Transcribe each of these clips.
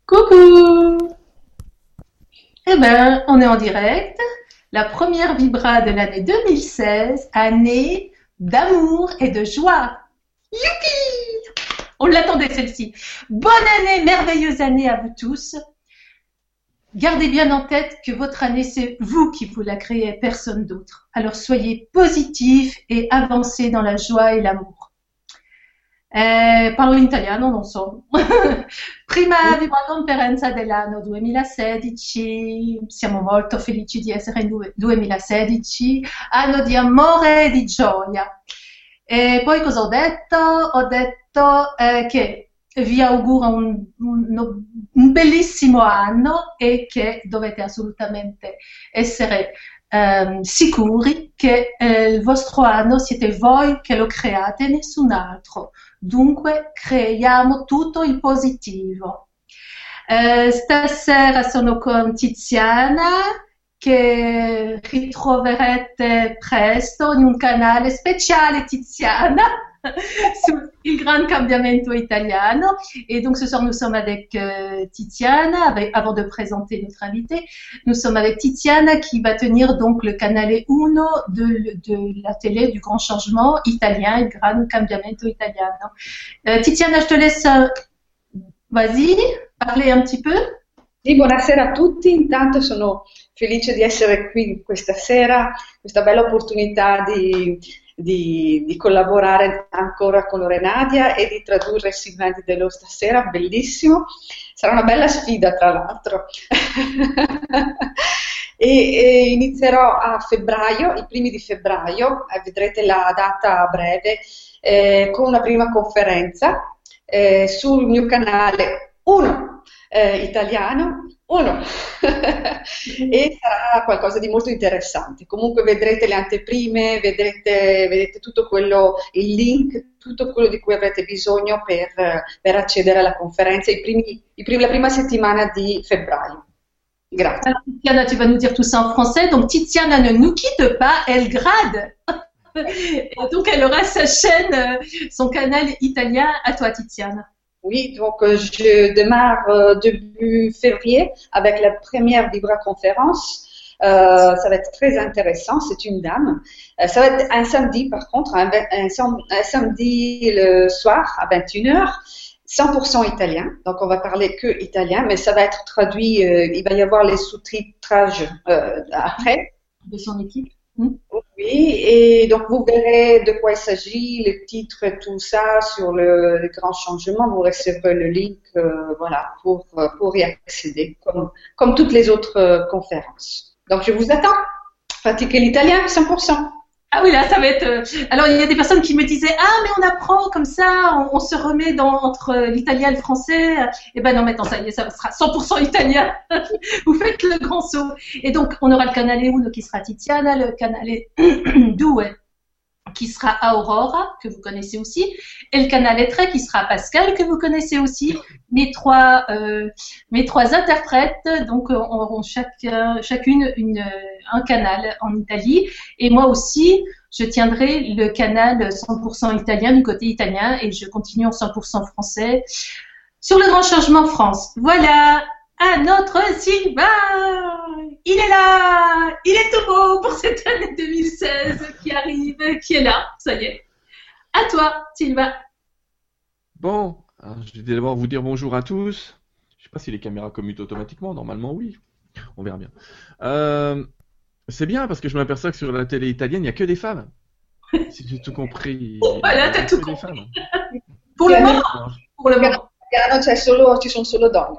Coucou! Eh ben, on est en direct. La première vibra de l'année 2016, année d'amour et de joie. Youpi! On l'attendait celle-ci. Bonne année, merveilleuse année à vous tous. Gardez bien en tête que votre année, c'est vous qui vous la créez, personne d'autre. Alors soyez positifs et avancez dans la joie et l'amour. Parlo in italiano, non so. Prima vi buona conferenza dell'anno 2016, siamo molto felici di essere in 2016, anno di amore e di gioia. E poi cosa ho detto? Ho detto che vi auguro un bellissimo anno e che dovete assolutamente essere sicuri che il vostro anno siete voi che lo create, nessun altro. Dunque creiamo tutto il positivo. Stasera sono con Tiziana che ritroverete presto in un canale speciale Tiziana sur il Grand Cambiamento Italiano. Et donc ce soir nous sommes avec Tiziana, avant de présenter notre invité, nous sommes avec Tiziana qui va tenir donc le canale 1 de la télé du Grand Changement italien, il Gran Cambiamento Italiano. Tiziana, je te laisse, vas-y, parler un petit peu. Sì, buonasera a tutti, intanto sono felice di essere qui questa sera, questa bella opportunità di collaborare ancora con Lorenadia e di tradurre Sylvain Dello stasera, bellissimo, sarà una bella sfida tra l'altro. E inizierò a febbraio, i primi di febbraio, vedrete la data a breve, con una prima conferenza sul mio canale 1. Italiano, 1 e sarà qualcosa di molto interessante. Comunque vedrete le anteprime, vedrete tutto quello, il link, tutto quello di cui avrete bisogno per accedere alla conferenza la prima settimana di febbraio. Grazie. Alors, Tiziana, tu vas nous dire tout ça en français. Donc Tiziana ne nous quitte pas, elle grade. Et donc elle aura sa chaîne, son canal italien. À toi, Tiziana. Oui, donc je démarre début février avec la première Vibra conférence. Ça va être très intéressant, c'est une dame. Ça va être un samedi par contre, un samedi le soir à 21h, 100% italien. Donc on va parler que italien, mais ça va être traduit, il va y avoir les sous-titrages après. De son équipe. Oui, et donc vous verrez de quoi il s'agit, les titres et tout ça sur le grand changement. Vous recevrez le link, voilà, pour y accéder, comme toutes les autres conférences. Donc je vous attends. Pratiquez l'italien 100%. Ah oui, là, ça va être... Alors, il y a des personnes qui me disaient « Ah, mais on apprend comme ça, on se remet entre l'italien et le français. » Eh ben non, maintenant, ça y est, ça sera 100% italien. Vous faites le grand saut. Et donc, on aura le canale 1 qui sera Tiziana, le canale 2 qui sera Aurora, que vous connaissez aussi, et le canale 3 qui sera Pascal, que vous connaissez aussi. Mes trois interprètes, donc, auront chacune un canal en Italie. Et moi aussi, je tiendrai le canal 100% italien du côté italien et je continue en 100% français sur le Grand Changement France. Voilà, à notre Sylvain! Il est là! Il est tout beau pour cette année 2016 qui arrive, qui est là, ça y est. À toi, Sylvain. Bon, alors, je vais d'abord vous dire bonjour à tous. Je ne sais pas si les caméras commutent automatiquement, normalement oui. On verra bien. C'est bien parce que je m'aperçois que sur la télé italienne, il n'y a que des femmes. Si j'ai tout compris. Voilà, t'as tout compris. Femmes. Pour le moment. Pour le moment. Ci sono solo donne.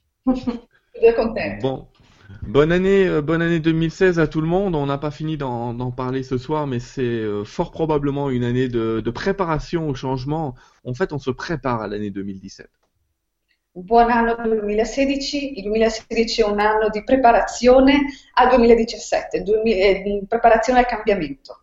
Bon. Bonne année 2016 à tout le monde. On n'a pas fini d'en parler ce soir, mais c'est fort probablement une année de préparation au changement. En fait, on se prépare à l'année 2017. Buon anno 2016, il 2016 è un anno di preparazione al 2017, preparazione al cambiamento.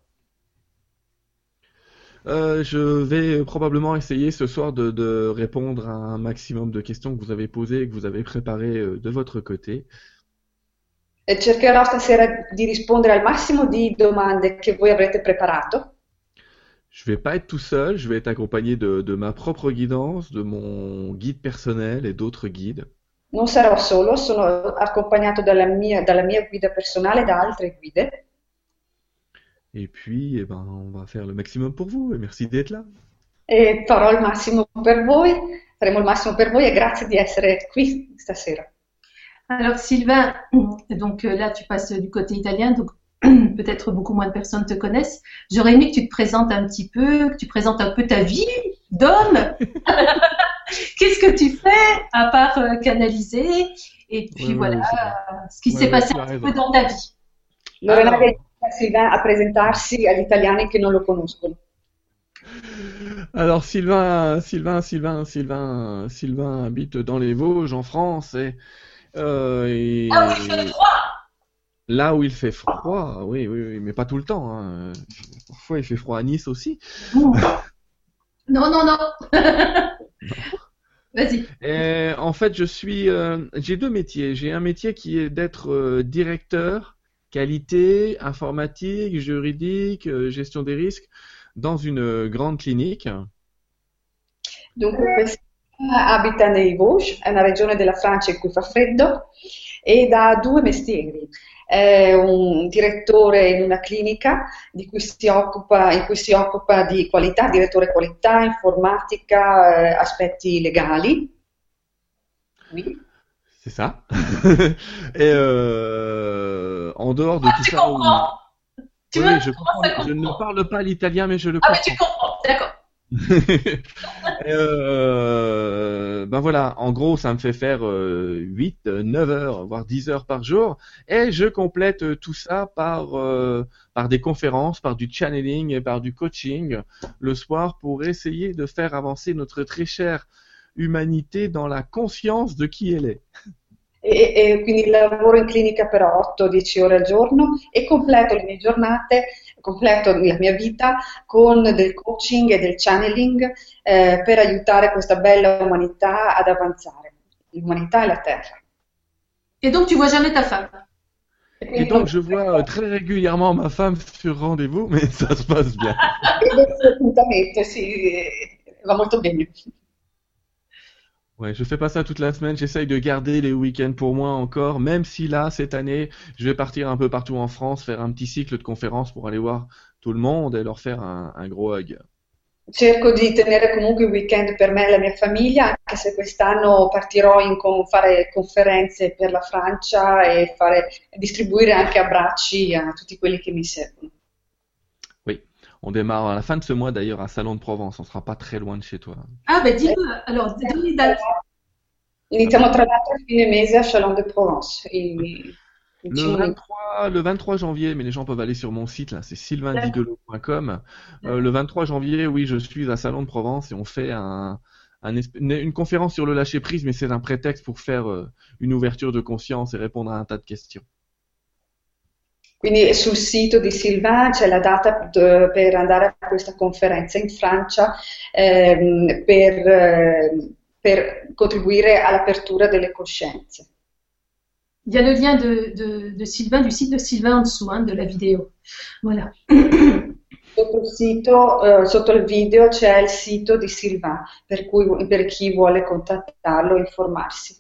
Je vais probablement essayer ce soir de répondre à un maximum de questions que vous avez posées et que vous avez préparées de votre côté. Cercherò stasera di rispondere al massimo di domande che voi avrete preparato. Je vais pas être tout seul, je vais être accompagné de ma propre guidance, de mon guide personnel et d'autres guides. Non sarò solo, sono accompagnato dalla mia guida personale e da altre guide. Et puis, eh ben, on va faire le maximum pour vous et merci d'être là. E farò il massimo per voi, faremo il massimo per voi e grazie di essere qui stasera. Alors Sylvain, donc là tu passes du côté italien, donc peut-être beaucoup moins de personnes te connaissent. J'aurais aimé que tu te présentes un petit peu, que tu présentes un peu ta vie d'homme. Qu'est-ce que tu fais à part canaliser? Et puis voilà, Oui, c'est vrai. ce qui s'est Ouais, passé tu as un petit peu raison. dans ta vie. Lorena Alors, aiuta Silvana a presentarsi agli italiani che non lo conoscono. alors Sylvain habite dans les Vosges, en France, Ah oui, il fait et froid. là où il fait froid, oui, oui, oui, mais pas tout le temps, hein. Parfois, il fait froid à Nice aussi. Non, non, non. Vas-y. Et en fait, j'ai deux métiers. J'ai un métier qui est d'être directeur, qualité, informatique, juridique, gestion des risques dans une grande clinique. Dunque, questa abita nei Vosges, è una regione della Francia in cui fa freddo ed ha due mestieri. È un direttore in una clinica in cui si occupa di qualità, direttore qualità, informatica, aspetti legali. Oui. C'est ça. Et en dehors de Ah, tout tu ça, oui, comprends. Tu vois, oui, tu je commences à comprends. Je ne comprendre. parle pas l'italien, mais je le Ah, mais tu comprends. comprends, d'accord. Et ben voilà, en gros, ça me fait faire 8, 9 heures, voire 10 heures par jour. Et je complète tout ça par des conférences, par du channeling et par du coaching le soir pour essayer de faire avancer notre très chère humanité dans la conscience de qui elle est. E quindi lavoro in clinica per 8-10 ore al giorno e completo le mie giornate, completo la mia vita con del coaching e del channeling per aiutare questa bella umanità ad avanzare, l'umanità e la Terra. Et donc, tu vois jamais ta femme. E Et quindi non donc, je vois très régulièrement ma femme sur rendez-vous, mais ça se passe bien. vedo questo appuntamento, sì, va molto bene. Ouais, je fais pas ça toute la semaine, j'essaye de garder les week-ends pour moi encore, même si là, cette année, je vais partir un peu partout en France, faire un petit cycle de conférences pour aller voir tout le monde et leur faire un gros hug. Cerco di tenere comunque i weekend per me e la mia famiglia, anche se quest'anno partirò fare conferenze per la Francia e distribuire anche abbracci a tutti quelli che mi servono. Oui, on démarre à la fin de ce mois d'ailleurs à Salon de Provence, on sera pas très loin de chez toi. Ah, ben dis-le. Alors, donne les dates. Iniziamo tra l'altro a fine mese a Chalon de Provence. Le 23 janvier, mais les gens peuvent aller sur mon site, là, c'est sylvaindidelo.com. Le 23 janvier, oui, je suis à Salon de Provence et on fait une conférence sur le lâcher-prise, mais c'est un prétexte pour faire une ouverture de conscience et répondre à un tas de questions. Quindi sul sito di Sylvain c'è la data per andare a questa conferenza in Francia per contribuire all'apertura delle coscienze. Il y a le lien de Sylvain, du site de Sylvain en dessous, hein, de la vidéo. Voilà. Sotto il video c'è il sito di Sylvain, per chi vuole contattarlo e informarsi.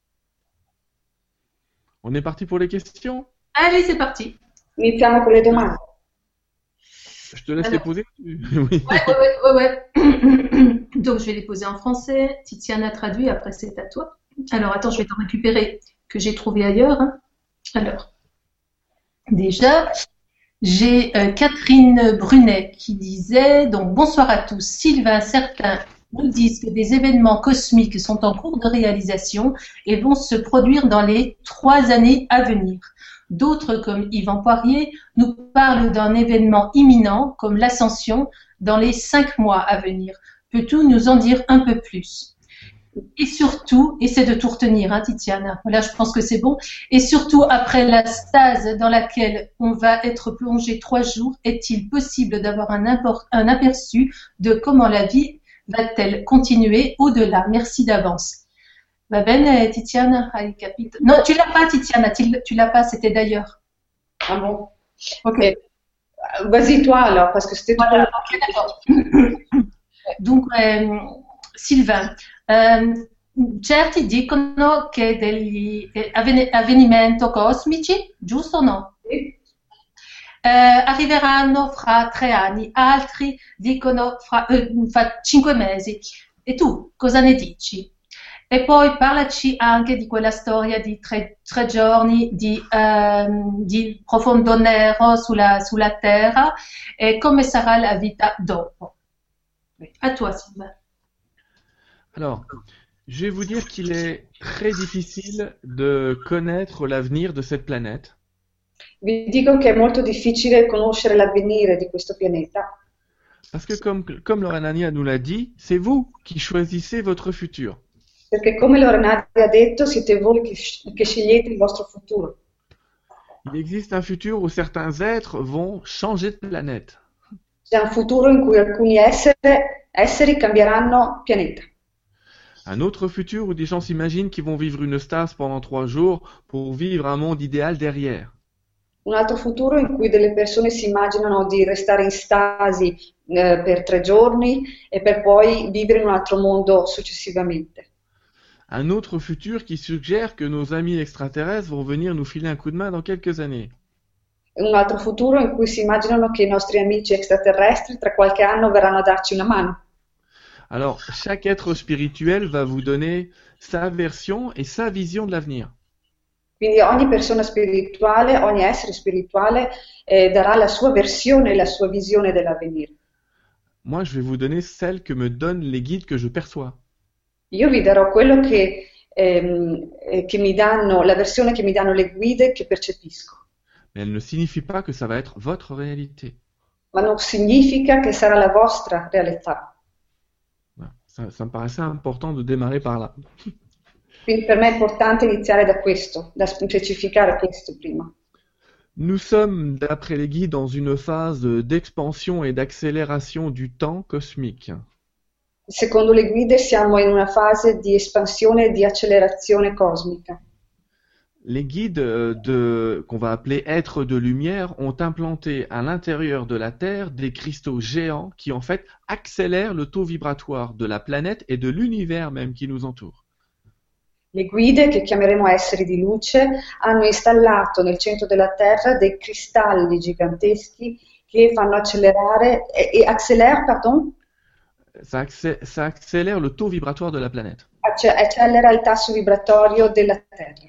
On est parti pour les questions? Allez, c'est parti. Iniziamo con le domande. Je te laisse les Alors, poser? Oui. ouais. Donc, je vais les poser en français. Tiziana traduit, après c'est à toi. Alors, attends, je vais t'en récupérer que j'ai trouvé ailleurs, hein. Alors, déjà, j'ai Catherine Brunet qui disait, donc bonsoir à tous. Sylvain, certains nous disent que des événements cosmiques sont en cours de réalisation et vont se produire dans les 3 années à venir. D'autres, comme Yvan Poirier, nous parlent d'un événement imminent, comme l'ascension, dans les 5 mois à venir. Peux-tu nous en dire un peu plus? Et surtout, essaie de tout retenir, hein, Tiziana. Là, je pense que c'est bon. Et surtout, après la stase dans laquelle on va être plongé 3 jours, est-il possible d'avoir un aperçu de comment la vie va-t-elle continuer au-delà? Merci d'avance. Va bene, Tiziana? Hai capito? Non, tu l'as pas, Tiziana. Tu l'as pas, c'était d'ailleurs. Ah bon? Ok. Vas-y toi alors, parce que c'était tout. Voilà, ok, d'accord. Donc, Sylvain, certi dicono che degli avvenimenti cosmici, giusto o no? Sì. Arriveranno fra 3 anni, altri dicono fra 5 mesi. E tu cosa ne dici? E poi parlaci anche di quella storia di tre giorni di profondo nero sulla Terra e come sarà la vita dopo. À toi, Sylvain. Alors, je vais vous dire qu'il est très difficile de connaître l'avenir de cette planète. Vi dico che è molto difficile conoscere l'avvenire di questo pianeta, Parce que comme Lorenania nous l'a dit, c'est vous qui choisissez votre futur. perché come Lorenati ha detto, siete voi che scegliete il vostro futuro. Il existe un futur où certains êtres vont changer de planète. C'è un futuro in cui alcuni esseri cambieranno pianeta. Un autre futur où des gens s'imaginent qu'ils vont vivre une stase pendant 3 jours pour vivre un monde idéal derrière. Un altro futuro in cui delle persone si immaginano di restare in stasi per 3 giorni e per poi vivere in un altro mondo successivamente. Un autre futur qui suggère que nos amis extraterrestres vont venir nous filer un coup de main dans quelques années. Un altro futuro in cui si immaginano che i nostri amici extraterrestri tra qualche anno verranno a darci una mano. Alors, chaque être spirituel va vous donner sa version et sa vision de l'avenir. Quindi ogni persona spirituale, ogni essere spirituale darà la sua versione e la sua visione dell'avvenire. Moi, je vais vous donner celle que me donnent les guides que je perçois. Io vi darò quello che mi danno, la versione che mi danno le guide che percepisco, Mais elle ne signifie pas que ça va être votre réalité. ma non significa che sarà la vostra realtà. Voilà. Ça me paraissait important de démarrer par là. Quindi per me è importante iniziare da questo, da specificare questo prima. Nous sommes, d'après les guides, dans une phase d'expansion et d'accélération du temps cosmique. Secondo le guide siamo in una fase di espansione e di accelerazione cosmica. Les guides qu'on va appeler êtres de lumière ont implanté à l'intérieur de la Terre des cristaux géants qui en fait accélèrent le taux vibratoire de la planète et de l'univers même qui nous entoure. Le guide, che chiameremo esseri di luce, hanno installato nel centro della Terra dei cristalli giganteschi che fanno accelerare pardon, Ça accélère le taux vibratoire de la planète. accelera il tasso vibratorio della Terra.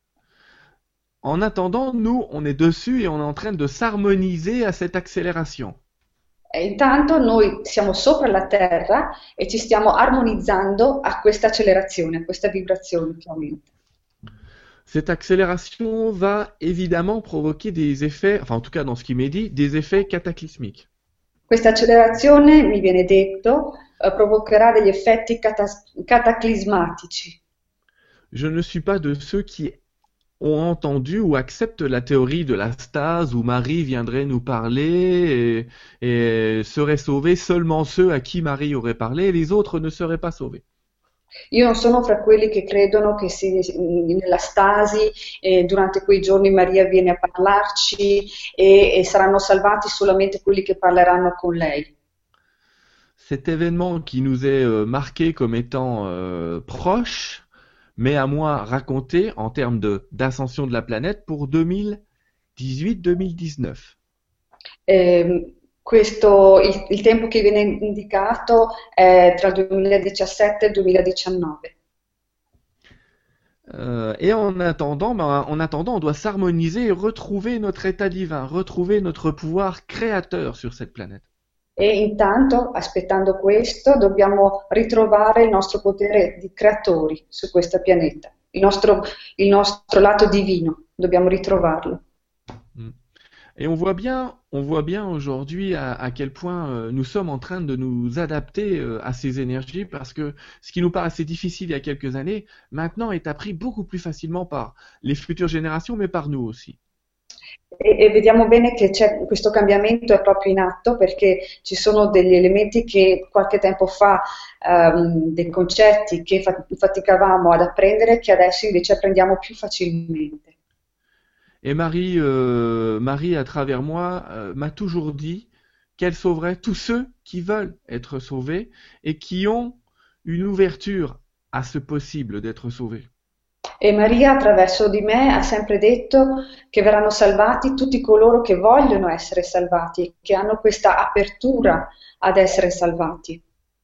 En attendant, nous, on est dessus et on est en train de s'harmoniser à cette accélération. E intanto noi siamo sopra la Terra e ci stiamo armonizzando a questa accelerazione, a questa vibrazione che aumenta. Cette accélération va évidemment provoquer des effets, enfin en tout cas dans ce qui m'est dit, des effets cataclysmiques. Questa accelerazione, mi viene detto, provocherà degli effetti cataclismatici. Je ne suis pas de ceux qui ont entendu ou acceptent la théorie de la stase où Marie viendrait nous parler et seraient sauvés seulement ceux à qui Marie aurait parlé et les autres ne seraient pas sauvés. Io non sono fra quelli che credono che nella stasi durante quei giorni Maria viene a parlarci e saranno salvati solamente quelli che parleranno con lei. Cet événement qui nous est marqué comme étant proche, mais à moi raconté en termes d'ascension de la planète pour 2018-2019. Il tempo che viene indicato è tra il 2017 e il 2019. Et en attendant, on doit s'harmoniser et retrouver notre état divin, retrouver notre pouvoir créateur sur cette planète. E intanto, aspettando questo, dobbiamo ritrovare il nostro potere di creatori su questo pianeta, il nostro lato divino, dobbiamo ritrovarlo. Et on voit bien aujourd'hui à quel point nous sommes en train de nous adapter à ces énergies parce que ce qui nous paraissait difficile il y a quelques années, maintenant est appris beaucoup plus facilement par les futures générations, mais par nous aussi. E vediamo bene che questo cambiamento è proprio in atto perché ci sono degli elementi che qualche tempo fa, dei concetti che faticavamo ad apprendere, che adesso invece apprendiamo più facilmente. Et Marie, à travers moi, m'a toujours dit qu'elle sauverait tous ceux qui veulent être sauvés et qui ont une ouverture à ce possible d'être sauvé. E Maria attraverso di me ha sempre detto che verranno salvati tutti coloro che vogliono essere salvati, che hanno questa apertura ad essere salvati.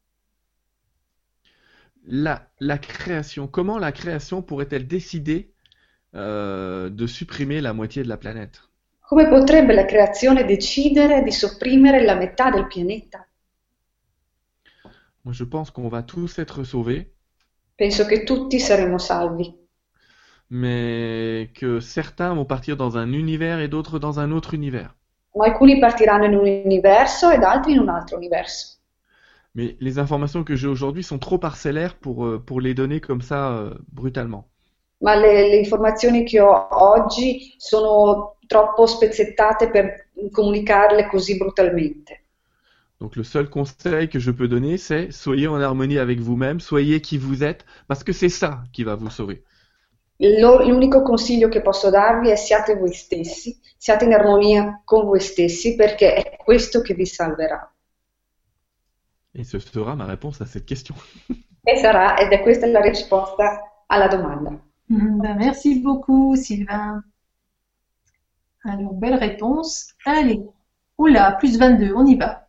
La création, comment la création pourrait-elle décider de supprimer la moitié de la planète? Come potrebbe la creazione decidere di sopprimere la metà del pianeta? Moi, je pense qu'on va tous être sauvés, Penso che tutti saremo salvi, mais que certains vont partir dans un univers et d'autres dans un autre univers. ma alcuni partiranno in un universo ed altri in un altro universo. Mais les informations que j'ai aujourd'hui sont trop parcellaires pour les donner comme ça brutalement. Ma le informazioni che ho oggi sono troppo spezzettate per comunicarle così brutalmente. Donc le seul conseil que je peux donner, c'est soyez en harmonie avec vous-même, soyez qui vous êtes, parce que c'est ça qui va vous sauver. L'unico consiglio che posso darvi è siate voi stessi, siate in armonia con voi stessi perché è questo che vi salverà. Et ce sera ma réponse à cette question. Ed è questa la risposta alla domanda. Ben, merci beaucoup, Sylvain. Alors, belle réponse. Allez. Oula, plus 22, on y va.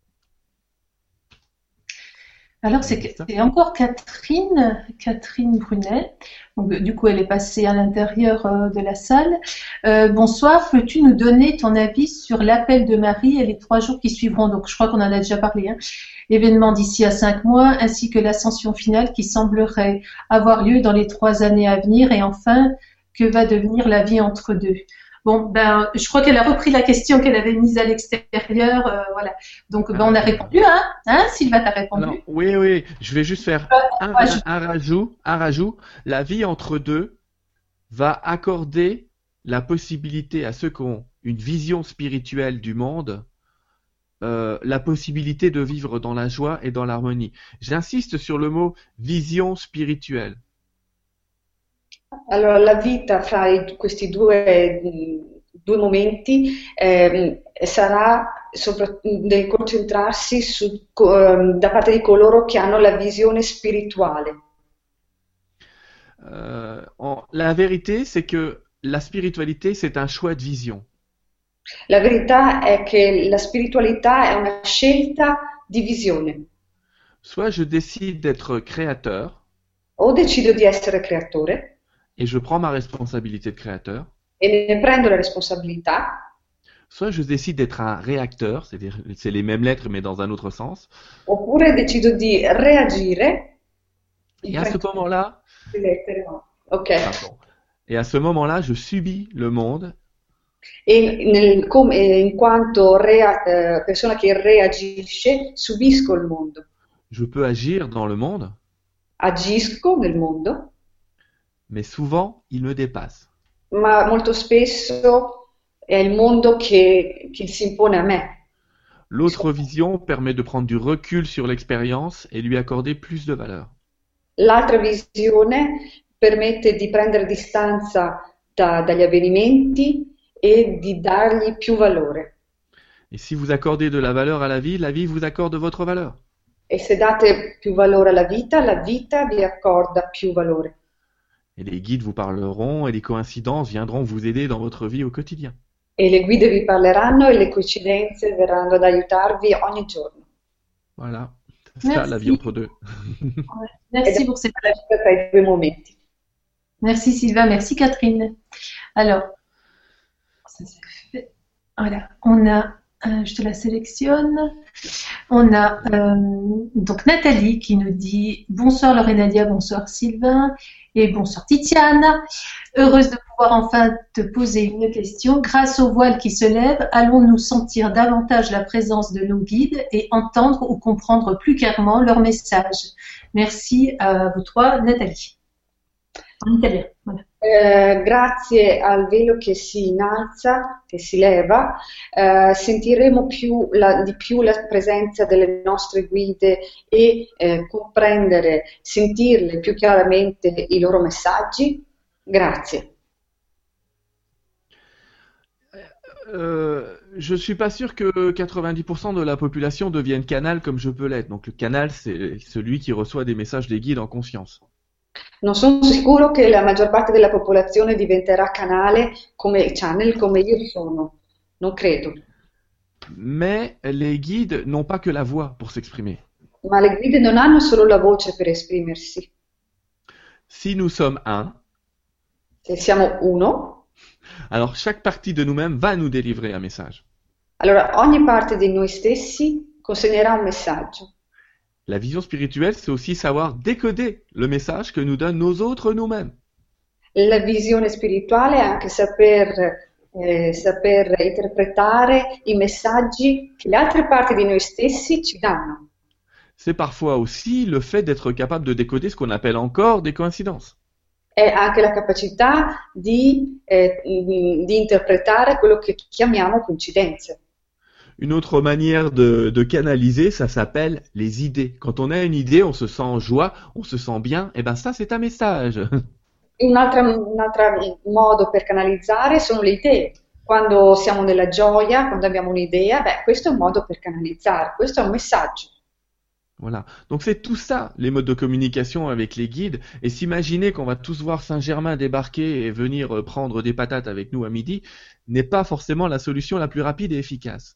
Alors, c'est encore Catherine Brunet. Donc, du coup, elle est passée à l'intérieur de la salle. Bonsoir, peux-tu nous donner ton avis sur l'appel de Marie et les 3 jours qui suivront? Donc, je crois qu'on en a déjà parlé. Événement d'ici à 5 mois, ainsi que l'ascension finale qui semblerait avoir lieu dans les 3 années à venir. Et enfin, que va devenir la vie entre deux? Bon, ben, je crois qu'elle a repris la question qu'elle avait mise à l'extérieur, voilà. Donc, ben, on a répondu, hein, Sylvain, t'as répondu? Alors, oui, je vais juste faire un rajout. La vie entre deux va accorder la possibilité à ceux qui ont une vision spirituelle du monde, la possibilité de vivre dans la joie et dans l'harmonie. J'insiste sur le mot vision spirituelle. Allora, la vita fra questi due momenti sarà nel concentrarsi da parte di coloro che hanno la visione spirituale. La vérité, c'est que la spiritualité, c'est un choix de vision. La verità è che la spiritualità è una scelta di visione. Soit je décide d'être créateur. O decido di essere creatore. Et je prends ma responsabilité de créateur. E ne prendo la responsabilità. Soit je décide d'être un réacteur, c'est les mêmes lettres mais dans un autre sens. Oppure decido di reagire. Et à ce moment-là, ok. Et à ce moment-là, je subis le monde. In quanto persona che reagisce, subisco il mondo. Je peux agir dans le monde. Agisco nel mondo. Mais souvent, il me dépasse. Ma molto spesso è il mondo che si impone a me. L'autre vision permet de prendre du recul sur l'expérience et lui accorder plus de valeur. L'altra visione permette di prendere distanza dagli avvenimenti e di dargli più valore. Et si vous accordez de la valeur à la vie vous accorde votre valeur. E se date più valore alla vita, la vita vi accorda più valore. Et les guides vous parleront et les coïncidences viendront vous aider dans votre vie au quotidien. E le guide vi parleranno e le coincidenze verranno ad aiutarvi ogni giorno. Voilà, c'est ça la vie entre deux. Merci pour cette tra i due momenti. Merci Sylvain, merci Catherine. Alors, ça c'est fait. Voilà, on a, je te la sélectionne. On a donc Nathalie qui nous dit bonsoir Laure et Nadia, bonsoir Sylvain et bonsoir Titiane. Heureuse de pouvoir enfin te poser une question. Grâce au voile qui se lève, allons-nous sentir davantage la présence de nos guides et entendre ou comprendre plus clairement leur message? Merci à vous 3, Nathalie. En italien, voilà. Grazie al velo che si innalza, che si leva, sentiremo di più la presenza delle nostre guide e comprendere, sentirle più chiaramente i loro messaggi. Grazie. je suis pas sûr que 90% de la population devienne canal comme je peux l'être. Donc le canal, c'est celui qui reçoit des messages des guides en conscience. Non sono sicuro che la maggior parte della popolazione diventerà canale come channel come io sono. Non credo. Mais les guides n'ont pas que la voix pour s'exprimer. Ma le guide non hanno solo la voce per esprimersi. Si nous sommes un, Se siamo uno, alors chaque partie de nous-mêmes va nous délivrer un message. allora ogni parte di noi stessi consegnerà un messaggio. La vision spirituelle, c'est aussi savoir décoder le message que nous donnent nos autres nous-mêmes. La visione spirituale è anche saper interpretare i messaggi che le altre parti di noi stessi ci danno. C'est parfois aussi le fait d'être capable de décoder ce qu'on appelle encore des coïncidences. È anche la capacità di interpretare quello che chiamiamo coincidenze. Une autre manière de canaliser, ça s'appelle les idées. Quand on a une idée, on se sent en joie, on se sent bien, et ben ça c'est un message. Un altro modo per canalizzare sono le idee. Quando siamo nella gioia, quando abbiamo un'idea, questo è un modo per canalizzare, questo è un messaggio. Voilà. Donc c'est tout ça, les modes de communication avec les guides. Et s'imaginer qu'on va tous voir Saint-Germain débarquer et venir prendre des patates avec nous à midi n'est pas forcément la solution la plus rapide et efficace.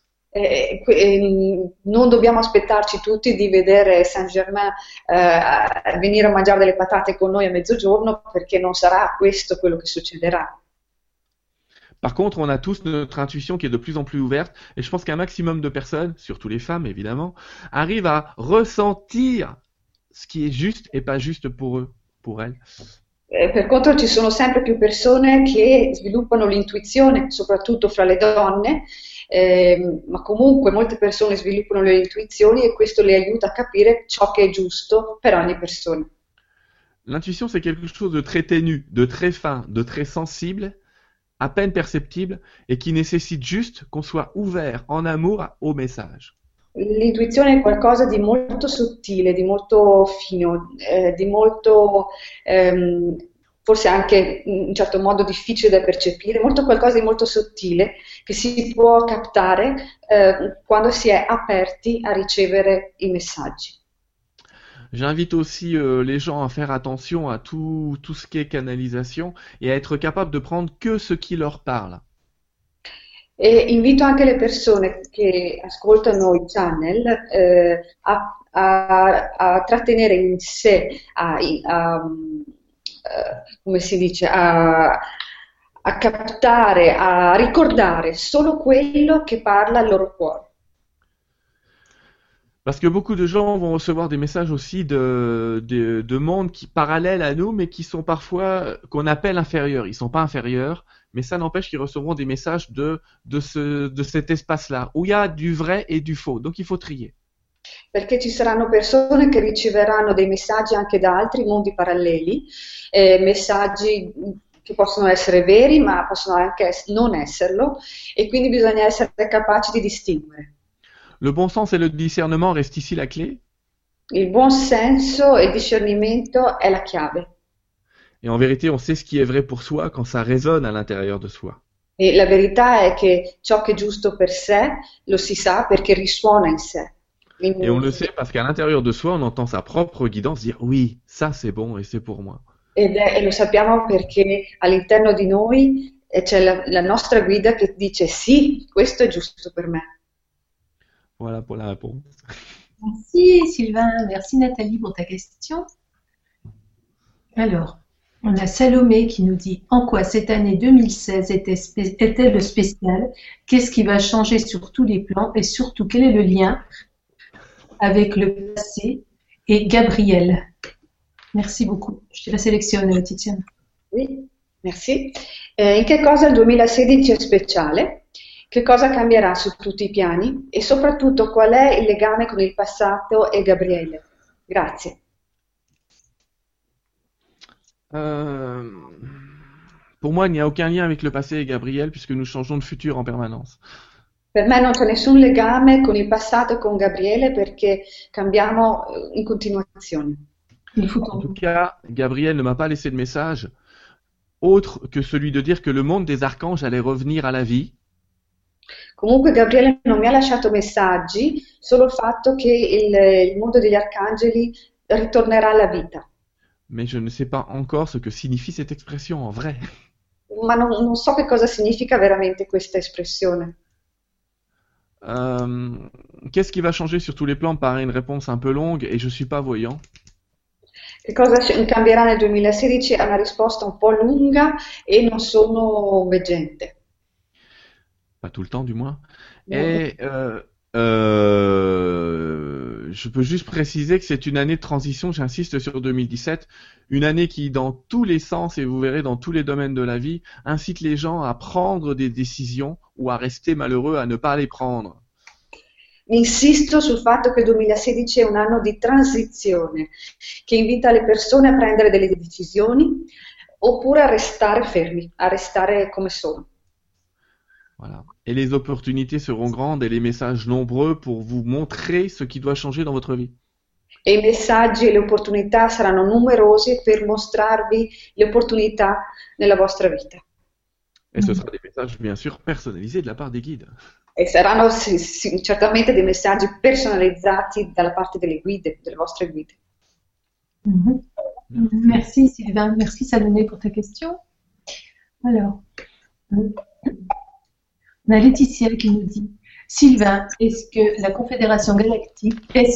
Non dobbiamo aspettarci tutti di vedere Saint-Germain venire a mangiare delle patate con noi a mezzogiorno, perché non sarà questo quello che succederà. Par contre, on a tous notre intuition qui est de plus en plus ouverte, et je pense qu'un maximum de personnes, surtout les femmes évidemment, arrivent à ressentir ce qui est juste et pas juste pour eux, pour elles. Per contro ci sono sempre più persone che sviluppano l'intuizione, soprattutto fra le donne, ma comunque molte persone sviluppano le intuizioni e questo le aiuta a capire ciò che è giusto per ogni persona. L'intuition, c'est quelque chose de très ténu, de très fin, de très sensible, à peine perceptible, et qui nécessite juste qu'on soit ouvert en amour au message. L'intuizione è qualcosa di molto sottile, di molto fino, di molto forse anche in un certo modo difficile da percepire, qualcosa di molto sottile che si può captare quando si è aperti a ricevere i messaggi. J'invite aussi les gens à faire attention à tout ce qui est canalisation et à être capable de prendre que ce qui leur parle. E invito anche le persone che ascoltano i channel a trattenere in sé, come si dice, a captare, a ricordare solo quello che parla al loro cuore. Parce que beaucoup de gens vont recevoir des messages aussi de mondes parallèles à nous, mais qui sont parfois, qu'on appelle inférieurs. Ils sont pas inférieurs, mais ça n'empêche qu'ils recevront des messages de cet espace-là, où il y a du vrai et du faux. Donc il faut trier. Perché ci saranno persone che riceveranno dei messaggi anche da altri mondi paralleli, messaggi che possono essere veri, ma possono anche non esserlo, e quindi bisogna essere capaci di distinguere. Le bon sens et le discernement restent ici la clé. Il buon senso e il discernimento è la chiave. Et en vérité, on sait ce qui est vrai pour soi quand ça résonne à l'intérieur de soi. E la verità è che ciò che è giusto per sé lo si sa perché risuona in sé. Et on le sait parce qu'à l'intérieur de soi, on entend sa propre guidance dire oui, ça c'est bon et c'est pour moi. E lo sappiamo perché all'interno di noi c'è la nostra guida che dice sì, questo è giusto per me. Voilà pour la réponse. Merci Sylvain, merci Nathalie pour ta question. Alors, on a Salomé qui nous dit en quoi cette année 2016 est-elle spéciale? Qu'est-ce qui va changer sur tous les plans et surtout quel est le lien avec le passé et Gabriel? Merci beaucoup. Je te la sélectionne, Tiziana. Oui, merci. In che cosa il 2016 è speciale? Che cosa cambierà su tutti i piani? E soprattutto qual è il legame con il passato e Gabriele? Grazie. Pour moi, il n'y a aucun lien avec le passé et Gabriel puisque nous changeons de futur en permanence. Per me non c'è nessun legame con il passato e con Gabriele perché cambiamo in continuazione. En tout cas, Gabriel ne m'a pas laissé de message autre que celui de dire que le monde des archanges allait revenir à la vie. Comunque Gabriele non mi ha lasciato messaggi, solo il fatto che il mondo degli arcangeli ritornerà alla vita. Mais je ne sais pas encore ce que signifie cette expression en vrai. Ma non so che cosa significa veramente questa espressione. Qu'est-ce qui va changer sur tous les plans? Paraît une réponse un peu longue et je suis pas voyant. Che cosa cambierà nel 2016? È una risposta un po' lunga e non sono veggente. Pas tout le temps du moins. No. Et je peux juste préciser que c'est une année de transition, j'insiste sur 2017, une année qui, dans tous les sens, et vous verrez dans tous les domaines de la vie, incite les gens à prendre des décisions ou à rester malheureux à ne pas les prendre. Insisto sul fatto che il 2016 è un anno di transizione, che invita le persone a prendere delle decisioni oppure a restare fermi, a restare come sono. Voilà. Et les opportunités seront grandes et les messages nombreux pour vous montrer ce qui doit changer dans votre vie. E i messaggi e le opportunità saranno numerosi per mostrarvi le opportunità nella vostra vita. Et ce sera des messages, bien sûr, personnalisés de la part des guides. E saranno certamente dei messaggi personalizzati dalla parte delle guide, delle vostre guide. Mhm. Merci Sylvain, merci Salomé pour ta question. Alors, on a Laetitia qui nous dit Sylvain, est-ce la Confédération Galactique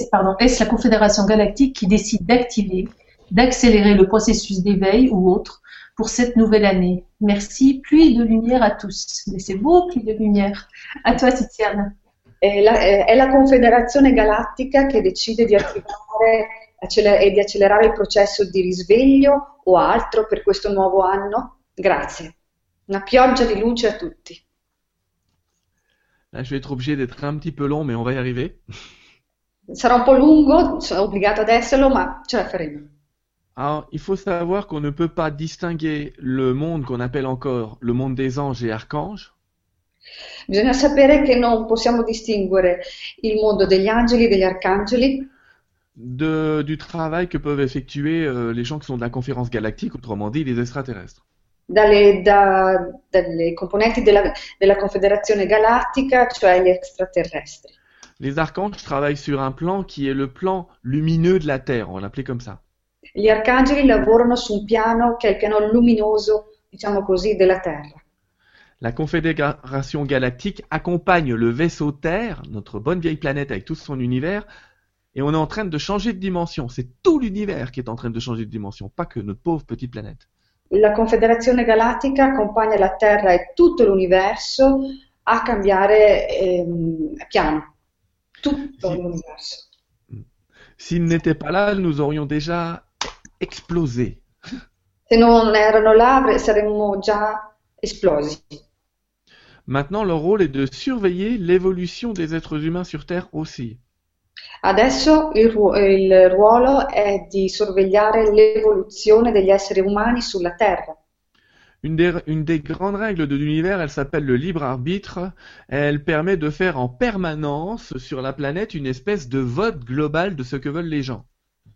qui décide d'activer, d'accélérer le processus d'éveil ou autre pour cette nouvelle année? Merci, pluie de lumière à tous. Mais c'est beau, pluie de lumière. À toi, Tiziana. È la Confederazione Galattica che decide di attivare e di accelerare il processo di risveglio o altro per questo nuovo anno? Grazie. Una pioggia di luce a tutti. Là, je vais être obligé d'être un petit peu long, mais on va y arriver. Sarà un po' lungo, sono obbligata ad esserlo, ma ce la faremo. Alors, il faut savoir qu'on ne peut pas distinguer le monde qu'on appelle encore le monde des anges et archanges Bisogna sapere che non possiamo distinguere il mondo degli angeli e degli arcangeli du travail que peuvent effectuer les gens qui sont de la conférence galactique, autrement dit les extraterrestres. dalle componenti della Confederazione Galattica, cioè gli extraterrestri. Les archanges travaillent sur un plan qui est le plan lumineux de la Terre, on va l'appeler comme ça. Gli arcangeli lavorano su un piano che è il piano luminoso, diciamo così, della Terra. La Confédération Galactique accompagne le vaisseau Terre, notre bonne vieille planète avec tout son univers, et on est en train de changer de dimension. C'est tout l'univers qui est en train de changer de dimension, pas que notre pauvre petite planète. La Confederazione Galattica accompagna la Terra e tutto l'universo a cambiare piano, tutto l'universo. S'ils n'étaient pas là, nous aurions déjà explosé. Se non erano là saremmo già esplosi. Maintenant, leur rôle est de surveiller l'évolution des êtres humains sur Terre aussi. Adesso il ruolo è di sorvegliare l'evoluzione degli esseri umani sulla Terra. Une des grandes règles de l'univers, elle s'appelle le libre arbitre. Elle permet de faire en permanence sur la planète une espèce de vote global de ce que veulent les gens.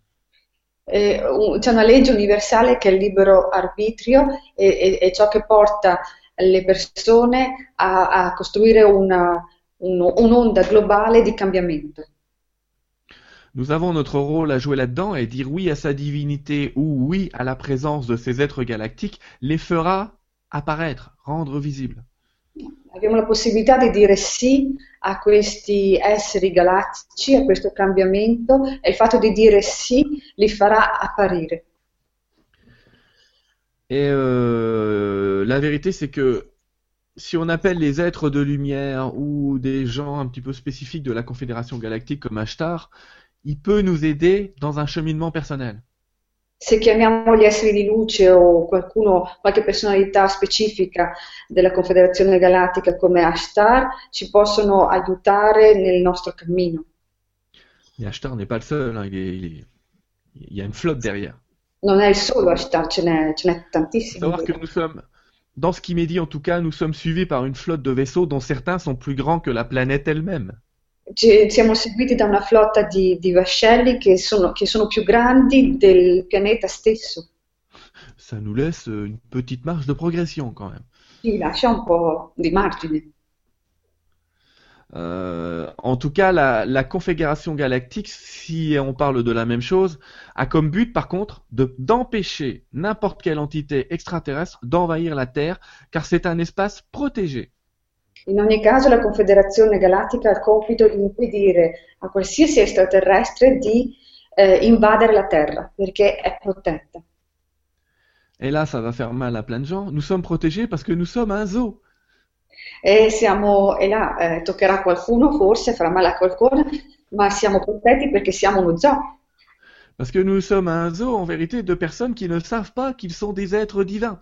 C'è una legge universale che è il libero arbitrio e ciò che porta le persone a costruire un'onda globale di cambiamento. Nous avons notre rôle à jouer là-dedans et dire oui à sa divinité ou oui à la présence de ces êtres galactiques les fera apparaître, rendre visibles. Abbiamo la possibilità di dire sì a questi esseri galattici, a questo cambiamento, e il fatto di dire sì li farà apparire. Et la vérité, c'est que si on appelle les êtres de lumière ou des gens un petit peu spécifiques de la Confédération Galactique comme Ashtar, il peut nous aider dans un cheminement personnel. Se chiamiamo gli esseri di luce o qualche personalità specifica della Confederazione Galattica come Ashtar, ci possono aiutare nel nostro cammino. Mais Ashtar n'est pas le seul, hein, il y a une flotte derrière. Non è il solo Ashtar, ce n'è Il faut tantissimi. savoir que nous sommes, dans ce qui m'est dit en tout cas, nous sommes suivis par une flotte de vaisseaux dont certains sont plus grands que la planète elle-même. Siamo seguiti da una flotta di vascelli che sono più grandi del pianeta stesso. Ça nous laisse une petite marge de progression quand même. Ci lascia un po' di margine. En tout cas, la Confédération Galactique, si on parle de la même chose, a comme but, par contre, d'empêcher n'importe quelle entité extraterrestre d'envahir la Terre, car c'est un espace protégé. In ogni caso la Confederazione Galattica ha il compito di impedire a qualsiasi extraterrestre di invadere la Terra, perché è protetta. Et là, ça va faire mal à plein de gens. Nous sommes protégés parce que nous sommes un zoo. E là toccherà a qualcuno, forse farà male a qualcuno, ma siamo protetti perché siamo uno zoo. Parce que nous sommes un zoo, en vérité, de personnes qui ne savent pas qu'ils sont des êtres divins.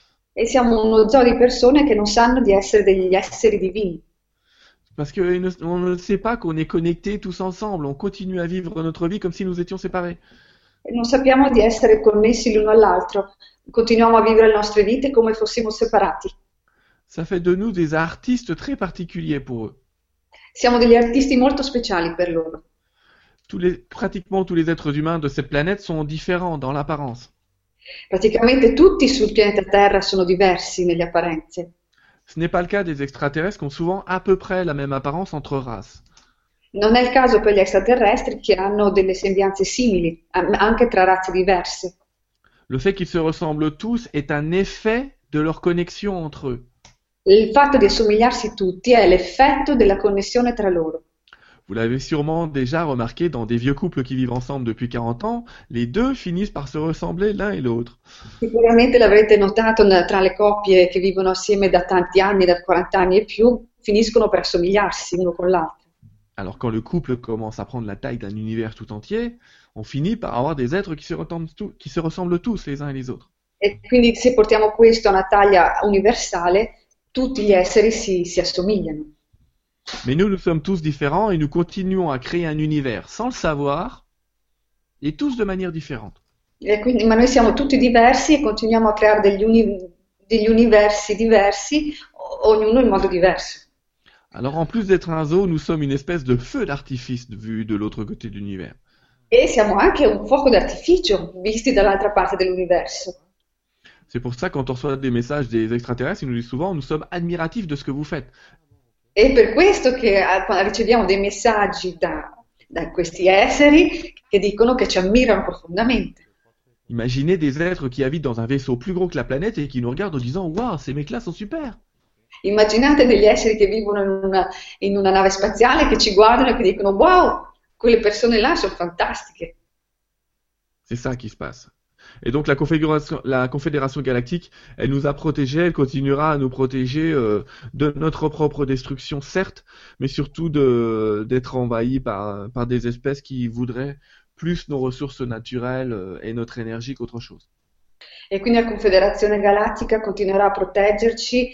E siamo uno zoo di persone che non sanno di essere degli esseri divini. Parce qu'on ne sait pas qu'on est connectés tous ensemble. On continue à vivre notre vie comme si nous étions séparés. E non sappiamo di essere connessi l'uno all'altro. Continuiamo a vivere le nostre vite come fossimo separati. Ça fait de nous des artistes très particuliers pour eux. Siamo degli artisti molto speciali per loro. Pratiquement tous les êtres humains de cette planète sont différents dans l'apparence. Praticamente tutti sul pianeta Terra sono diversi nelle apparenze. Ce n'est pas le cas des extraterrestres qui ont souvent à peu près la même apparence entre races. Non è il caso per gli extraterrestri che hanno delle sembianze simili, anche tra razze diverse. Le fait qu'ils se ressemblent tous est un effet de leur connexion entre eux. Il fatto di assomigliarsi tutti è l'effetto della connessione tra loro. Vous l'avez sûrement déjà remarqué dans des vieux couples qui vivent ensemble depuis 40 ans, les deux finissent par se ressembler l'un et l'autre. Sicuramente l'avrete notato tra le coppie che vivono assieme da tanti anni, da 40 anni e più, finiscono per assomigliarsi uno con l'altro. Alors quand le couple commence à prendre la taille d'un univers tout entier, on finit par avoir des êtres qui se ressemblent tous les uns et les autres. E quindi se portiamo questo a una taglia universale, tutti gli esseri si assomigliano. Mais nous sommes tous différents et nous continuons à créer un univers sans le savoir et tous de manière différente. Ma noi siamo tutti diversi e continuiamo a creare degli universi diversi, ognuno in modo diverso. Alors en plus d'être un zoo, nous sommes une espèce de feu d'artifice vu de l'autre côté de l'univers. E siamo anche un fuoco d'artificio visti dall'altra parte dell'universo. C'est pour ça quand on reçoit des messages des extraterrestres, ils nous disent souvent nous sommes admiratifs de ce que vous faites. E per questo che riceviamo dei messaggi da questi esseri che dicono che ci ammirano profondamente. Imaginez des êtres qui habitent dans un vaisseau plus gros que la planète et qui nous regardent en disant waouh, ces mecs-là sont super. Immaginate degli esseri che vivono in una nave spaziale che ci guardano e che dicono wow, quelle persone là sono fantastiche. C'est ça qui se passe. Et donc la Confédération Galactique, elle nous a protégés, elle continuera à nous protéger de notre propre destruction, certes, mais surtout d'être envahis par des espèces qui voudraient plus nos ressources naturelles et notre énergie qu'autre chose. E quindi la Confederazione Galattica continuerà a proteggerci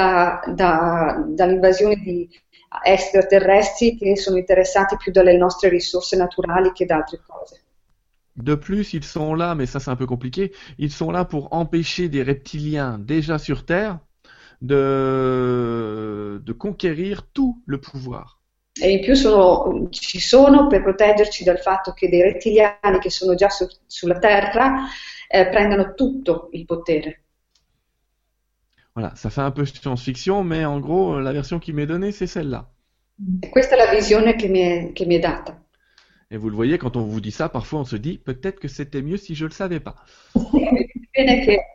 dall'invasione di extraterrestri che sono interessati più dalle nostre risorse naturali che da altre cose. De plus, ils sont là, mais ça c'est un peu compliqué, ils sont là pour empêcher des reptiliens déjà sur Terre de conquérir tout le pouvoir. E in più ci sono per proteggerci dal fatto che dei rettiliani che sono già sulla Terra prendano tutto il potere. Voilà, ça fait un peu science-fiction, mais en gros, la version qui m'est donnée, c'est celle-là. E questa è la visione che mi è data. Et vous le voyez, quand on vous dit ça, parfois on se dit peut-être que c'était mieux si je le savais pas. Bene che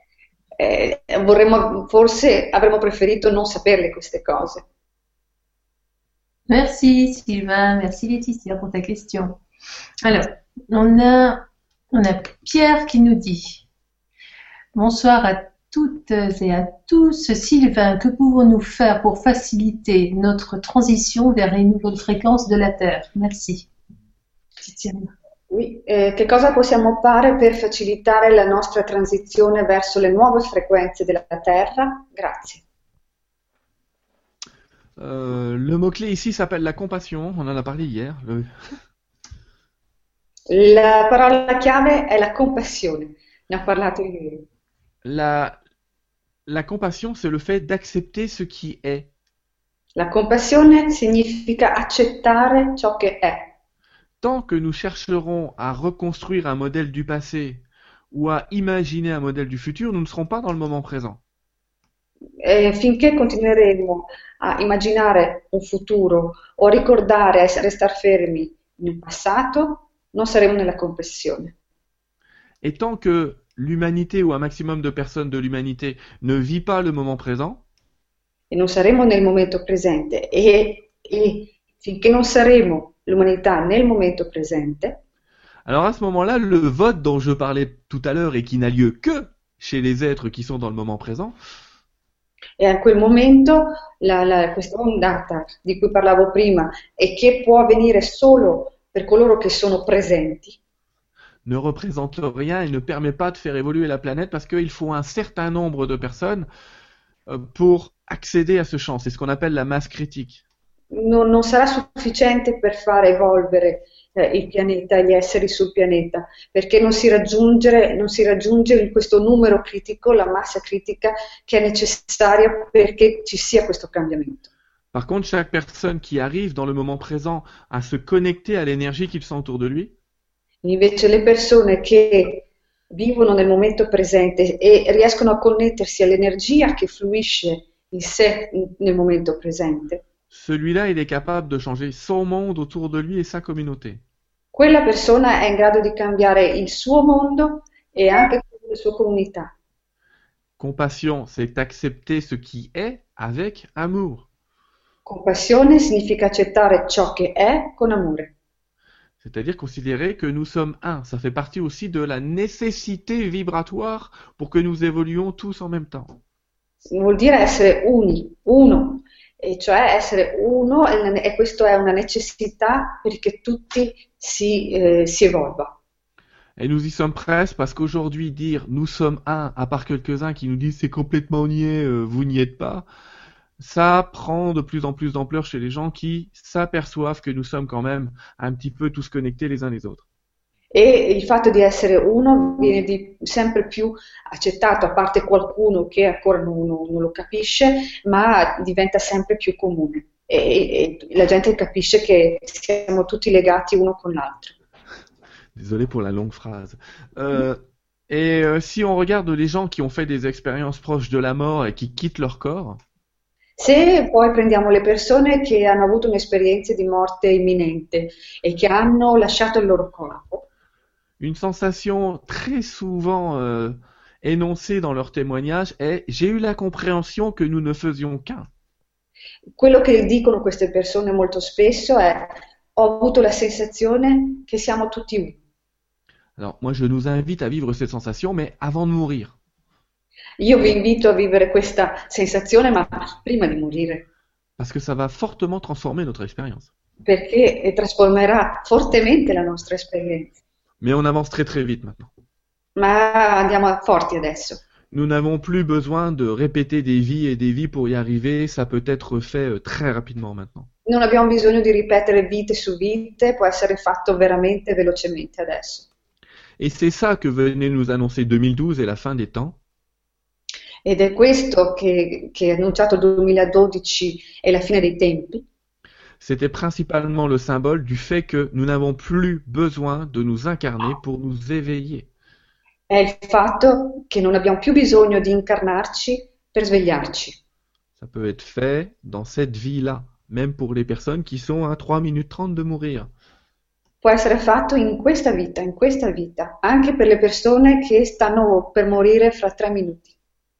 forse avremmo preferito non saperle queste cose. Merci Sylvain, merci Laetitia pour ta question. Alors, on a Pierre qui nous dit bonsoir à toutes et à tous. Sylvain, que pouvons-nous faire pour faciliter notre transition vers les nouvelles fréquences de la Terre? Merci. Oui, che cosa possiamo fare per facilitare la nostra transizione verso le nuove frequenze della Terra? Grazie. Le mot-clé ici s'appelle la compassion, on en a parlé hier. La parola chiave è la compassione, ne ho parlato ieri. La compassion, c'est le fait d'accepter ce qui est. La compassione significa accettare ciò che è. Tant que nous chercherons à reconstruire un modèle du passé ou à imaginer un modèle du futur, nous ne serons pas dans le moment présent. finché continueremo a immaginare un futuro o a ricordare, a restare fermi nel passato, non saremo nella compassione. Et tant que l'humanité ou un maximum de personnes de l'humanité ne vit pas le moment présent, E non saremo nel momento presente e finché non saremo l'umanità nel momento presente, alors à ce moment-là, le vote dont je parlais tout à l'heure et qui n'a lieu que chez les êtres qui sont dans le moment présent, e a quel momento questa ondata di cui parlavo prima e che può avvenire solo per coloro che sono presenti, ne représente rien et ne permet pas de faire évoluer la planète parce qu'il faut un certain nombre de personnes pour accéder à ce champ. C'est ce qu'on appelle la masse critique. non sarà sufficiente per far evolvere il pianeta e gli esseri sul pianeta, perché non si raggiunge in questo numero critico, la massa critica che è necessaria perché ci sia questo cambiamento. Par contre, chaque personne qui arrive dans le moment présent à se connecter à l'énergie qu'il sent autour de lui, Invece le persone che vivono nel momento presente e riescono a connettersi all'energia che fluisce in sé nel momento presente, celui-là, il est capable de changer son monde autour de lui et sa communauté. quella persona è in grado di cambiare il suo mondo e anche quello della sua comunità. Compassion, c'est accepter ce qui est avec amour. Compassione significa accettare ciò che è con amore. C'est-à-dire considérer que nous sommes un. Ça fait partie aussi de la nécessité vibratoire pour que nous évoluions tous en même temps. Vuol dire essere uno, e cioè essere uno, e questo è una necessità perché tutti si evolva. Et nous y sommes presque parce qu'aujourd'hui, dire nous sommes un, à part quelques-uns qui nous disent c'est complètement niais, vous n'y êtes pas, ça prend de plus en plus d'ampleur chez les gens qui s'aperçoivent que nous sommes quand même un petit peu tous connectés les uns les autres. E il fatto di essere uno viene sempre più accettato, a parte qualcuno che ancora non lo capisce, ma diventa sempre più comune e la gente capisce che siamo tutti legati uno con l'altro. Désolé pour la longue phrase. Si on regarde les gens qui ont fait des expériences proches de la mort et qui quittent leur corps, Se poi prendiamo le persone che hanno avuto un'esperienza di morte imminente e che hanno lasciato il loro corpo, une sensation très souvent énoncée dans leurs témoignages est j'ai eu la compréhension que nous ne faisions qu'un. quello che dicono queste persone molto spesso è: ho avuto la sensazione che siamo tutti uno. Alors moi je nous invite à vivre cette sensation, mais avant de mourir. Io vi invito a vivere questa sensazione, ma prima di morire, Parce que ça va fortement transformer notre expérience. perché trasformerà fortemente la nostra esperienza. Mais on avance très très vite maintenant. Ma andiamo forti adesso. Nous n'avons plus besoin de répéter des vies et des vies pour y arriver, ça peut être fait très rapidement maintenant. Non abbiamo bisogno di ripetere vite su vite, può essere fatto veramente velocemente adesso. Et c'est ça que venait nous annoncer 2012 et la fin des temps. Ed è questo che è annunciato 2012 e la fine dei tempi. C'était principalement le symbole du fait que nous n'avons plus besoin de nous incarner pour nous éveiller. È il fatto che non abbiamo più bisogno di incarnarci per svegliarci. Ça peut être fait dans cette vie-là, même pour les personnes qui sont à 3 minutes 30 de mourir. Può essere fatto in questa vita, anche per le persone che stanno per morire fra 3 minuti.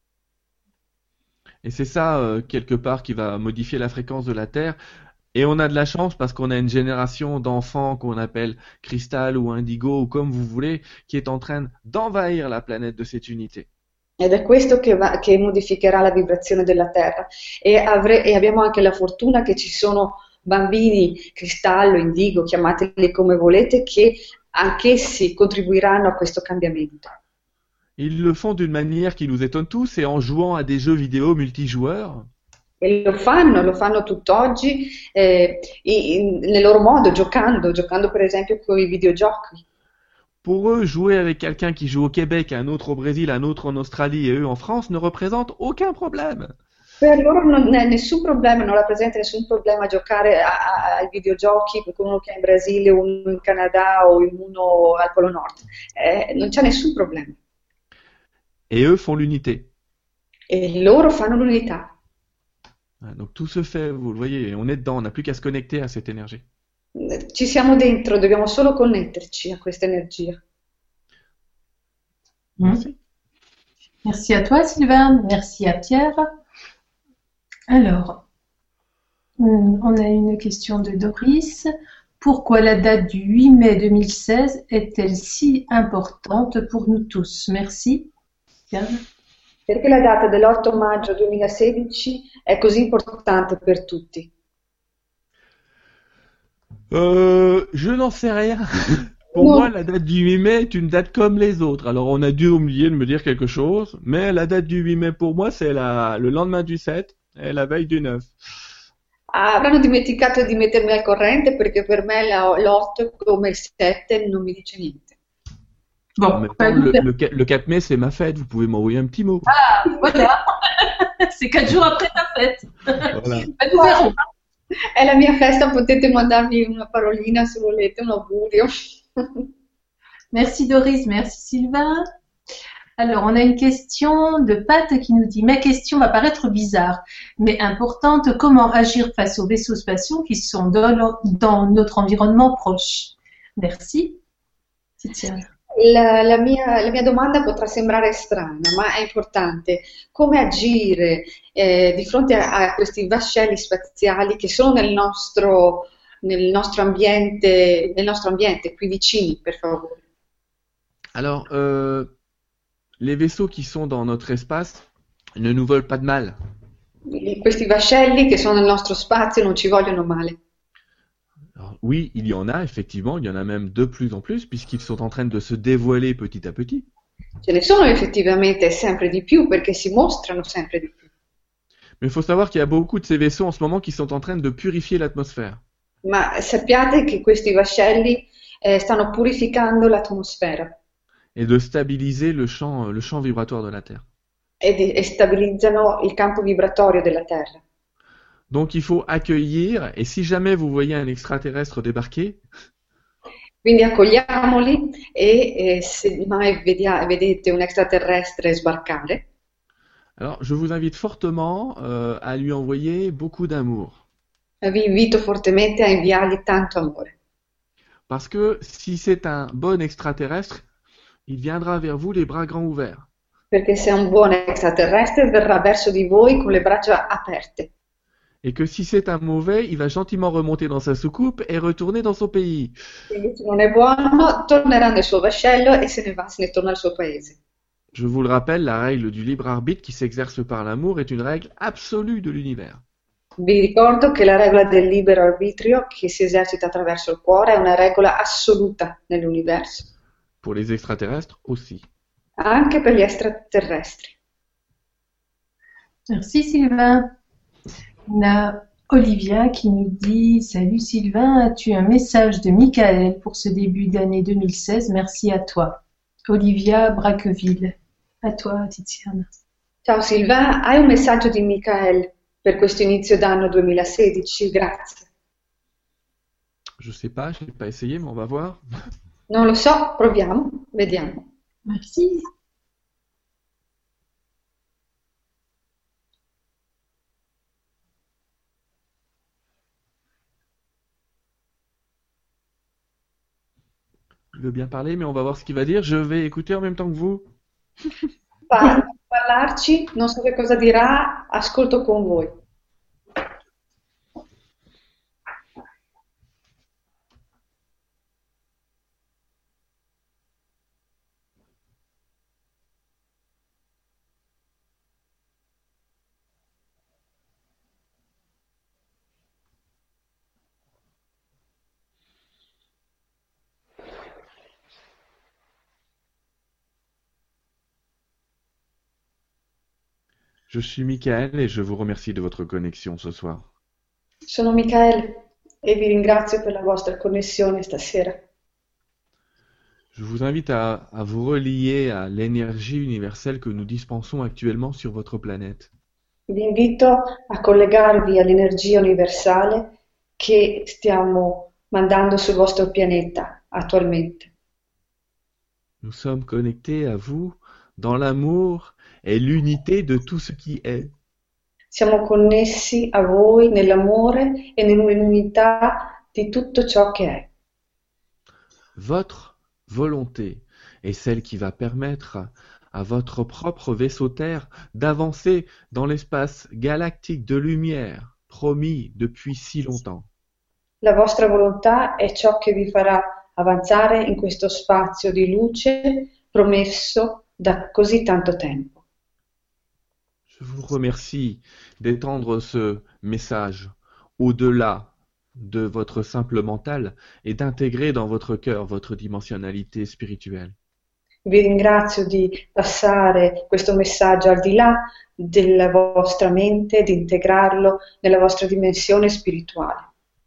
Et c'est ça, quelque part, qui va modifier la fréquence de la Terre. Et on a de la chance parce qu'on a une génération d'enfants qu'on appelle cristal ou indigo ou comme vous voulez, qui est en train d'envahir la planète de cette unité. Ed è questo che modificherà la vibrazione della Terra. E abbiamo anche la fortuna che ci sono bambini cristallo, indigo, chiamateli come volete, che anch'essi contribuiranno a questo cambiamento. Ils le font d'une manière qui nous étonne tous et en jouant à des jeux vidéo multijoueurs. E lo fanno tutt'oggi nel loro modo, giocando per esempio con i videogiochi. Pour eux, jouer avec quelqu'un qui joue au Québec, un autre au Brésil, un autre en Australie et eux en France ne représente aucun problème. Per loro non è nessun problema, non rappresenta nessun problema giocare ai videogiochi con uno che è in Brasile, uno in Canada o uno al Polo Nord. Non c'è nessun problema. Et eux font l'unité. e loro fanno l'unità. Donc tout se fait, vous le voyez, on est dedans, on n'a plus qu'à se connecter à cette énergie. Ci siamo dentro, dobbiamo solo connetterci a questa energia. Merci. Merci à toi, Sylvain. Merci à Pierre. Alors, on a une question de Doris. Pourquoi la date du 8 mai 2016 est-elle si importante pour nous tous? Merci. Pierre. Perché la data dell'8 maggio 2016 è così importante per tutti? Je n'en sais rien. Pour Non. moi, la date du 8 mai est une date comme les autres. Alors, on a dû oublier de me dire quelque chose, mais la date du 8 mai pour moi, c'est le lendemain du 7 et la veille du 9. Avranno dimenticato di mettermi al corrente perché per me l'8 come il 7 non mi dice niente. En Bon, même temps, le 4 mai, c'est ma fête. Vous pouvez m'envoyer un petit mot. voilà. C'est 4 jours après ta fête. Voilà. Ben, nous verrons. È la mia festa, potete mandarmi una parolina se volete, un augurio. Merci Doris, merci Sylvain. Alors, on a une question de Pat qui nous dit: ma question va paraître bizarre, mais importante. Comment agir face aux vaisseaux spatiaux qui sont dans notre environnement proche? Merci. Tiziana. La mia domanda potrà sembrare strana, ma è importante. Come agire di fronte a questi vascelli spaziali che sono nel nostro ambiente, qui vicini, per favore? Alors, les vaisseaux qui sont dans notre espace ne nous veulent pas de mal. Questi vascelli che sono nel nostro spazio non ci vogliono male. Alors, oui, il y en a, effectivement, il y en a même de plus en plus, puisqu'ils sont en train de se dévoiler petit à petit. Ce ne sono effettivamente sempre di più perché si mostrano sempre di più. Mais il faut savoir qu'il y a beaucoup de ces vaisseaux en ce moment qui sont en train de purifier l'atmosphère. Ma sappiate che questi vascelli stanno purificando l'atmosfera Et de stabiliser le champ vibratoire de la Terre. e stabilizzano il campo vibratorio della Terra. Donc il faut accueillir, et si jamais vous voyez un extraterrestre débarquer, Quindi accogliamoli e se mai vedete un extraterrestre sbarcare, alors je vous invite fortement à lui envoyer beaucoup d'amour. vi invito fortemente a inviargli tanto amore. Parce que si c'est un bon extraterrestre, il viendra vers vous les bras grands ouverts. Perché se è un buon extraterrestre verrà verso di voi con le braccia aperte. Et que si c'est un mauvais, il va gentiment remonter dans sa soucoupe et retourner dans son pays. Quindi se non è buono, tornerà nel suo vascello e se ne torna al suo paese. Je vous le rappelle, la règle du libre arbitre qui s'exerce par l'amour est une règle absolue de l'univers. Vi ricordo che la regola del libero arbitrio che si esercita attraverso il cuore è una regola assoluta nell'universo, Pour les extraterrestres aussi. anche per gli extraterrestri. Merci Sylvain. On a Olivia qui nous dit: salut Sylvain, as-tu un message de Michael pour ce début d'année 2016? Merci à toi. Olivia Braqueville. À toi, Tiziana. Ciao Sylvain, hai un messaggio di Michael per questo inizio d'anno 2016? Grazie. Je sais pas, je n'ai pas essayé, mais on va voir. Non lo so, proviamo, vediamo. Merci. Il veut bien parler, mais on va voir ce qu'il va dire. Je vais écouter en même temps que vous. Parlarci, non so che cosa dirà, ascolto con voi. Je suis Michael et je vous remercie de votre connexion ce soir. Sono Michael e vi ringrazio per la vostra connessione stasera. Je vous invite à vous relier à l'énergie universelle que nous dispensons actuellement sur votre planète. Vi invito a collegarvi all'energia universale che stiamo mandando sul vostro pianeta attualmente. Nous sommes connectés à vous dans l'amour est l'unité de tout ce qui est. Siamo connessi a voi nell'amore e nell'unità di tutto ciò che è. Votre volonté est celle qui va permettre à votre propre vaisseau Terre d'avancer dans l'espace galactique de lumière promis depuis si longtemps. La vostra volontà è ciò che vi farà avanzare in questo spazio di luce promesso da così tanto tempo. Je vous remercie d'étendre ce message au-delà de votre simple mental et d'intégrer dans votre cœur votre dimensionnalité spirituelle. Vi ringrazio di passare questo messaggio al di là della vostra mente, di integrarlo nella vostra dimensione spirituale.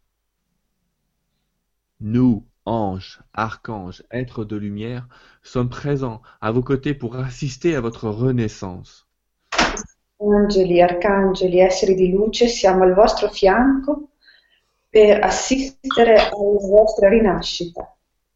Nous, anges, archanges, êtres de lumière, sommes présents à vos côtés pour assister à votre renaissance. Angeli, arcangeli, esseri di luce, siamo al vostro fianco per assistere alla vostra rinascita.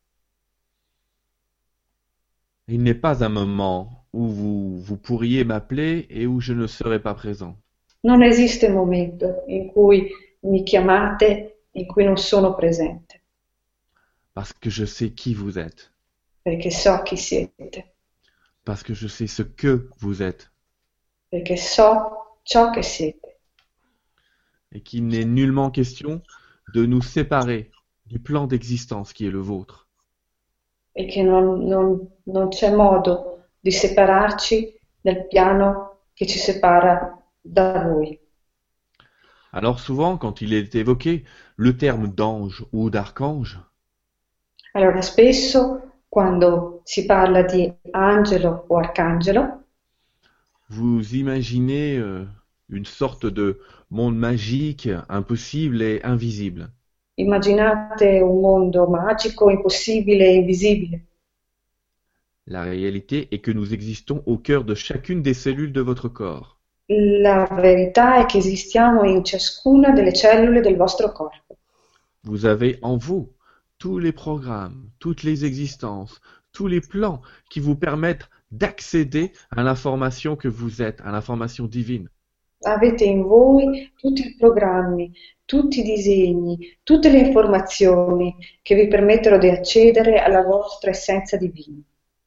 Il n'est pas un moment où vous pourriez m'appeler et où je ne serai pas présent. Non esiste momento in cui mi chiamate, in cui non sono presente, Parce que je sais qui vous êtes. perché so chi siete, Parce que je sais ce que vous êtes. perché so ciò che siete. Et qu'il n'est nullement question de nous séparer du plan d'existence qui est le vôtre. E che non c'è modo di separarci dal piano che ci separa da voi. Alors souvent, quand il est évoqué le terme d'ange ou d'archange, Allora, spesso quando si parla di angelo o arcangelo, vous imaginez une sorte de monde magique, impossible et invisible. immaginate un mondo magico, impossibile e invisibile. La réalité est que nous existons au cœur de chacune des cellules de votre corps. La verità è che esistiamo in ciascuna delle cellule del vostro corpo. Vous avez en vous tous les programmes, toutes les existences, tous les plans qui vous permettent d'accéder à l'information que vous êtes, à l'information divine. Avete in voi tutti i programmi, tutti i disegni, tutte le informazioni che vi permettono di accedere alla vostra essenza divina.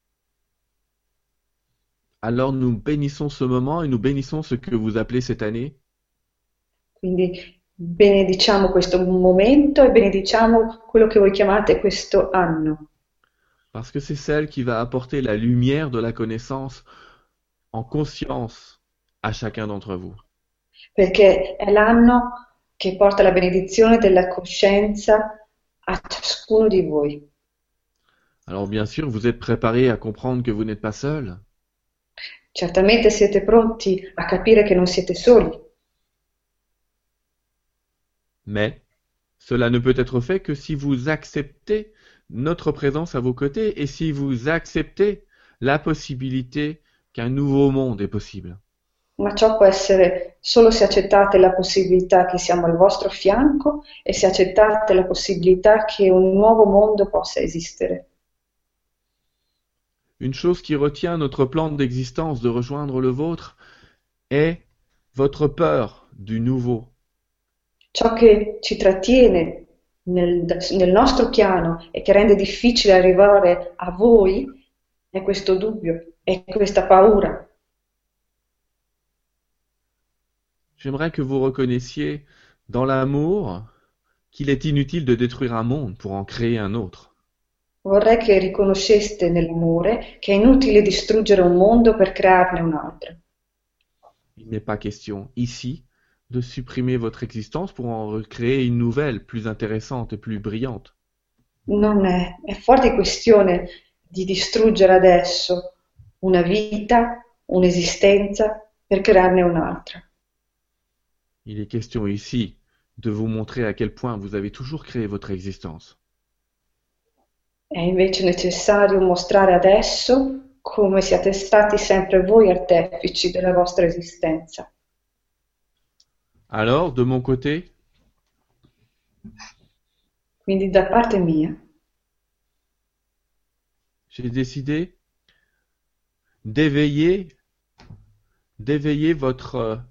Alors nous bénissons ce moment et nous bénissons ce que vous appelez cette année Quindi benediciamo questo momento e benediciamo quello che voi chiamate questo anno, parce que c'est celle qui va apporter la lumière de la connaissance en conscience à chacun d'entre vous. perché è l'anno che porta la benedizione della coscienza a ciascuno di voi. Alors bien sûr, vous êtes préparés à comprendre que vous n'êtes pas seul, Certamente siete pronti a capire che non siete soli, mais cela ne peut être fait que si vous acceptez notre présence à vos côtés et si vous acceptez la possibilité qu'un nouveau monde est possible. ma ciò può essere solo se accettate la possibilità che siamo al vostro fianco e se accettate la possibilità che un nuovo mondo possa esistere. Une chose qui retient notre plan d'existence de rejoindre le vôtre est votre peur du nouveau. Ciò che ci trattiene nel nostro piano e che rende difficile arrivare a voi è questo dubbio, è questa paura. J'aimerais que vous reconnaissiez dans l'amour qu'il est inutile de détruire un monde pour en créer un autre. Vorrei che riconosceste nell'amore che è inutile distruggere un mondo per crearne un altro. Il n'est pas question ici de supprimer votre existence pour en recréer une nouvelle, plus intéressante et plus brillante. Non è fuori questione di distruggere adesso una vita, un'esistenza per crearne un'altra. Il est question ici de vous montrer à quel point vous avez toujours créé votre existence. È invece necessario mostrare adesso come siate stati sempre voi artefici della vostra esistenza. Alors, de mon côté, Quindi da parte mia j'ai décidé d'éveiller d'éveiller votre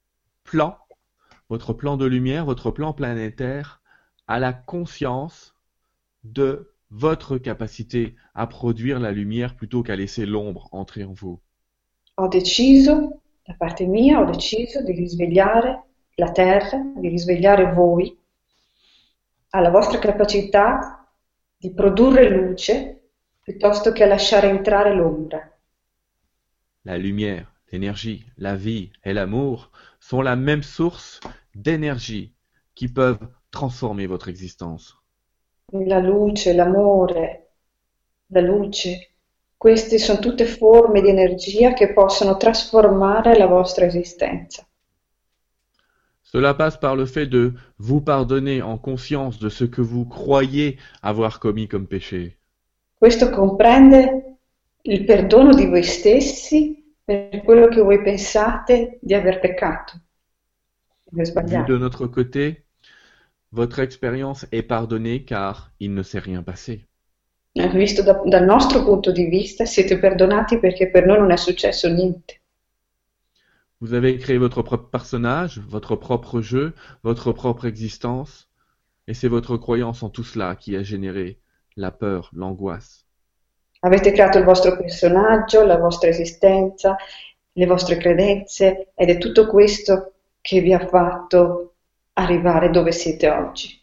plan de lumière, votre plan planétaire à la conscience de votre capacité à produire la lumière plutôt qu'à laisser l'ombre entrer en vous. Ho deciso, da parte mia, ho deciso di risvegliare la Terra, di risvegliare voi alla vostra capacità di produrre luce piuttosto che a lasciare entrare l'ombra. La lumière, l'énergie, la vie et l'amour sont la même source d'énergie qui peuvent transformer votre existence. La luce, l'amore, la luce, queste sono tutte forme di energia che possono trasformare la vostra esistenza. Cela passe par le fait de vous pardonner en conscience de ce que vous croyez avoir commis comme péché. Questo comprende il perdono di voi stessi per quello che voi pensate di aver peccato, di aver Vu sbagliato. de notre côté, votre expérience est pardonnée car il ne s'est rien passé. Visto dal nostro punto di vista, siete perdonati perché per noi non è successo niente. Vous avez créé votre propre personnage, votre propre jeu, votre propre existence, et c'est votre croyance en tout cela qui a généré la peur, l'angoisse. Avete creato il vostro personaggio, la vostra esistenza, le vostre credenze ed è tutto questo che vi ha fatto arrivare dove siete oggi.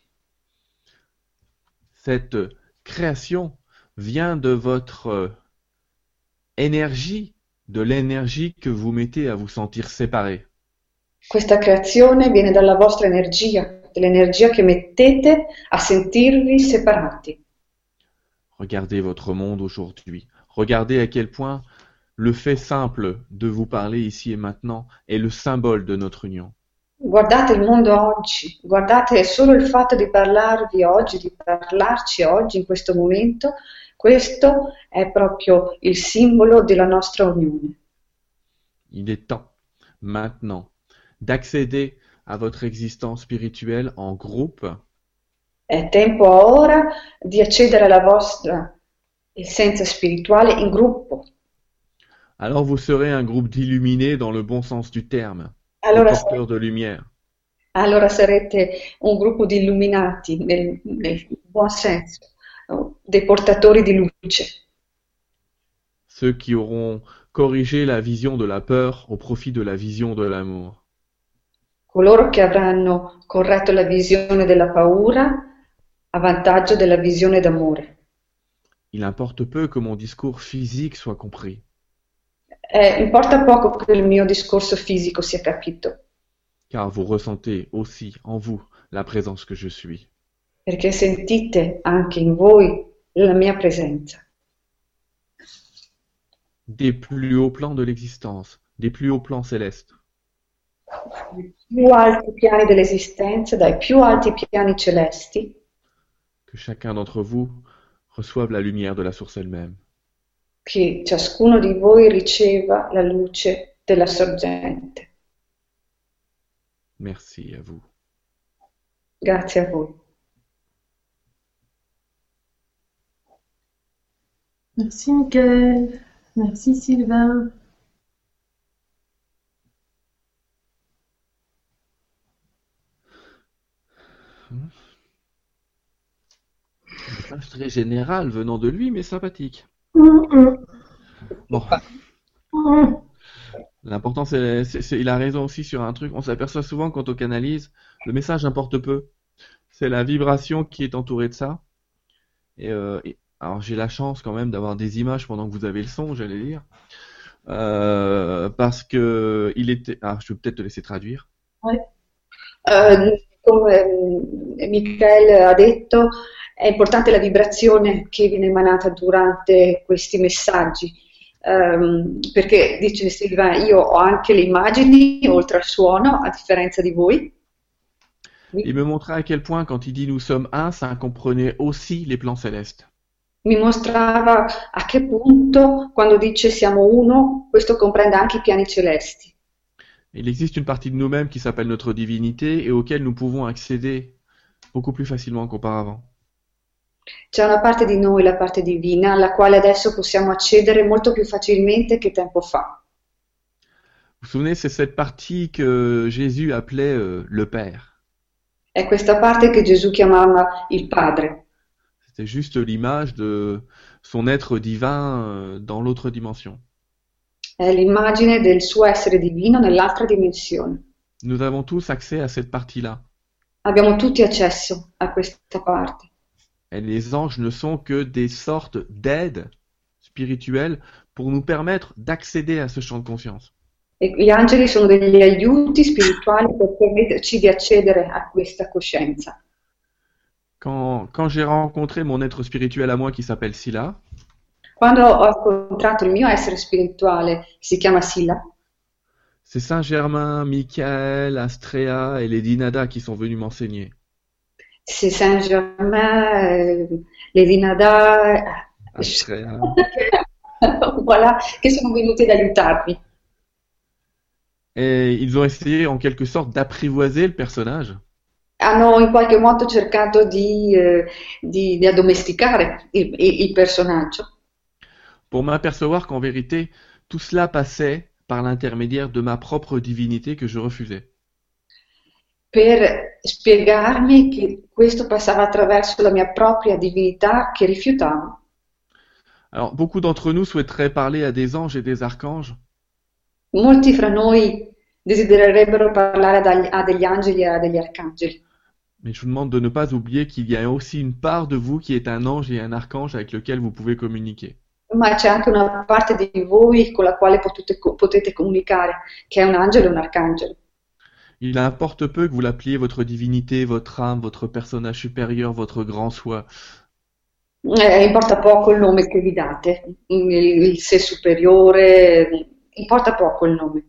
Cette création vient de votre énergie, de l'énergie que vous mettez à vous sentir séparés. Questa creazione viene dalla vostra energia, dell'energia che mettete a sentirvi separati. Regardez votre monde aujourd'hui. Regardez à quel point le fait simple de vous parler ici et maintenant est le symbole de notre union. Guardate il mondo oggi, guardate solo il fatto di parlarvi oggi, di parlarci oggi in questo momento, questo è proprio il simbolo della nostra unione. Il est temps, maintenant, d'accéder à votre existence spirituelle en groupe È tempo ora di accedere alla vostra essenza spirituale in gruppo. alors vous serez un groupe d'illuminés dans le bon sens du terme, des Allora, porteurs de lumière. allora sarete un gruppo di illuminati nel buon senso, dei portatori di luce, Ceux qui auront corrigé la vision de la peur au profit de la vision de l'amour. coloro che avranno corretto la visione della paura a vantaggio della visione d'amore. Il importe peu que mon discours physique soit compris. Importa poco che il mio discorso fisico sia capito, Car vous ressentez aussi en vous la présence que je suis. perché sentite anche in voi la mia presenza. Des plus hauts plans de l'existence, des plus hauts plans célestes. Dai più alti piani dell'esistenza, dai più alti piani celesti, Que chacun d'entre vous reçoive la lumière de la source elle-même. che ciascuno di voi riceva la luce della sorgente. Merci à vous. Grazie a voi. Merci Mickaël. Merci Sylvain. Un message très général venant de lui, mais sympathique. Bon, l'important il a raison aussi sur un truc. On s'aperçoit souvent quand on canalise, le message importe peu. C'est la vibration qui est entourée de ça. Alors j'ai la chance quand même d'avoir des images pendant que vous avez le son, j'allais dire. Parce que il était. Ah, je vais peut-être te laisser traduire. Come Michael ha detto, è importante la vibrazione che viene emanata durante questi messaggi, perché dice Silva, io ho anche le immagini oltre al suono, a differenza di voi. Il me montrait à quel point quand il dit nous sommes un, ça comprenait aussi les plans célestes. Mi mostrava a che punto, quando dice siamo uno, questo comprende anche i piani celesti. Il existe une partie de nous-mêmes qui s'appelle notre divinité et auquel nous pouvons accéder beaucoup plus facilement qu'auparavant. C'è una parte di noi, la parte divina, alla quale adesso possiamo accedere molto più facilmente che tempo fa. Vous vous souvenez, c'est cette partie que Jésus appelait le Père. È questa parte che Gesù chiamava il Padre. C'était juste l'image de son être divin dans l'autre dimension. È l'immagine del suo essere divino nell'altra dimensione. Nous avons tous accès à cette partie-là. Abbiamo tutti accesso a questa parte. Et les anges ne sont que des sortes d'aides spirituelles pour nous permettre d'accéder à ce champ de conscience. E gli angeli sono degli aiuti spirituali per permetterci di accedere a questa coscienza. Quand j'ai rencontré mon être spirituel à moi qui s'appelle Sila, Quando ho incontrato il mio essere spirituale, che si chiama Silla, c'est Saint Germain, Michael, Astrea et les Dinada qui sont venus m'enseigner. c'est Saint-Germain, Lady Nada, Astrea. voilà, che sono venuti ad aiutarmi. Et ils ont essayé en quelque sorte d'apprivoiser le personnage. Hanno in qualche modo cercato di addomesticare il personaggio Pour m'apercevoir qu'en vérité, tout cela passait par l'intermédiaire de ma propre divinité que je refusais. per spiegarmi che questo passava attraverso la mia propria divinità che rifiutavo. Alors, beaucoup d'entre nous souhaiteraient parler à des anges et des archanges, Molti fra noi desidererebbero parlare a degli angeli e a degli arcangeli, mais je vous demande de ne pas oublier qu'il y a aussi une part de vous qui est un ange et un archange avec lequel vous pouvez communiquer. ma c'è anche una parte di voi con la quale potete comunicare, che è un angelo e un arcangelo. Il importe peu que vous l'appeliez votre divinité, votre âme, votre personnage supérieur, votre grand soi. Importa poco il nome che vi date, il sé superiore, importa poco il nome.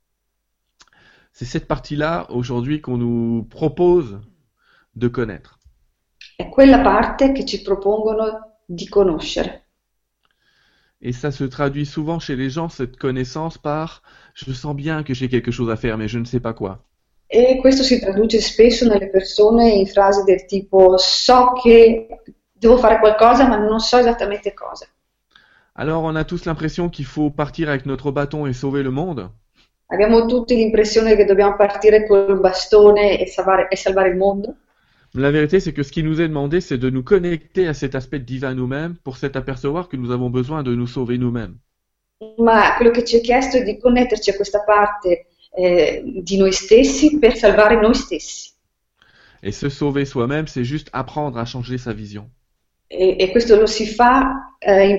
C'est cette partie-là aujourd'hui qu'on nous propose de connaître. È quella parte che ci propongono di conoscere. Et ça se traduit souvent chez les gens, cette connaissance, par je sens bien que j'ai quelque chose à faire, mais je ne sais pas quoi. E questo si traduce spesso nelle persone in frasi del tipo so che devo fare qualcosa ma non so esattamente cosa. Alors on a tous l'impression qu'il faut partir avec notre bâton et sauver le monde. Abbiamo tutti l'impressione che dobbiamo partire col bastone e salvare il mondo, La vérité, c'est que ce qui nous est demandé, c'est de nous connecter à cet aspect divin nous-mêmes pour s'apercevoir que nous avons besoin de nous sauver nous-mêmes. ma quello che ci è chiesto è di connetterci a questa parte di noi stessi per salvare noi stessi. Et se sauver soi-même, c'est juste apprendre à changer sa vision. E questo lo si fa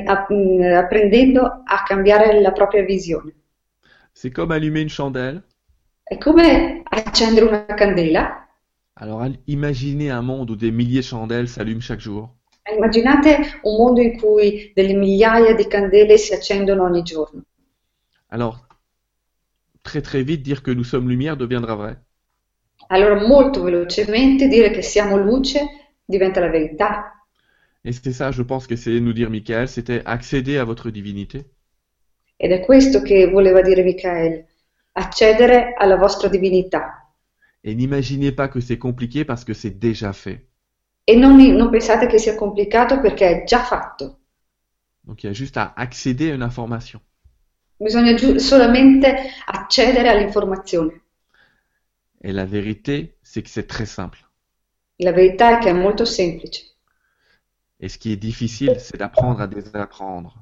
apprendendo a cambiare la propria visione. C'est comme allumer une chandelle. È come accendere una candela. Alors imaginez un monde où des milliers de chandelles s'allument chaque jour. Immaginate un mondo in cui delle migliaia di candele si accendono ogni giorno. Alors, très très vite, dire que nous sommes lumière deviendra vrai. Allora molto velocemente dire che siamo luce diventa la verità. Et c'est ça, je pense, qu'essayait de nous dire Michael, c'était accéder à votre divinité. Ed è questo che voleva dire Michael, accedere alla vostra divinità. Et n'imaginez pas que c'est compliqué parce que c'est déjà fait. E non pensate che sia complicato perché è già fatto. Donc il y a juste à accéder à une information. Bisogna solamente accedere all'informazione. Et la vérité, c'est que c'est très simple. La verità è che è molto semplice. Et ce qui est difficile, c'est d'apprendre à désapprendre.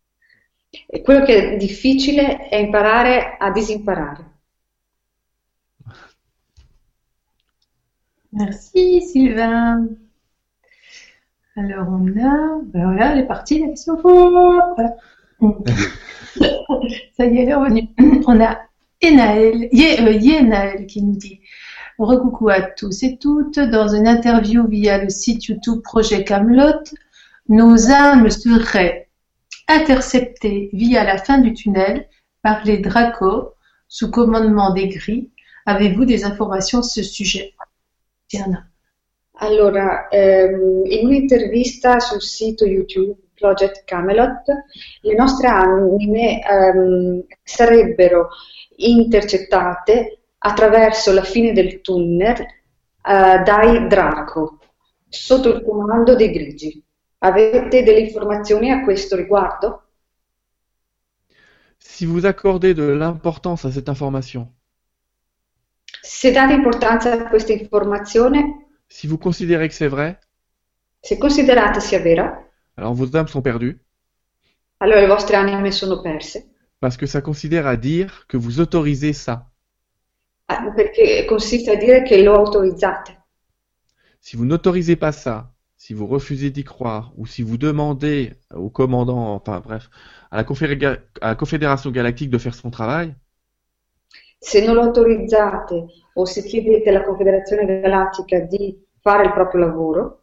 E quello che è difficile è imparare a disimparare. Merci Sylvain. Alors voilà, elle est partie la question. Voilà. Ça y est, elle est revenue. On a Yenaël qui nous dit recoucou à tous et toutes. Dans une interview via le site YouTube Projet Camelot, nos âmes seraient interceptées via la fin du tunnel par les Dracos sous commandement des Gris. Avez-vous des informations sur ce sujet? Diana. Allora, in un'intervista sul sito YouTube Project Camelot, le nostre anime sarebbero intercettate attraverso la fine del tunnel dai Draco, sotto il comando dei Grigi. Avete delle informazioni a questo riguardo? Si vous accordez de l'importance à cette information, Se date importanza a questa informazione, si vous considérez que c'est vrai, se considerate sia vera, alors vos âmes sont perdues, allora le vostre anime sono perse, parce que ça considère à dire que vous autorisez ça. perché consiste a dire che lo autorizzate. Si vous n'autorisez pas ça, si vous refusez d'y croire, ou si vous demandez au commandant, enfin bref, à la Confédération Galactique de faire son travail, Se non lo autorizzate o se chiedete alla Confederazione Galattica di fare il proprio lavoro,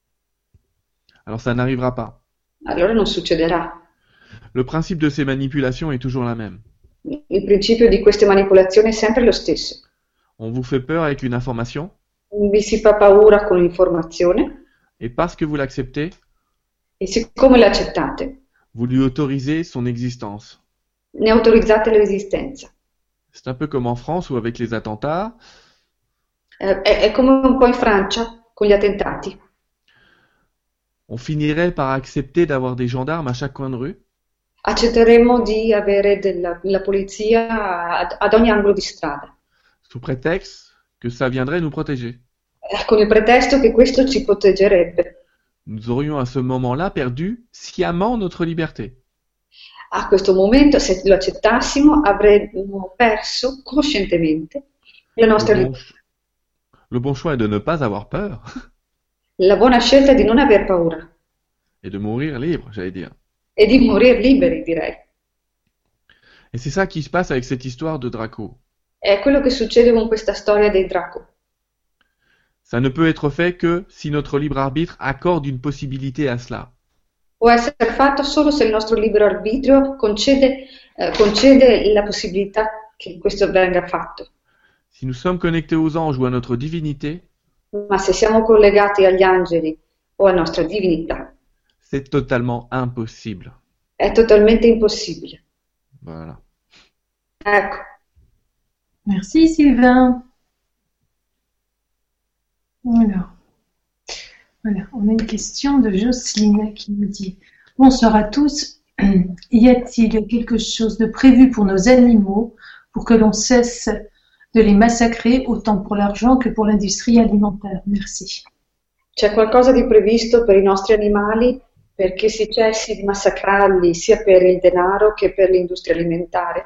alors ça n'arrivera pas. allora non succederà. Le principe de ces manipulations est toujours la même. Il principio di queste manipolazioni è sempre lo stesso. On vous fait peur avec une information, Vi si fa paura con l'informazione et parce que vous l'acceptez, e siccome l'accettate, vous lui autorisez son existence. ne autorizzate l'esistenza. C'est un peu comme en France ou avec les attentats. È come un po' in Francia con gli attentati. On finirait par accepter d'avoir des gendarmes à chaque coin de rue, Accetteremmo di avere la polizia ad ogni angolo di strada, sous prétexte que ça viendrait nous protéger. con il pretesto che questo ci proteggerebbe. Nous aurions à ce moment-là perdu sciemment notre liberté. A questo momento, se lo accettassimo, avremmo perso coscientemente la nostra Le bon, libertà. le bon choix est de ne pas avoir peur La buona scelta è di non aver paura et de mourir libre, j'allais dire. e di morire liberi, direi. Et c'est ça qui se passe avec cette histoire de Draco. È quello che succede con questa storia dei Draco. Ça ne peut être fait que si notre libre arbitre accorde une possibilité à cela. Può essere fatto solo se il nostro libero arbitrio concede la possibilità che questo venga fatto. Si nous sommes connectés aux anges ou à notre divinité, Ma se siamo collegati agli angeli o alla nostra divinità, c'est totalement impossible. è totalmente impossibile. Voilà. Ecco, Merci Sylvain. Voilà, on a une question de Jocelyne qui nous dit: Bonsoir à tous. Y a-t-il quelque chose de prévu pour nos animaux pour que l'on cesse de les massacrer autant pour l'argent que pour l'industrie alimentaire? Merci. c'è qualcosa di previsto per i nostri animali perché si cessi di massacrarli sia per il denaro che per l'industria alimentare?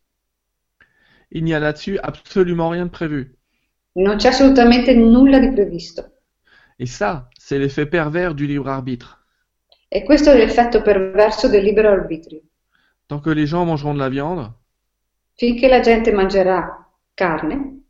Il n'y a là-dessus absolument rien de prévu. Non c'è assolutamente nulla di previsto. Et ça, c'est l'effet pervers du libre arbitre. E questo è l'effetto perverso del libero arbitrio. Tant que les gens mangeront de la viande, Finché la gente mangerà carne,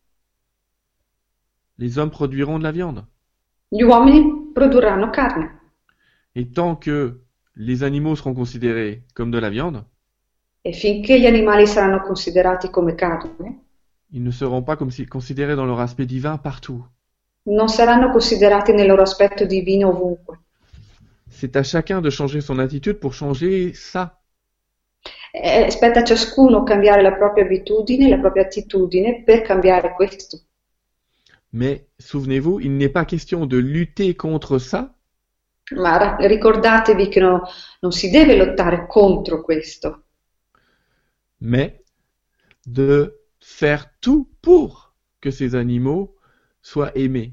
les hommes produiront de la viande. gli uomini produrranno carne. Et tant que les animaux seront considérés comme de la viande, E finché gli animali saranno considerati come carne, ils ne seront pas considérés dans leur aspect divin partout. non saranno considerati nel loro aspetto divino ovunque. C'est à chacun de changer son attitude pour changer ça. Spetta a ciascuno cambiare la propria abitudine, la propria attitudine per cambiare questo. Mais souvenez-vous, il n'est pas question de lutter contre ça, Ma ricordatevi che non si deve lottare contro questo, mais de faire tout pour que ces animaux soient aimés.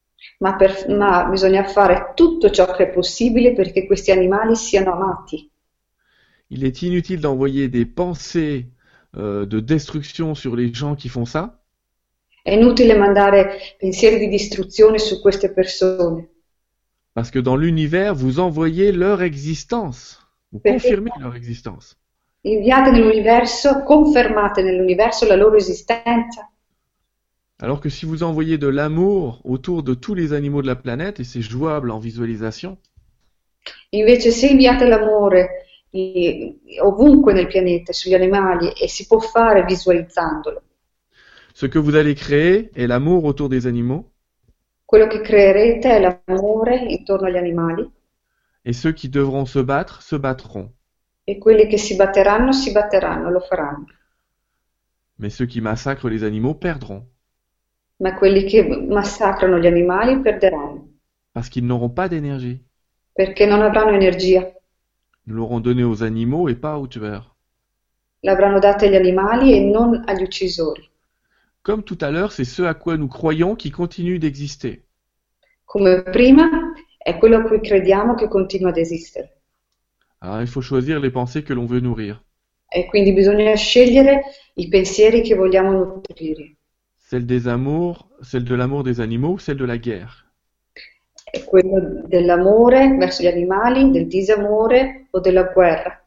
ma bisogna fare tutto ciò che è possibile perché questi animali siano amati. Il est inutile d'envoyer des pensées de destruction sur les gens qui font ça, È inutile mandare pensieri di distruzione su queste persone, parce que dans l'univers, vous envoyez leur existence, vous Perché? confirmez leur existence. inviate nell'universo, confermate nell'universo la loro esistenza. Alors que si vous envoyez de l'amour autour de tous les animaux de la planète, et c'est jouable en visualisation, Invece se inviate l'amore ovunque nel pianeta, sugli animali, e si può fare visualizzandolo, ce que vous allez créer est l'amour autour des animaux, quello che creerete è l'amore intorno agli animali et ceux qui devront se battront. e quelli che si batteranno, lo faranno, Mais ceux qui massacrent les animaux perdront, ma quelli che massacrano gli animali perderanno, parce qu'ils n'auront pas d'énergie. perché non avranno energia. Nous l'aurons donné aux animaux et pas aux tueurs. l'avranno data agli animali e non agli uccisori. Comme tout à l'heure, c'est ce à quoi nous croyons qui continue d'exister. Come prima, è quello a cui crediamo che continua ad esistere. Alors, il faut choisir les pensées que l'on veut nourrir. E quindi bisogna scegliere i pensieri che vogliamo nutrire. Celle de l'amour des animaux ou celle de la guerre. È quello dell'amore verso gli animali, del disamore o della guerra.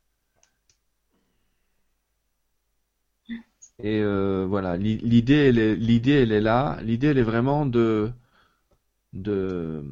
Et voilà, l'idée, elle est là. L'idée, elle est vraiment de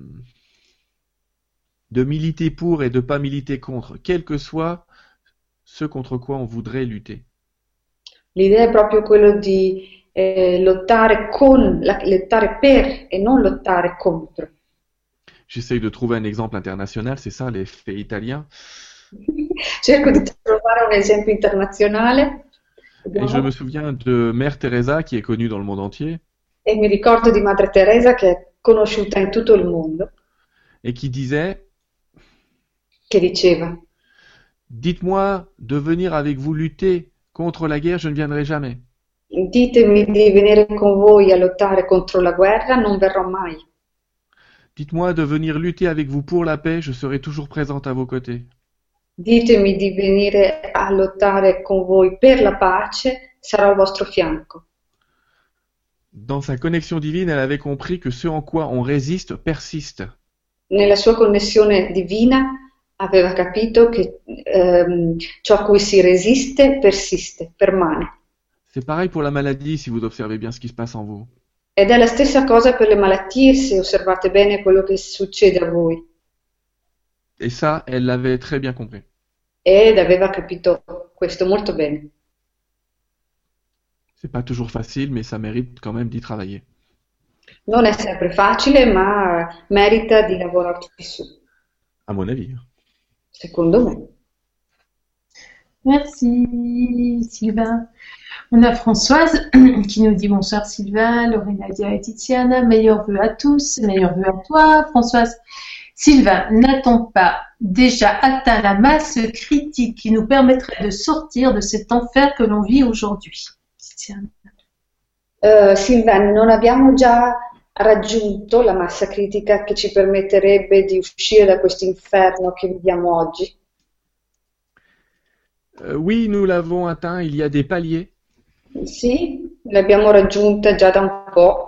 militer pour et de pas militer contre, quel que soit ce contre quoi on voudrait lutter. L'idea è proprio quello di lottare per e non lottare contro. J'essaye de trouver un exemple international, c'est ça, les faits italiens. Cerco di trovare un esempio internazionale. Et je me souviens de Mère Teresa, qui est connue dans le monde entier, E mi ricordo di Madre Teresa che è conosciuta in tutto il mondo, et qui disait, che diceva: dites-moi de venir avec vous lutter contre la guerre, je ne viendrai jamais. ditemi di venire con voi a lottare contro la guerra, non verrò mai. Dites-moi de venir lutter avec vous pour la paix, je serai toujours présente à vos côtés. Ditemi di venire a lottare con voi per la pace, sarò al vostro fianco. Dans sa connexion divine, elle avait compris que ce en quoi on résiste persiste. Nella sua connessione divina aveva capito che ciò a cui si resiste persiste, permane. C'est pareil pour la maladie, si vous observez bien ce qui se passe en vous. Ed è la stessa cosa per le malattie, se osservate bene quello che succede a voi. Et ça, elle l'avait très bien compris. Ed aveva capito questo molto bene. C'est pas toujours facile, mais ça mérite quand même d'y travailler. Non è sempre facile, ma merita di lavorarci su, À mon avis. secondo me. Merci Sylvain. On a Françoise qui nous dit bonsoir Sylvain, Lorena, Nadia et Tiziana, meilleurs vœux à tous, meilleurs vœux à toi Françoise. Sylvain, n'a-t-on pas déjà atteint la masse critique qui nous permettrait de sortir de cet enfer que l'on vit aujourd'hui? Tiziana. Silvan, non abbiamo già raggiunto la massa critica che ci permetterebbe di uscire da questo inferno che viviamo oggi? Oui, nous l'avons atteint, il y a des paliers. Sì, l'abbiamo raggiunta già da un po'.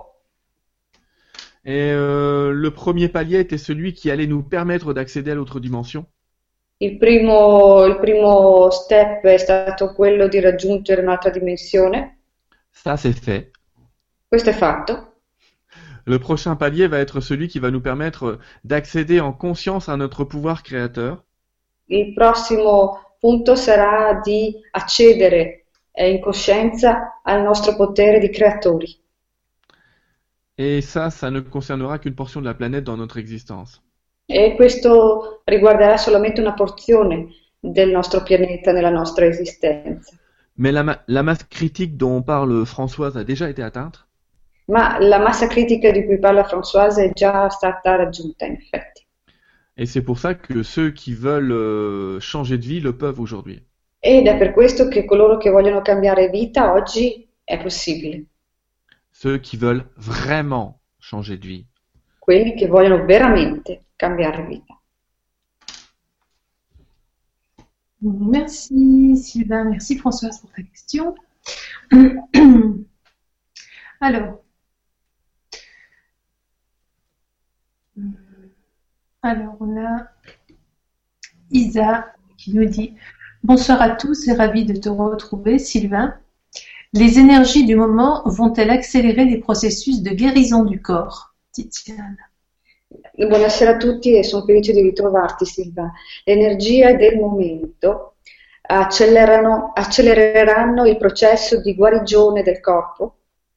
Et le premier palier était celui qui allait nous permettre d'accéder à l'autre dimension. Il primo step è stato quello di raggiungere un'altra dimensione. Ça, c'est fait. Questo è fatto. Le prochain palier va être celui qui va nous permettre d'accéder en conscience à notre pouvoir créateur. Il prossimo punto sarà di accedere in coscienza al nostro potere di creatori. Et ça ne concernera qu'une portion de la planète dans notre existence. E questo riguarderà solamente una porzione del nostro pianeta nella nostra esistenza. Mais la masse critique dont parle Françoise a déjà été atteinte. Ma la massa critica di cui parla Françoise è già stata raggiunta, in effetti. Et c'est pour ça que ceux qui veulent changer de vie le peuvent aujourd'hui. Ed è per questo che coloro che vogliono cambiare vita oggi è possibile. Ceux qui veulent vraiment changer de vie. Quelli che vogliono veramente cambiare vita. Merci Sylvain, merci Françoise pour ta question. Alors, on a Isa qui nous dit bonsoir à tous et ravi de te retrouver Sylvain. Les énergies du moment vont-elles accélérer les processus de guérison du corps? Tiziana. Buonasera a tutti e sono felice di ritrovarti Silva. Le energie del momento accelereranno il processo di guarigione del corpo?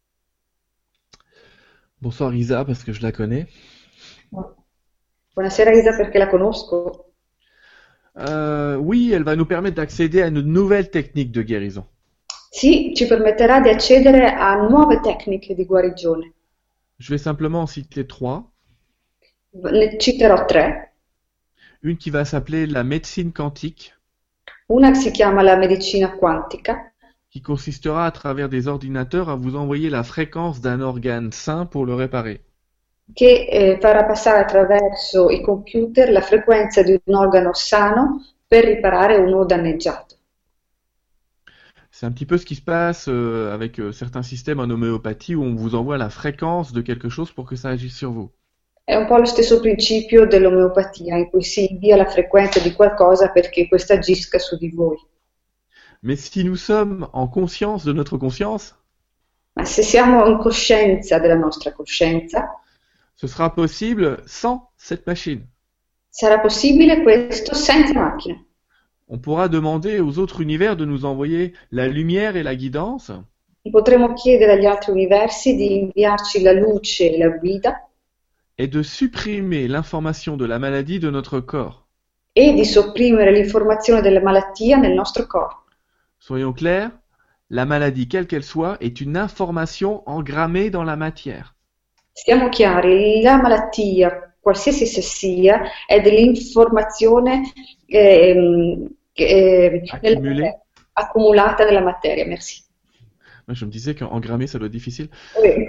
Bonsoir Isa, parce que je la connais. Buonasera Isa perché la conosco. Oui, elle va nous permettre d'accéder à une nouvelle technique de guérison. Sì, ci permetterà di accedere a nuove tecniche di guarigione. Je vais simplement en citer 3. Ne citerò 3. Une qui va s'appeler la médecine quantique. Una si chiama la medicina quantica, qui consistera à travers des ordinateurs à vous envoyer la fréquence d'un organe sain pour le réparer. che farà passare attraverso i computer la frequenza di un organo sano per riparare uno danneggiato. C'est un petit peu ce qui se passe avec certains systèmes en homéopathie où on vous envoie la fréquence de quelque chose pour que ça agisse sur vous. È un po' lo stesso principio dell'omeopatia, in cui si invia la frequenza di qualcosa perché questa agisca su di voi. Mais si nous sommes en conscience de notre conscience, Ma se siamo in coscienza della nostra coscienza, ce sera possible sans cette machine. sarà possibile questo senza macchina. On pourra demander aux autres univers de nous envoyer la lumière et la guidance, Potremo chiedere agli altri universi di inviarci la luce e la guida et de supprimer l'information de la maladie de notre corps. e di sopprimere l'informazione della malattia nel nostro corpo. Soyons clairs, la maladie, quelle qu'elle soit, est une information engrammée dans la matière. Stiamo chiari, la malattia, qualsiasi essa sia, è dell'informazione Accumulée. accumulata nella materia, merci. Moi, je me disais qu'engrammer, ça doit être difficile. Oui.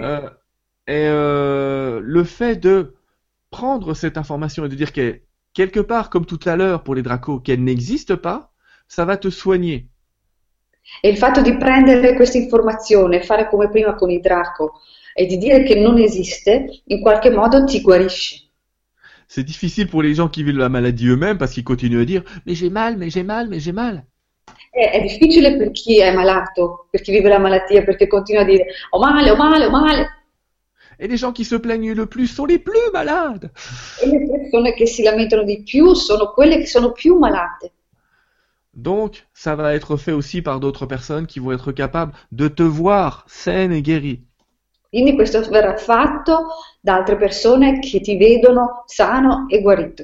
Le fait de prendre cette information et de dire qu'elle, quelque part, comme tout à l'heure pour les dracos, qu'elle n'existe pas, ça va te soigner. E il fatto di prendere questa informazione, fare come prima con il draco e di dire che non esiste, in qualche modo ti guarisce. C'est difficile pour les gens qui vivent la maladie eux-mêmes parce qu'ils continuent à dire « mais j'ai mal, mais j'ai mal, mais j'ai mal ». È difficile per chi è malato, per chi vive la malattia, perché continua a dire ho male, ho male, ho male. Et les gens qui se plaignent le plus sont les plus malades. E le persone che si lamentano di più sono quelle che sono più malate. Donc, ça va être fait aussi par d'autres personnes qui vont être capables de te voir saine et guérie. Quindi questo verrà fatto da altre persone che ti vedono sano e guarito.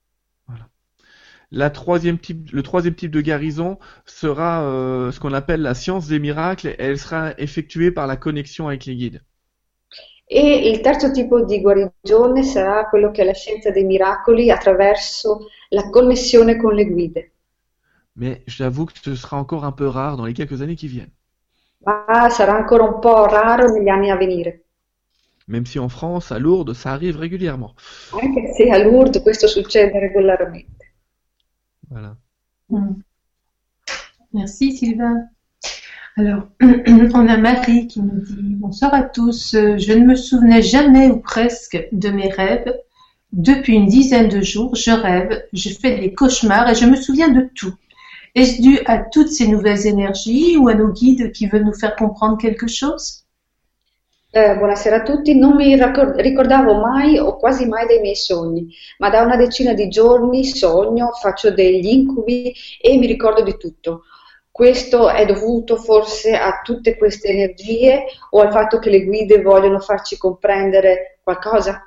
Le troisième type de guérison sera ce qu'on appelle la science des miracles et elle sera effectuée par la connexion avec les guides. E il terzo tipo di guarigione sarà quello che è la scienza dei miracoli attraverso la connessione con le guide. Mais j'avoue que ce sera encore un peu rare dans les quelques années qui viennent. Ma sarà ancora un po' raro negli anni a venire. Même si en France, à Lourdes, ça arrive régulièrement. Anche se a Lourdes questo succede regolarmente. Voilà. Merci Sylvain. Alors, on a Marie qui nous dit « Bonsoir à tous, je ne me souvenais jamais ou presque de mes rêves. Depuis une dizaine de jours, je rêve, je fais des cauchemars et je me souviens de tout. Est-ce dû à toutes ces nouvelles énergies ou à nos guides qui veulent nous faire comprendre quelque chose ?» Buonasera a tutti, non mi ricordavo mai o quasi mai dei miei sogni, ma da una decina di giorni sogno, faccio degli incubi e mi ricordo di tutto. Questo è dovuto forse a tutte queste energie o al fatto che le guide vogliono farci comprendere qualcosa?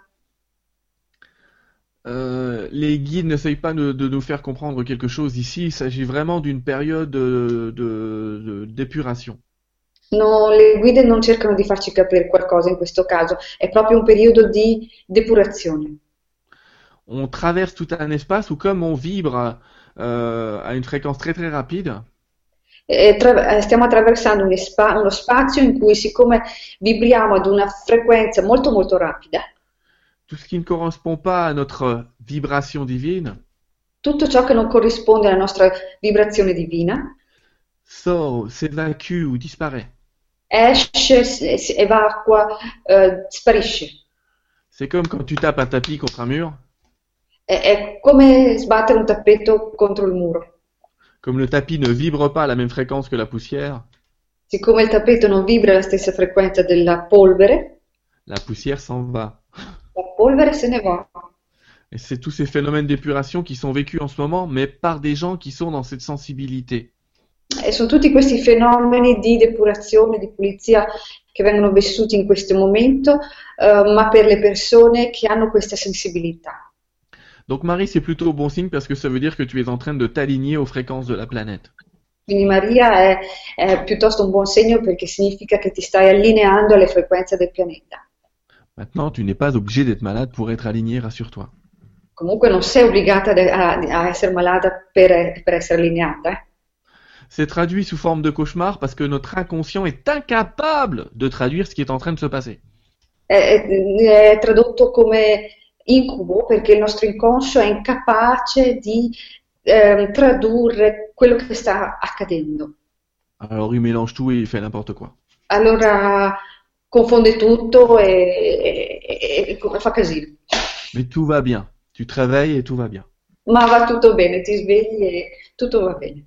Les guides n'essayent pas de nous faire comprendre quelque chose ici, il s'agit vraiment d'une période d'épuration. No, le guide non cercano di farci capire qualcosa in questo caso, è proprio un periodo di depurazione. On traverse tout un espace où comme on vibre à une fréquence très très rapide, Stiamo attraversando uno spazio in cui, siccome vibriamo ad una frequenza molto molto rapida, tout ce qui ne correspond pas à notre vibration divine tutto ciò che non corrisponde alla nostra vibrazione divina sort, s'évacue ou disparaît. esce, evacua, sparisce. C'est comme quand tu tapes un tapis contre un mur. È come sbattere un tappeto contro il muro. Comme le tapis ne vibre pas à la même fréquence que la poussière, Siccome il tappeto non vibra alla stessa frequenza della polvere, la poussière s'en va. la polvere se ne va. Et c'est tous ces phénomènes d'épuration qui sont vécus en ce moment, mais par des gens qui sont dans cette sensibilité. E sono tutti questi fenomeni di depurazione, di pulizia che vengono vissuti in questo momento, ma per le persone che hanno questa sensibilità. Donc Marie, c'est plutôt bon signe parce que ça veut dire que tu es en train de t'aligner aux fréquences de la planète. Quindi Maria è piuttosto un buon segno perché significa che ti stai allineando alle frequenze del pianeta. Maintenant, tu n'es pas obligé d'être malade pour être aligné, rassure-toi. Comunque non sei obbligata a essere malata per essere allineata. c'est traduit sous forme de cauchemar parce que notre inconscient est incapable de traduire ce qui est en train de se passer. È tradotto come incubo perché il nostro inconscio è incapace di tradurre quello che sta accadendo. Alors il mélange tout et il fait n'importe quoi. Allora confonde tutto e fa casino. Mais tout va bien. Tu te réveilles et tout va bien. Ma va tutto bene, ti svegli e tutto va bene.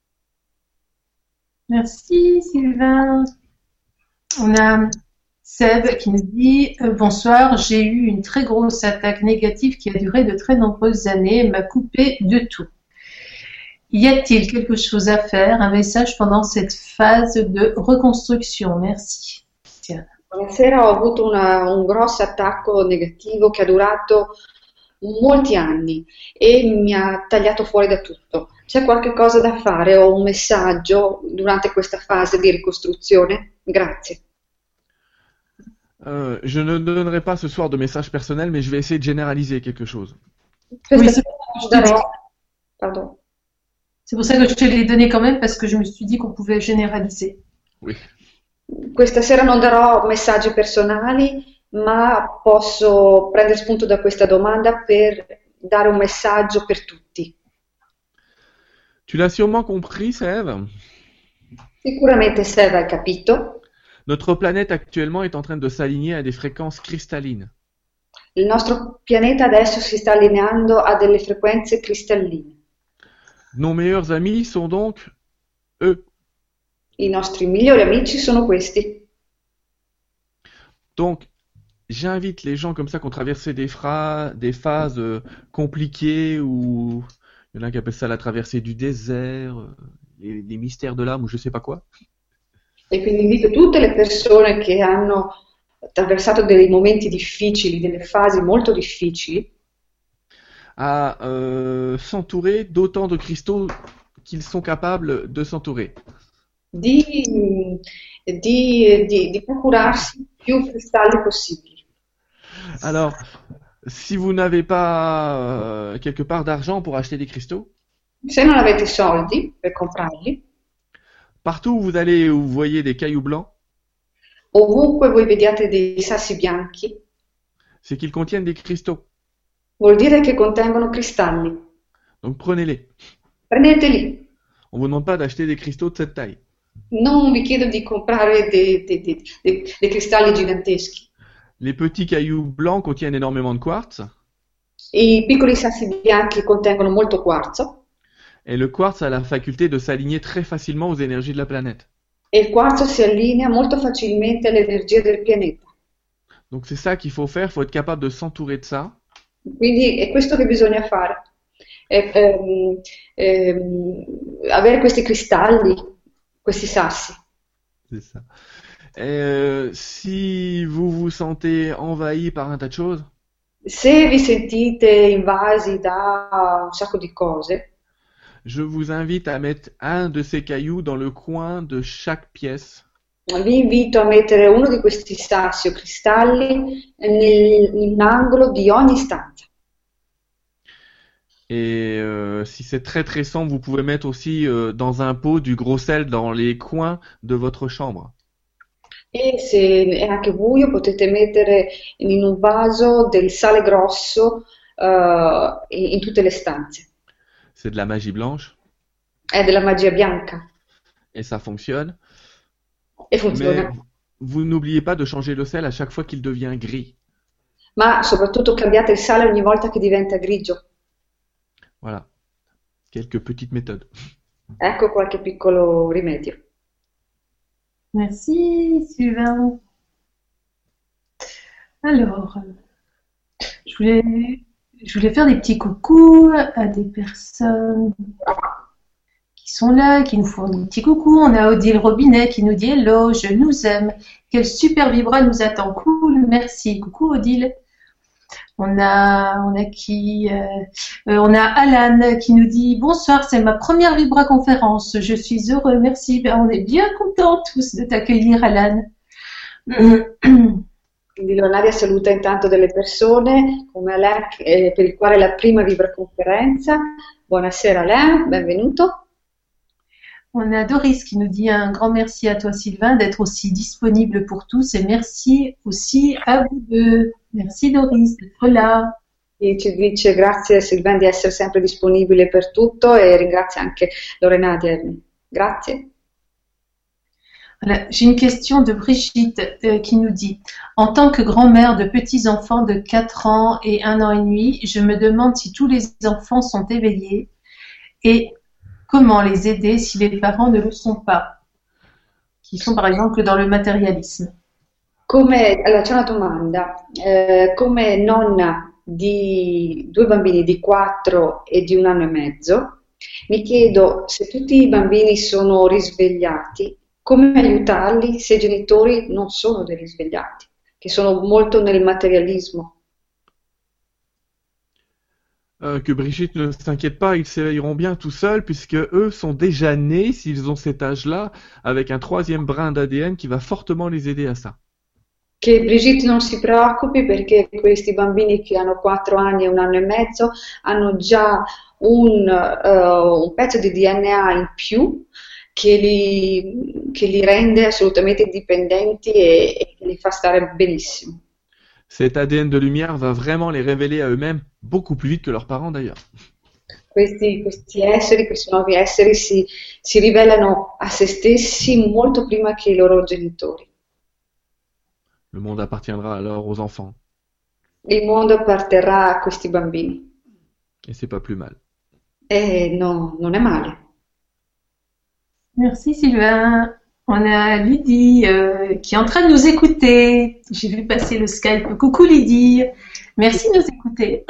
Merci Sylvain. On a Seb qui nous dit bonsoir, j'ai eu une très grosse attaque négative qui a duré de très nombreuses années et m'a coupé de tout. Y a-t-il quelque chose à faire, un message pendant cette phase de reconstruction? Merci. Tiens. Buonasera, ho avuto un grosso attacco negativo che ha durato molti anni e mi ha tagliato fuori da tutto. C'è qualche cosa da fare o un messaggio durante questa fase di ricostruzione? Grazie. Je ne donnerai pas ce soir de message personnel, mais je vais essayer de généraliser quelque chose. Oui, Pardon. C'est pour ça que je te l'ai donné quand même, parce que je me suis dit qu'on pouvait généraliser. Oui. Questa sera non darò messaggi personali, ma posso prendere spunto da questa domanda per dare un messaggio per tutti. Tu l'as sûrement compris, Sève. Sicuramente Seb hai capito. Notre planète actuellement est en train de s'aligner à des fréquences cristallines. Il nostro pianeta adesso si sta allineando a delle frequenze cristalline. Nos meilleurs amis sont donc eux. I nostri migliori amici sono questi. Donc, j'invite les gens comme ça qui ont traversé des phases compliquées ou il y en a qui appellent ça la traversée du désert, les mystères de l'âme ou je sais pas quoi. E quindi invito tutte le persone che hanno attraversato dei momenti difficili, delle fasi molto difficili, à s'entourer d'autant de cristaux qu'ils sont capables de s'entourer. di procurarsi più cristalli possibili. Alors, si vous n'avez pas quelque part d'argent pour acheter des cristaux, Se non avete soldi per comprarli, partout où vous allez où vous voyez des cailloux blancs, ovunque voi vediate dei sassi bianchi, c'est qu'ils contiennent des cristaux. vuol dire che contengono cristalli. Donc prenez-les. Prendeteli. On vous demande pas d'acheter des cristaux de cette taille. Non vi chiedo di comprare dei cristalli giganteschi. Les petits cailloux blancs contiennent énormément de quartz I piccoli sassi bianchi contengono molto quarzo et le quartz a la faculté de s'aligner très facilement aux énergies de la planète. e il quarzo si allinea molto facilmente alle energie del pianeta. Donc c'est ça qu'il faut faire, il faut être capable de s'entourer de ça. Quindi è questo che bisogna fare. Avere questi cristalli, questi sassi. C'est ça. Et si vous vous sentez envahi par un tas de choses, Se vi sentite invasi da un sacco di cose, je vous invite à mettre un de ces cailloux dans le coin de chaque pièce. vi invito a mettere uno di questi sassi o cristalli in un angolo di ogni stanza. Et si c'est très très sombre, vous pouvez mettre aussi dans un pot du gros sel dans les coins de votre chambre. E se è anche buio potete mettere in un vaso del sale grosso in tutte le stanze. C'est de la magie blanche È della magia bianca et ça fonctionne. e funziona. Mais vous n'oubliez pas de changer le sel à chaque fois qu'il devient gris. Ma soprattutto cambiate il sale ogni volta che diventa grigio. Voilà. Quelques petites méthodes. Ecco qualche piccolo rimedio. Merci Sylvain. Alors, je voulais faire des petits coucous à des personnes qui sont là, qui nous font des petits coucous. On a Odile Robinet qui nous dit hello, je nous aime. Quel super vibra nous attend. Cool, merci. Coucou Odile. On a qui on a Alan qui nous dit bonsoir, c'est ma première Vibra conférence. Je suis heureux, merci. Ben, on est bien contents tous de t'accueillir, Alan. Quindi Leonaria saluta intanto delle persone come Alain per il quale è la prima Vibra conferenza. Buonasera Alain, benvenuto. On a Doris qui nous dit un grand merci à toi Sylvain d'être aussi disponible pour tous et merci aussi à vous deux. Merci Doris d'être là. E ci dice grazie Sylvain di essere sempre disponibile per tutto e ringrazia anche Lorena di Erni. Grazie. Voilà. J'ai une question de Brigitte qui nous dit en tant que grand-mère de petits-enfants de 4 ans et 1 an et demi, je me demande si tous les enfants sont éveillés et comment les aider si les parents ne le sont pas, qui sont par exemple dans le matérialisme. Allora, c'è una domanda. Come nonna di 2 bambini di 4 e di 1 anno e mezzo, mi chiedo se tutti i bambini sono risvegliati, come aiutarli se i genitori non sono dei risvegliati, che sono molto nel materialismo. Que Brigitte ne s'inquiète pas, ils s'éveilleront bien tout seuls puisque eux sont déjà nés, s'ils ont cet âge-là, avec un 3e brin d'ADN qui va fortement les aider à ça. Che Brigitte non si preoccupi perché questi bambini che hanno 4 anni e 1 anno e mezzo hanno già un pezzo di DNA in più che li rende assolutamente indipendenti e che li fa stare benissimo. Cet ADN de lumière va vraiment les révéler à eux-mêmes beaucoup plus vite que leurs parents d'ailleurs. Questi esseri, questi nuovi esseri si rivelano a se stessi molto prima che i loro genitori. Le monde appartiendra alors aux enfants. Il mondo apparterrà a questi bambini. Et c'est pas plus mal. E no, non è male. Merci Sylvain. On a Lydie qui est en train de nous écouter. J'ai vu passer le Skype. Coucou Lydie. Merci de nous écouter.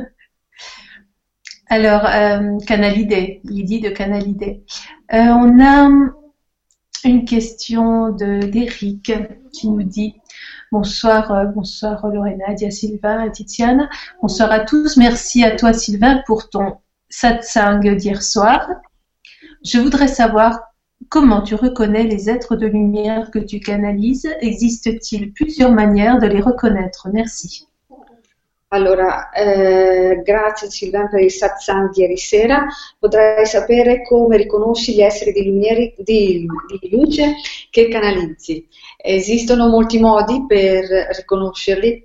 Alors, Canalidé, Lydie de Canalidé. On a une question d'Éric qui nous dit bonsoir Lorena, Dia Sylvain et Tiziana. Bonsoir à tous. Merci à toi Sylvain pour ton satsang d'hier soir. Je voudrais savoir comment tu reconnais les êtres de lumière que tu canalises. Existe-t-il plusieurs manières de les reconnaître? Merci. Allora, grazie Sylvain per il satsang di ieri sera. Potrei sapere come riconosci gli esseri di luce che canalizzi. Esistono molti modi per riconoscerli?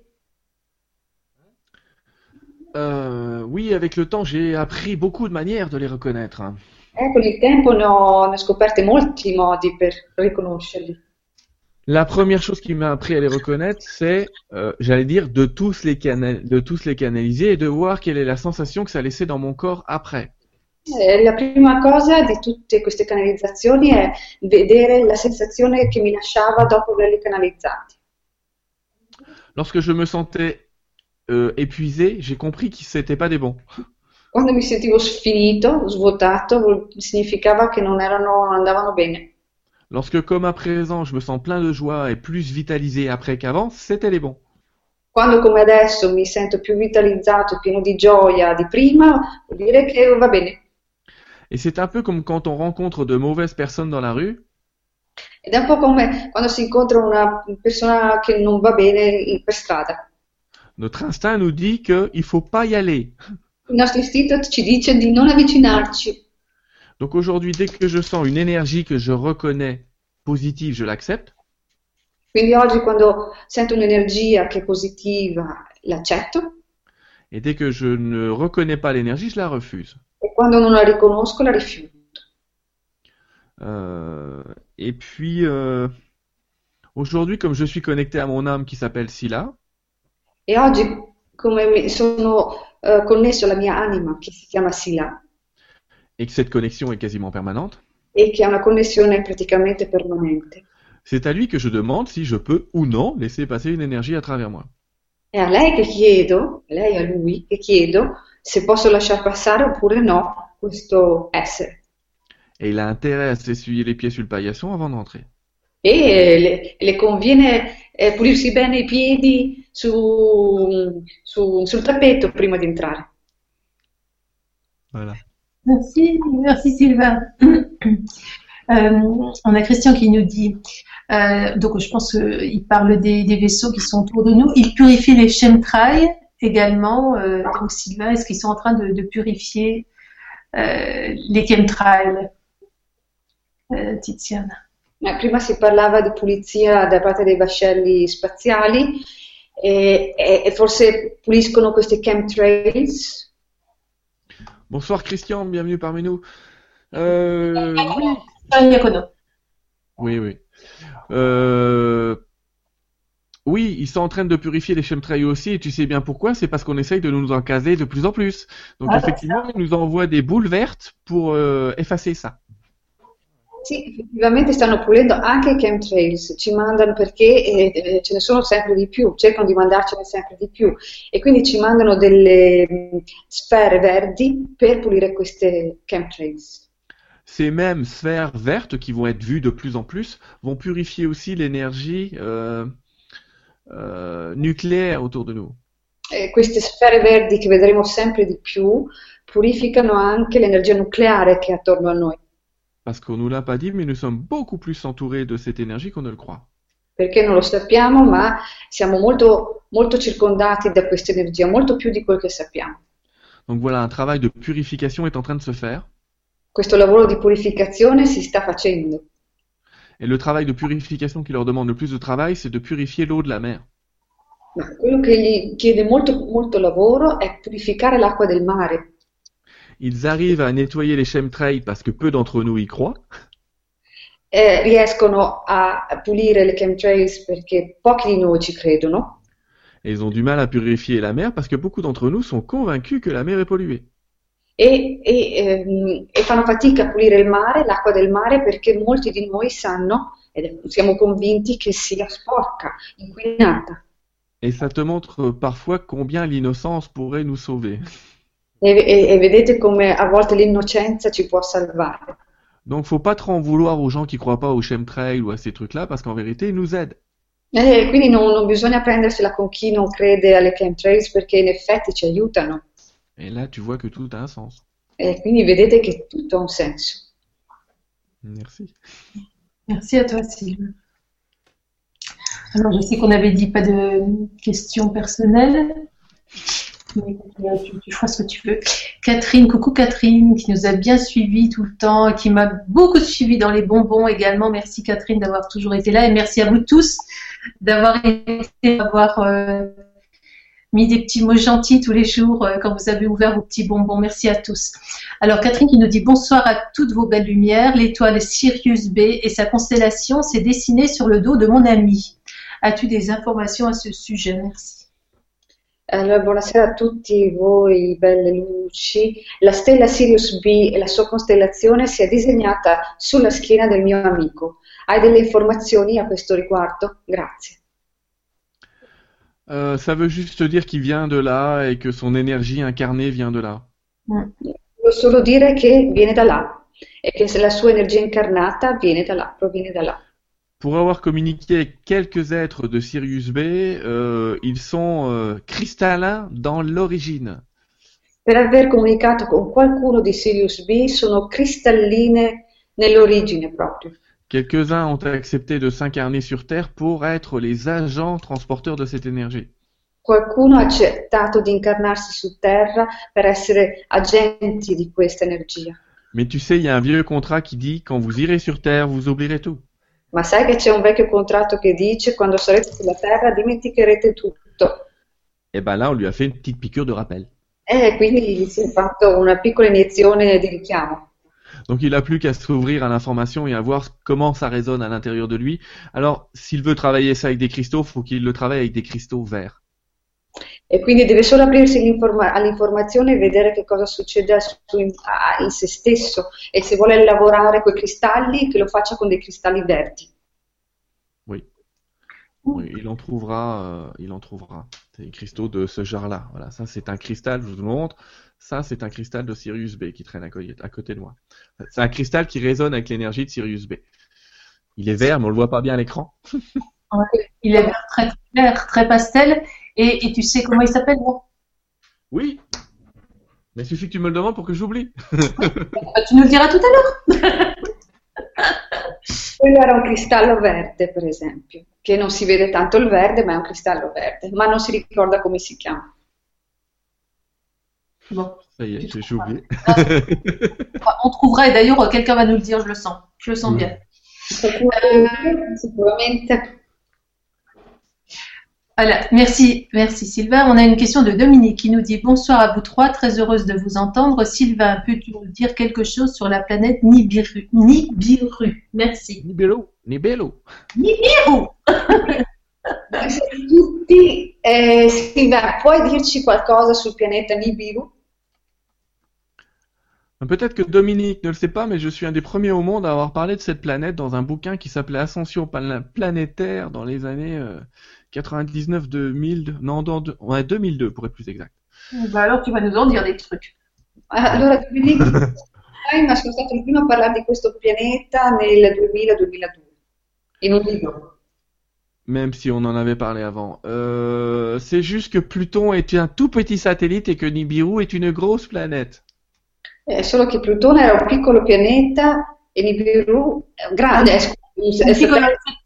Oui, avec le temps, j'ai appris beaucoup de manières de les reconnaître. Con il tempo ne ho scoperte molti modi per riconoscerli. La première chose qui m'a appris à les reconnaître, c'est, j'allais dire, de tous les canaliser et de voir quelle est la sensation que ça laissait dans mon corps après. La prima cosa di tutte queste canalizzazioni è vedere la sensazione che mi lasciava dopo averli canalizzati. Lorsque je me sentais épuisé, j'ai compris que c'était pas des bons. Quando mi sentivo sfinito, svuotato, significava che non andavano bene. Lorsque, comme à présent, je me sens plein de joie et plus vitalisé après qu'avant, c'était les bons. Quando come adesso mi sento più vitalizzato, pieno di gioia di prima, vuol dire che va bene. Et c'est un peu comme quand on rencontre de mauvaises personnes dans la rue. Ed è un po' come quando si incontra una persona che non va bene per strada. Notre instinct nous dit qu'il ne faut pas y aller. Il nostro istinto ci dice di non avvicinarci. Donc aujourd'hui, dès que je sens une énergie que je reconnais positive, je l'accepte. Quindi oggi quando sento un'energia che è positiva, l'accetto. Et dès que je ne reconnais pas l'énergie, je la refuse. E quando non la riconosco, la rifiuto. Et puis, aujourd'hui, comme je suis connecté à mon âme qui s'appelle Sila. E oggi, come sono connesso alla mia anima che si chiama Sila. Et que cette connexion est quasiment permanente. E che ha una connessione praticamente permanente. C'est à lui que je demande si je peux ou non laisser passer une énergie à travers moi. È a lei che chiedo, lei a lui che chiedo se posso lasciar passare oppure no questo essere. Et il a intérêt à s'essuyer les pieds sur le paillasson avant d'entrer. E le conviene pulirsi bene i piedi sul tappeto prima di entrare. Voilà. Merci Sylvain. On a Christian qui nous dit, donc je pense qu'il parle des vaisseaux qui sont autour de nous. Il purifie les chemtrails également. Donc Sylvain, est-ce qu'ils sont en train de purifier les chemtrails? Tiziana? Prima si parlava di pulizia da parte dei vascelli spaziali e forse puliscono questi chemtrails. Bonsoir Christian, bienvenue parmi nous. Iacono. Oui, oui. Oui, ils sont en train de purifier les chemtrails aussi, et tu sais bien pourquoi, c'est parce qu'on essaye de nous en caser de plus en plus. Donc effectivement, ils nous envoient des boules vertes pour effacer ça. Sì, effettivamente stanno pulendo anche i chemtrails, ci mandano perché ce ne sono sempre di più, cercano di mandarcene sempre di più e quindi ci mandano delle sfere verdi per pulire queste chemtrails. Ces mêmes sphères vertes qui vont être vues de plus en plus vont purifier aussi l'énergie nucléaire autour de nous. Queste sfere verdi che vedremo sempre di più purificano anche l'energia nucleare che è attorno a noi. Parce qu'on nous l'a pas dit, mais nous sommes beaucoup plus entourés de cette énergie qu'on ne le croit. Perché non lo sappiamo, ma siamo molto, molto circondati da questa energia, molto più di quel che sappiamo. Donc voilà, un travail de purification est en train de se faire. Questo lavoro di purificazione si sta facendo. Et le travail de purification qui leur demande le plus de travail, c'est de purifier l'eau de la mer. Ma quello che gli chiede molto, molto lavoro è purificare l'acqua del mare. Ils arrivent à nettoyer les chemtrails parce que peu d'entre nous y croient. Riescono a pulire le chemtrails perché pochi di noi ci credono. Et ils ont du mal à purifier la mer parce que beaucoup d'entre nous sont convaincus que la mer est polluée. E fanno fatica a pulire il mare, l'acqua del mare, perché molti di noi sanno, e siamo convinti che sia sporca, inquinata. Et ça te montre parfois combien l'innocence pourrait nous sauver. E vedete come a volte l'innocenza ci può salvare. Donc faut pas trop en vouloir aux gens qui croient pas aux chemtrails ou à ces trucs-là, parce qu'en vérité, ils nous aident. Quindi non bisogna prendersela con chi non crede alle chemtrails perché in effetti ci aiutano. Et là, tu vois que tout a un sens. E quindi vedete che tutto ha un senso. Merci. Merci à toi, Sylvain. Alors, je sais qu'on avait dit pas de questions personnelles. Mais tu feras ce que tu veux. Catherine, coucou Catherine, qui nous a bien suivis tout le temps, et qui m'a beaucoup suivi dans les bonbons également. Merci Catherine d'avoir toujours été là, et merci à vous tous d'avoir mis des petits mots gentils tous les jours quand vous avez ouvert vos petits bonbons. Merci à tous. Alors Catherine qui nous dit bonsoir à toutes vos belles lumières. L'étoile Sirius B et sa constellation s'est dessinée sur le dos de mon ami. As-tu des informations à ce sujet? Merci. Allora, buonasera a tutti voi, belle luci. La stella Sirius B e la sua costellazione si è disegnata sulla schiena del mio amico. Hai delle informazioni a questo riguardo? Grazie. Ça veut juste dire qu'il vient de là et que son énergie incarnée vient de là. Voglio solo dire che viene da là e che la sua energia incarnata viene da là, proviene da là. Pour avoir communiqué avec quelques êtres de Sirius B, ils sont cristallins dans l'origine. Per aver comunicato con qualcuno di Sirius B sono cristalline nell'origine proprio. Quelques-uns ont accepté de s'incarner sur Terre pour être les agents transporteurs de cette énergie. Qualcuno ha accettato di incarnarsi su Terra per essere agenti di questa energia. Mais tu sais, il y a un vieux contrat qui dit quand vous irez sur Terre, vous oublierez tout. Ma sai che c'è un vecchio contratto che dice quando sarete sulla Terra dimenticherete tutto. Et ben là, on lui a fait une petite piqûre de rappel. Quindi si è fatto una piccola iniezione di richiamo. Donc il n'a plus qu'à s'ouvrir à l'information et à voir comment ça résonne à l'intérieur de lui. Alors, s'il veut travailler ça avec des cristaux, il faut qu'il le travaille avec des cristaux verts. E quindi deve solo aprirsi all'informazione e vedere che cosa succede in se stesso. E se vuole lavorare con i cristalli, che lo faccia con dei cristalli verdi. Oui. Oui, il en trouvera. Des cristaux de ce genre-là. Voilà, ça c'est un cristal, je vous le montre. Ça c'est un cristal de Sirius B qui traîne à côté de moi. C'est un cristal qui résonne avec l'énergie de Sirius B. Il est vert, mais on le voit pas bien à l'écran. Il est vert, très clair, très pastel. Et tu sais comment il s'appelle, moi? Oui. Mais il suffit que tu me le demandes pour que j'oublie. Tu nous le diras tout à l'heure. Quello era un cristallo verde, per esempio, che non si vede tanto il verde, ma è un cristallo verde, ma non si ricorda come si chiama. Bon, Ça y est, tu j'ai trouveras. oublié. On trouvera et d'ailleurs quelqu'un va nous le dire, je le sens. Je le sens bien. Sicuramente. Voilà, merci Sylvain. On a une question de Dominique qui nous dit bonsoir à vous trois, très heureuse de vous entendre. Sylvain, peux-tu nous dire quelque chose sur la planète Nibiru? Nibiru, merci. Nibello. Nibiru! Tutti, Silvia, puoi dirci qualcosa sul pianeta Nibiru? Peut-être que Dominique ne le sait pas, mais je suis un des premiers au monde à avoir parlé de cette planète dans un bouquin qui s'appelait Ascension planétaire dans les années 99-2000, non, 2002 pour être plus exact. Bah alors tu vas nous en dire des trucs. Allora, Dominique, sono stato il primo a parlare di questo pianeta nel 2000-2002, in un libro. Même si on en avait parlé avant. C'est juste que Pluton est un tout petit satellite et que Nibiru est une grosse planète. Solo che Plutone era un piccolo pianeta e Nibiru è un grande, Un piccolo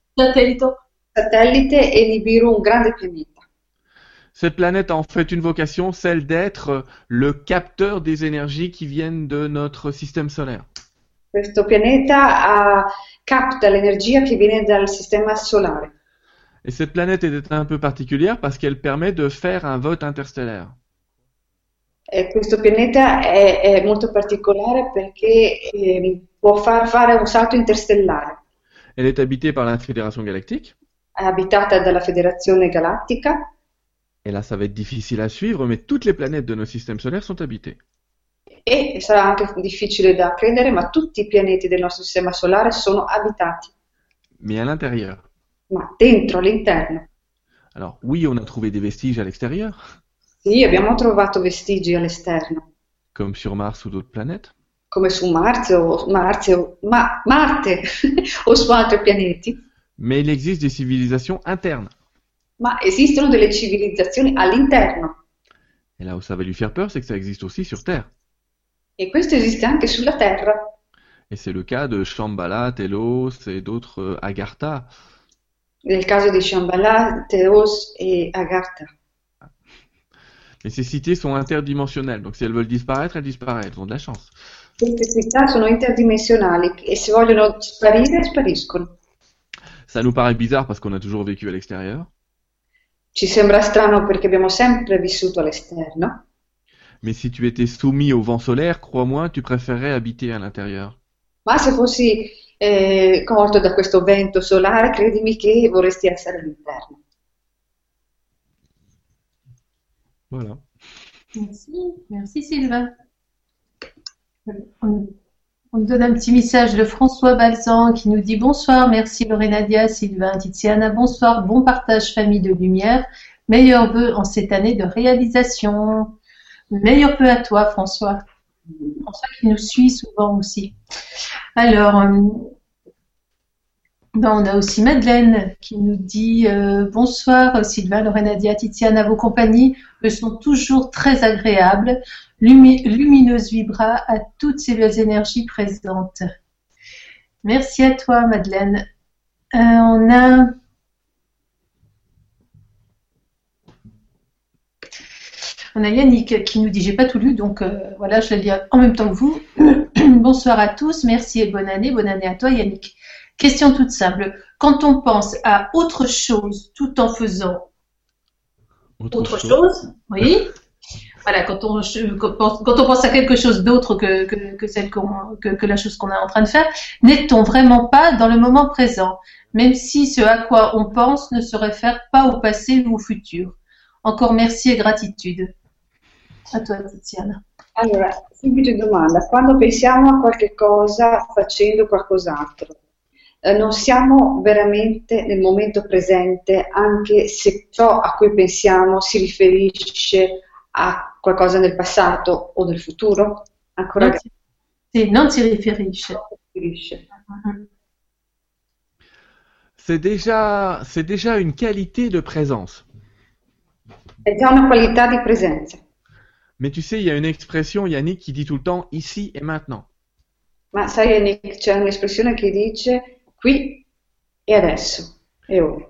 satellite e Nibiru un grande pianeta. Cette planète a en fait une vocation, celle d'être le capteur des énergies qui viennent de notre système solaire. Questo pianeta capta l'energia che viene dal sistema solare. Et cette planète est un peu particulière parce qu'elle permet de faire un vote interstellaire. E questo pianeta è molto particolare perché può far fare un salto interstellare. Elle est habitée par la Fédération Galactique. È abitata dalla Federazione Galattica. Et là, ça va être difficile à suivre, mais toutes les planètes de notre système solaire sont habitées. E sarà anche difficile da credere, ma tutti i pianeti del nostro sistema solare sono abitati, Mais à l'intérieur. ma dentro, all'interno. Alors, oui, on a trouvé des vestiges à l'extérieur, Sì, abbiamo trovato vestigi all'esterno, comme sur Mars ou d'autres planètes. come su Marte Marte o su altri pianeti, Mais il existe des civilisations internes. ma esistono delle civilizzazioni all'interno. Et là où ça va lui faire peur, c'est que ça existe aussi sur Terre. E questo esiste anche sulla Terra. Et c'est le cas de Shambhala, Telos et d'autres Agartha. Nel caso di Shambhala, Theos e Agartha. Et ces cités sont interdimensionnelles, donc si elles veulent disparaître, elles disparaissent, elles ont de la chance. Queste città sono interdimensionali e se vogliono sparire, spariscono. Ça nous paraît bizarre parce qu'on a toujours vécu à l'extérieur, Ci sembra strano perché abbiamo sempre vissuto all'esterno, mais si tu étais soumis au vent solaire, crois-moi, tu préférerais habiter à l'intérieur. ma se fossi colto da questo vento solare, credimi che vorresti essere all'interno. Voilà. Merci Sylvain. On nous donne un petit message de François Balzan qui nous dit bonsoir, merci Lorenadia, Sylvain, Tiziana, bonsoir, bon partage famille de lumière, meilleurs vœux en cette année de réalisation. Meilleurs vœux à toi François. François qui nous suit souvent aussi. Alors, on a aussi Madeleine qui nous dit bonsoir Sylvain, Lorenadia, Tiziana, vos compagnies me sont toujours très agréables. Lumineuse vibra à toutes ces belles énergies présentes. Merci à toi Madeleine. On a Yannick qui nous dit, j'ai pas tout lu, donc voilà, je vais le lire en même temps que vous. Bonsoir à tous, merci et bonne année à toi Yannick. Question toute simple, quand on pense à autre chose tout en faisant autre chose, oui. Voilà, quand on pense à quelque chose d'autre que la chose qu'on est en train de faire, n'est-on vraiment pas dans le moment présent, même si ce à quoi on pense ne se réfère pas au passé ou au futur. Encore merci et gratitude. A toi, Tiziana. Allora, semplice domanda. Quando pensiamo a qualche cosa facendo qualcos'altro, non siamo veramente nel momento presente anche se ciò a cui pensiamo si riferisce a qualcosa nel passato o nel futuro? Ancora non si riferisce. C'est déjà une qualité de présence. È già una qualità di presenza. Mais tu sais, il y a une expression, Yannick, qui dit tout le temps ici et maintenant. Ma sai, Yannick, c'è un'espressione che dice qui e adesso, e ora.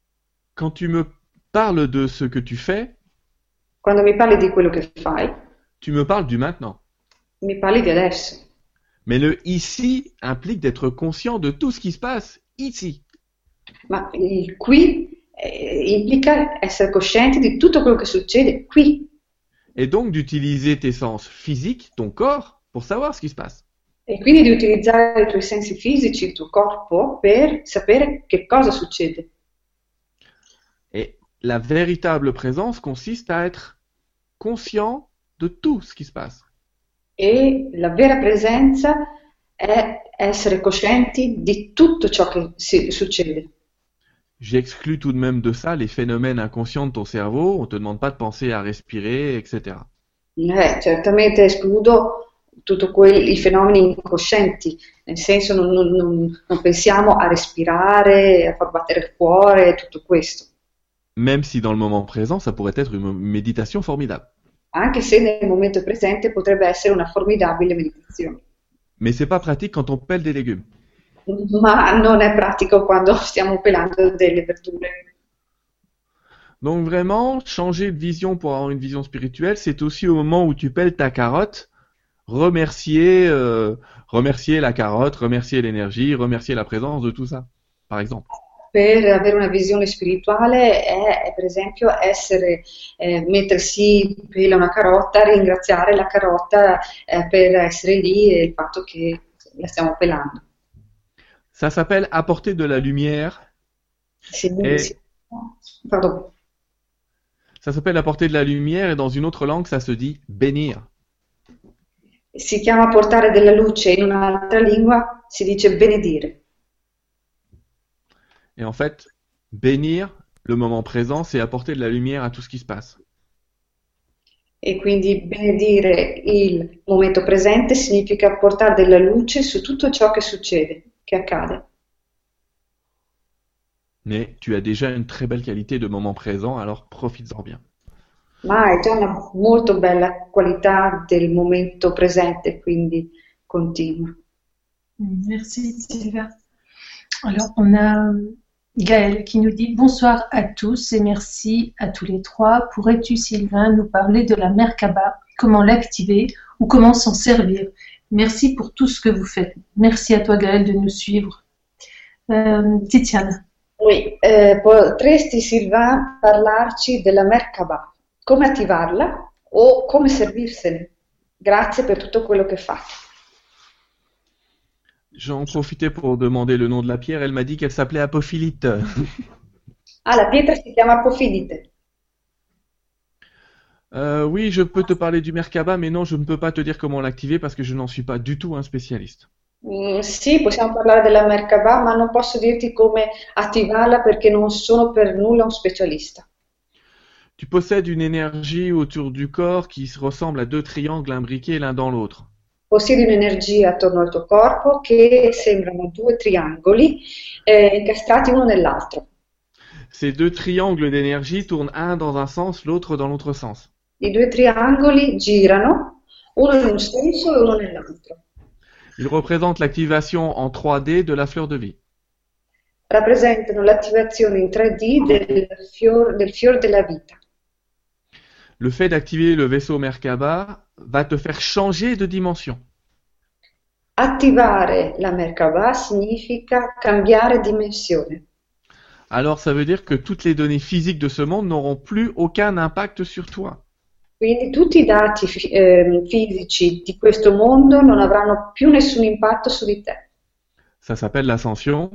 Quand tu me parles de ce que tu fais, Quando mi parli di quello che fai, Tu me parles du maintenant. Mi parli di adesso. Mais le ici implique d'être conscient de tout ce qui se passe ici. Ma il qui implica essere coscienti di tutto quello che succede qui. Et donc d'utiliser tes sens physiques, ton corps, pour savoir ce qui se passe. E quindi di utilizzare i tuoi sensi fisici, il tuo corpo, per sapere che cosa succede. Et la véritable présence consiste à être conscient de tout ce qui se passe. E la vera presenza è essere coscienti di tutto ciò che succede. J'exclus tout de même de ça les phénomènes inconscients de ton cerveau. On ne te demande pas de penser à respirer, etc. Certamente escludo tutti i fenomeni incoscienti, nel senso non pensiamo a respirare, a far battere il cuore, tutto questo. Même si dans le moment présent, ça pourrait être une méditation formidable. Anche se nel momento presente potrebbe essere una formidabile meditazione. Mais c'est pas pratique quand on pèle des légumes. Ma non è pratico quando stiamo pelando delle verdure. Donc vraiment, changer de vision pour avoir une vision spirituelle, c'est aussi au moment où tu pèles ta carotte, remercier la carotte, remercier l'énergie, remercier la présence de tout ça, par exemple. Per avere una visione spirituale è per esempio mettersi pela una carota, ringraziare la carota per essere lì e il fatto che la stiamo pelando. Ça s'appelle apporter de la lumière. Pardon. Ça s'appelle apporter de la lumière et dans une autre langue, ça se dit bénir. Si chiama portare della luce, in un'altra lingua si dice benedire. Et en fait, bénir le moment présent, c'est apporter de la lumière à tout ce qui se passe. E quindi benedire il momento presente significa portare della luce su tutto ciò che succede, che accade. Mais tu as déjà une très belle qualité de moment présent, alors profites-en bien. Ma hai già una molto bella qualità del momento presente, quindi continua. Merci Sylvain. Alors on a Gaëlle qui nous dit bonsoir à tous et merci à tous les trois. Pourrais-tu Sylvain nous parler de la Merkaba, comment l'activer ou comment s'en servir? Merci pour tout ce que vous faites. Merci à toi Gaëlle de nous suivre. Tiziana. Oui, potresti Sylvain parlarci della Merkaba, come attivarla o come servirsene? Grazie per tutto quello che fai. J'en profitais pour demander le nom de la pierre, elle m'a dit qu'elle s'appelait Apophilite. Ah, la pietra si chiama Apofidite. Oui, je peux te parler du Merkaba, mais non, je ne peux pas te dire comment l'activer parce que je n'en suis pas du tout un spécialiste. Sì, possiamo parlare della Merkaba, ma non posso dirti come attivarla perché non sono per nulla un specialista. Tu possèdes une énergie autour du corps qui ressemble à deux triangles imbriqués l'un dans l'autre. Possiedi un'energia attorno al tuo corpo che sembrano due triangoli incastrati uno nell'altro. Ces deux triangles d'énergie tournent un dans un sens, l'autre dans l'autre sens. I due triangoli girano, uno in un senso e uno nell'altro. Ils représentent l'activation en 3D de la fleur de vie. Rappresentano l'attivazione in 3D del fior della vita. Le fait d'activer le vaisseau Merkaba va te faire changer de dimension. Attivare la Merkaba significa cambiare dimensione. Alors ça veut dire que toutes les données physiques de ce monde n'auront plus aucun impact sur toi. Quindi tutti i dati fisici di questo mondo non avranno più nessun impatto su di te. Ça s'appelle l'ascension.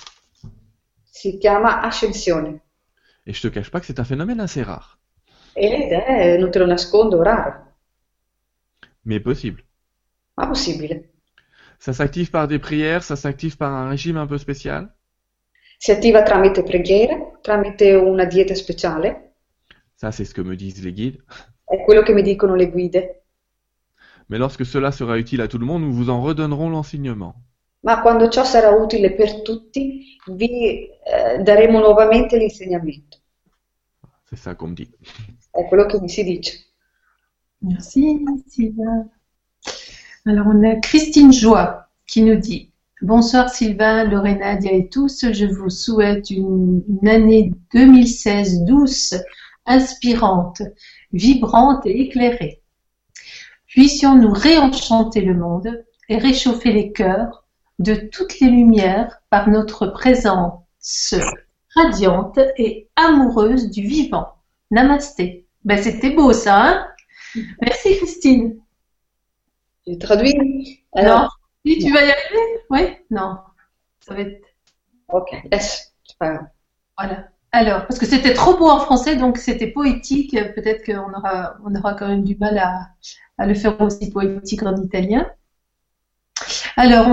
Si chiama ascensione. Et je te cache pas que c'est un phénomène assez rare. Ed è, non te lo nascondo, raro, Mais possible. ma possibile. Ça s'active par des prières, ça s'active par un régime un peu spécial. Si attiva tramite preghiere, tramite una dieta speciale, Ça, c'est ce que me disent les guides. è quello che mi dicono le guide. Mais lorsque cela sera utile à tout le monde, nous vous en redonnerons l'enseignement. Ma quando ciò sarà utile per tutti, vi daremo nuovamente l'insegnamento. C'est ça qu'on me dit. È quello che mi si dice. Merci Sylvain. Alors on a Christine Joie qui nous dit bonsoir Sylvain, Lorena, Nadia et tous, je vous souhaite une année 2016 douce, inspirante, vibrante et éclairée. Puissions-nous réenchanter le monde et réchauffer les cœurs de toutes les lumières par notre présence radiante et amoureuse du vivant. Namasté. Ben, c'était beau ça, hein? Merci Christine. Je traduis. Non. Alors, Oui, tu vas y arriver? Oui? Non. Ça va être... ok, laisse. C'est pas grave. Voilà. Alors, parce que c'était trop beau en français, donc c'était poétique. Peut-être on aura quand même du mal à le faire aussi poétique en italien. Alors,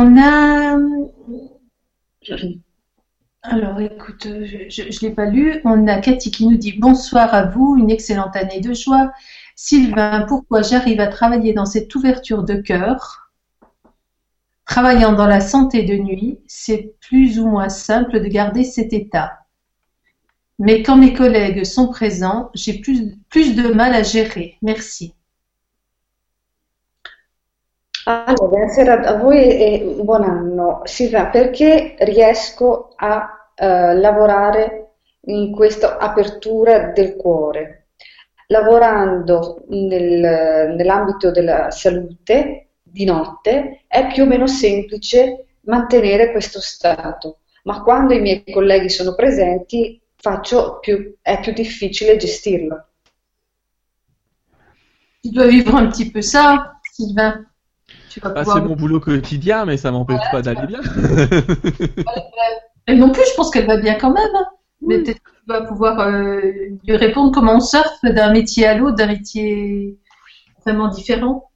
alors, écoute, je l'ai pas lu. On a Cathy qui nous dit bonsoir à vous, une excellente année de joie. Sylvain, pourquoi j'arrive à travailler dans cette ouverture de cœur? Travaillant dans la santé de nuit, c'est plus ou moins simple de garder cet état. Mais quand mes collègues sont présents, j'ai plus de mal à gérer. Merci. Allora, buonasera a voi e buon anno. Silvia, perché riesco a lavorare in questa apertura del cuore? Lavorando nell'ambito della salute di notte è più o meno semplice mantenere questo stato, ma quando i miei colleghi sono presenti è più difficile gestirlo. Tu dois vivre un petit peu ça, Sylvain. Tu vas Bah, pouvoir... c'est mon boulot quotidien, mais ça m'empêche pas d'aller bien. Elle non plus, je pense qu'elle va bien quand même, hein. Mais peut-être que tu vas pouvoir lui répondre comment on surfe d'un métier à l'autre, d'un métier vraiment différent.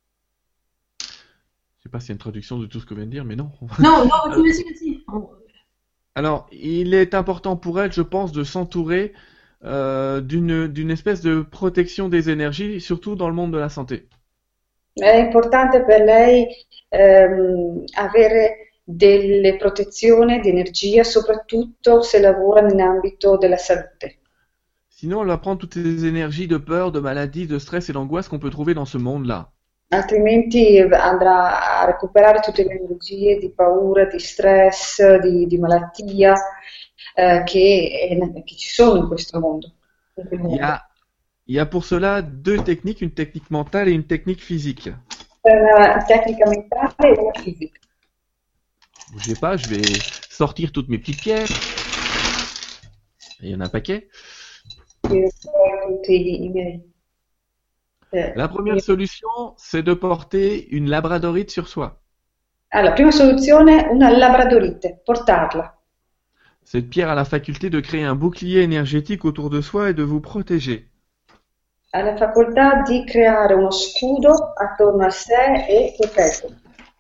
Je sais pas s'il y a une traduction de tout ce que vient de dire, mais non. Non, vas-y. Alors, il est important pour elle, je pense, de s'entourer d'une espèce de protection des énergies, surtout dans le monde de la santé. È importante per lei avere delle protezioni di energia, soprattutto se lavora nell'ambito della salute. Sinon, elle va prendre toutes ces énergies de peur, de maladie, de stress et d'angoisse qu'on peut trouver dans ce monde-là. Altrimenti andrà a recuperare tutte le energie di paura, di stress, di malattia che ci sono in questo mondo. Il y a pour cela deux techniques, une technique mentale et une technique physique. Una tecnica mentale e una fisica. Bougez pas, je vais sortir toutes mes petites pierres. Il y en a un paquet. Tutti i miei. La première solution, c'est de porter une labradorite sur soi. Allora, prima soluzione, una labradorite, portarla. Cette pierre a la faculté de créer un bouclier énergétique autour de soi et de vous protéger. Ha la facoltà di creare uno scudo attorno a sé e proteggerlo.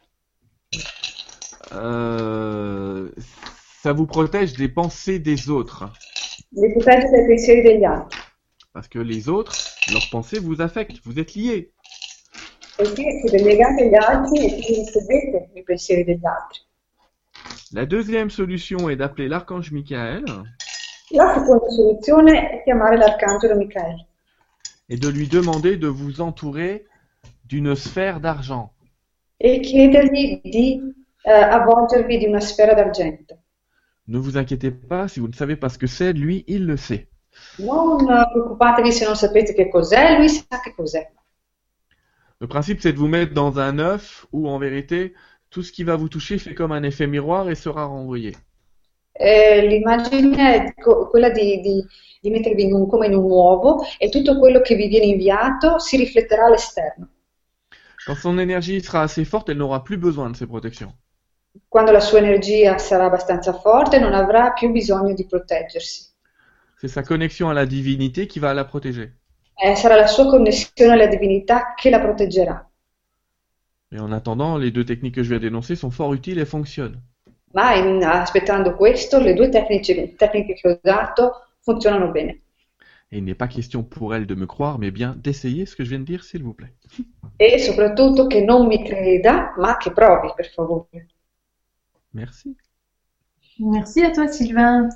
Ça vous protège des pensées des autres. Vi protegge dai pensieri degli altri. Parce que les autres, leurs pensées vous affectent, vous êtes liés. Perché siete legati agli altri e quindi ricevete i pensieri degli altri. La deuxième solution est d'appeler l'archange Michael La seconda soluzione è chiamare l'arcangelo Michaele et de lui demander de vous entourer d'une sphère d'argent. e chiedergli di avvolgervi di una sfera d'argento. Ne vous inquiétez pas, si vous ne savez pas ce que c'est, lui, il le sait. Non preoccupatevi se non sapete che cos'è, lui sa che cos'è. Le principe, c'est de vous mettre dans un œuf où, en vérité, tout ce qui va vous toucher fait comme un effet miroir et sera renvoyé. L'immagine è quella di mettervi come in un uovo e tutto quello che vi viene inviato si rifletterà all'esterno. Quand son énergie sera assez forte, elle n'aura plus besoin de ces protections. Quando la sua energia sarà abbastanza forte, non avrà più bisogno di proteggersi. C'est sa connexion à la divinité qui va la protéger. Sarà la sua connessione alla divinità che la proteggerà. Et en attendant, les deux techniques que je viens d'énoncer sont fort utiles et fonctionnent. Ma aspettando questo, le due tecniche che ho dato funzionano bene. Et il n'est pas question pour elle de me croire, mais bien d'essayer ce que je viens de dire, s'il vous plaît. E soprattutto che non mi creda, ma che provi, per favore. Merci. Merci à toi, Sylvain.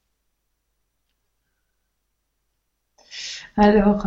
Alors,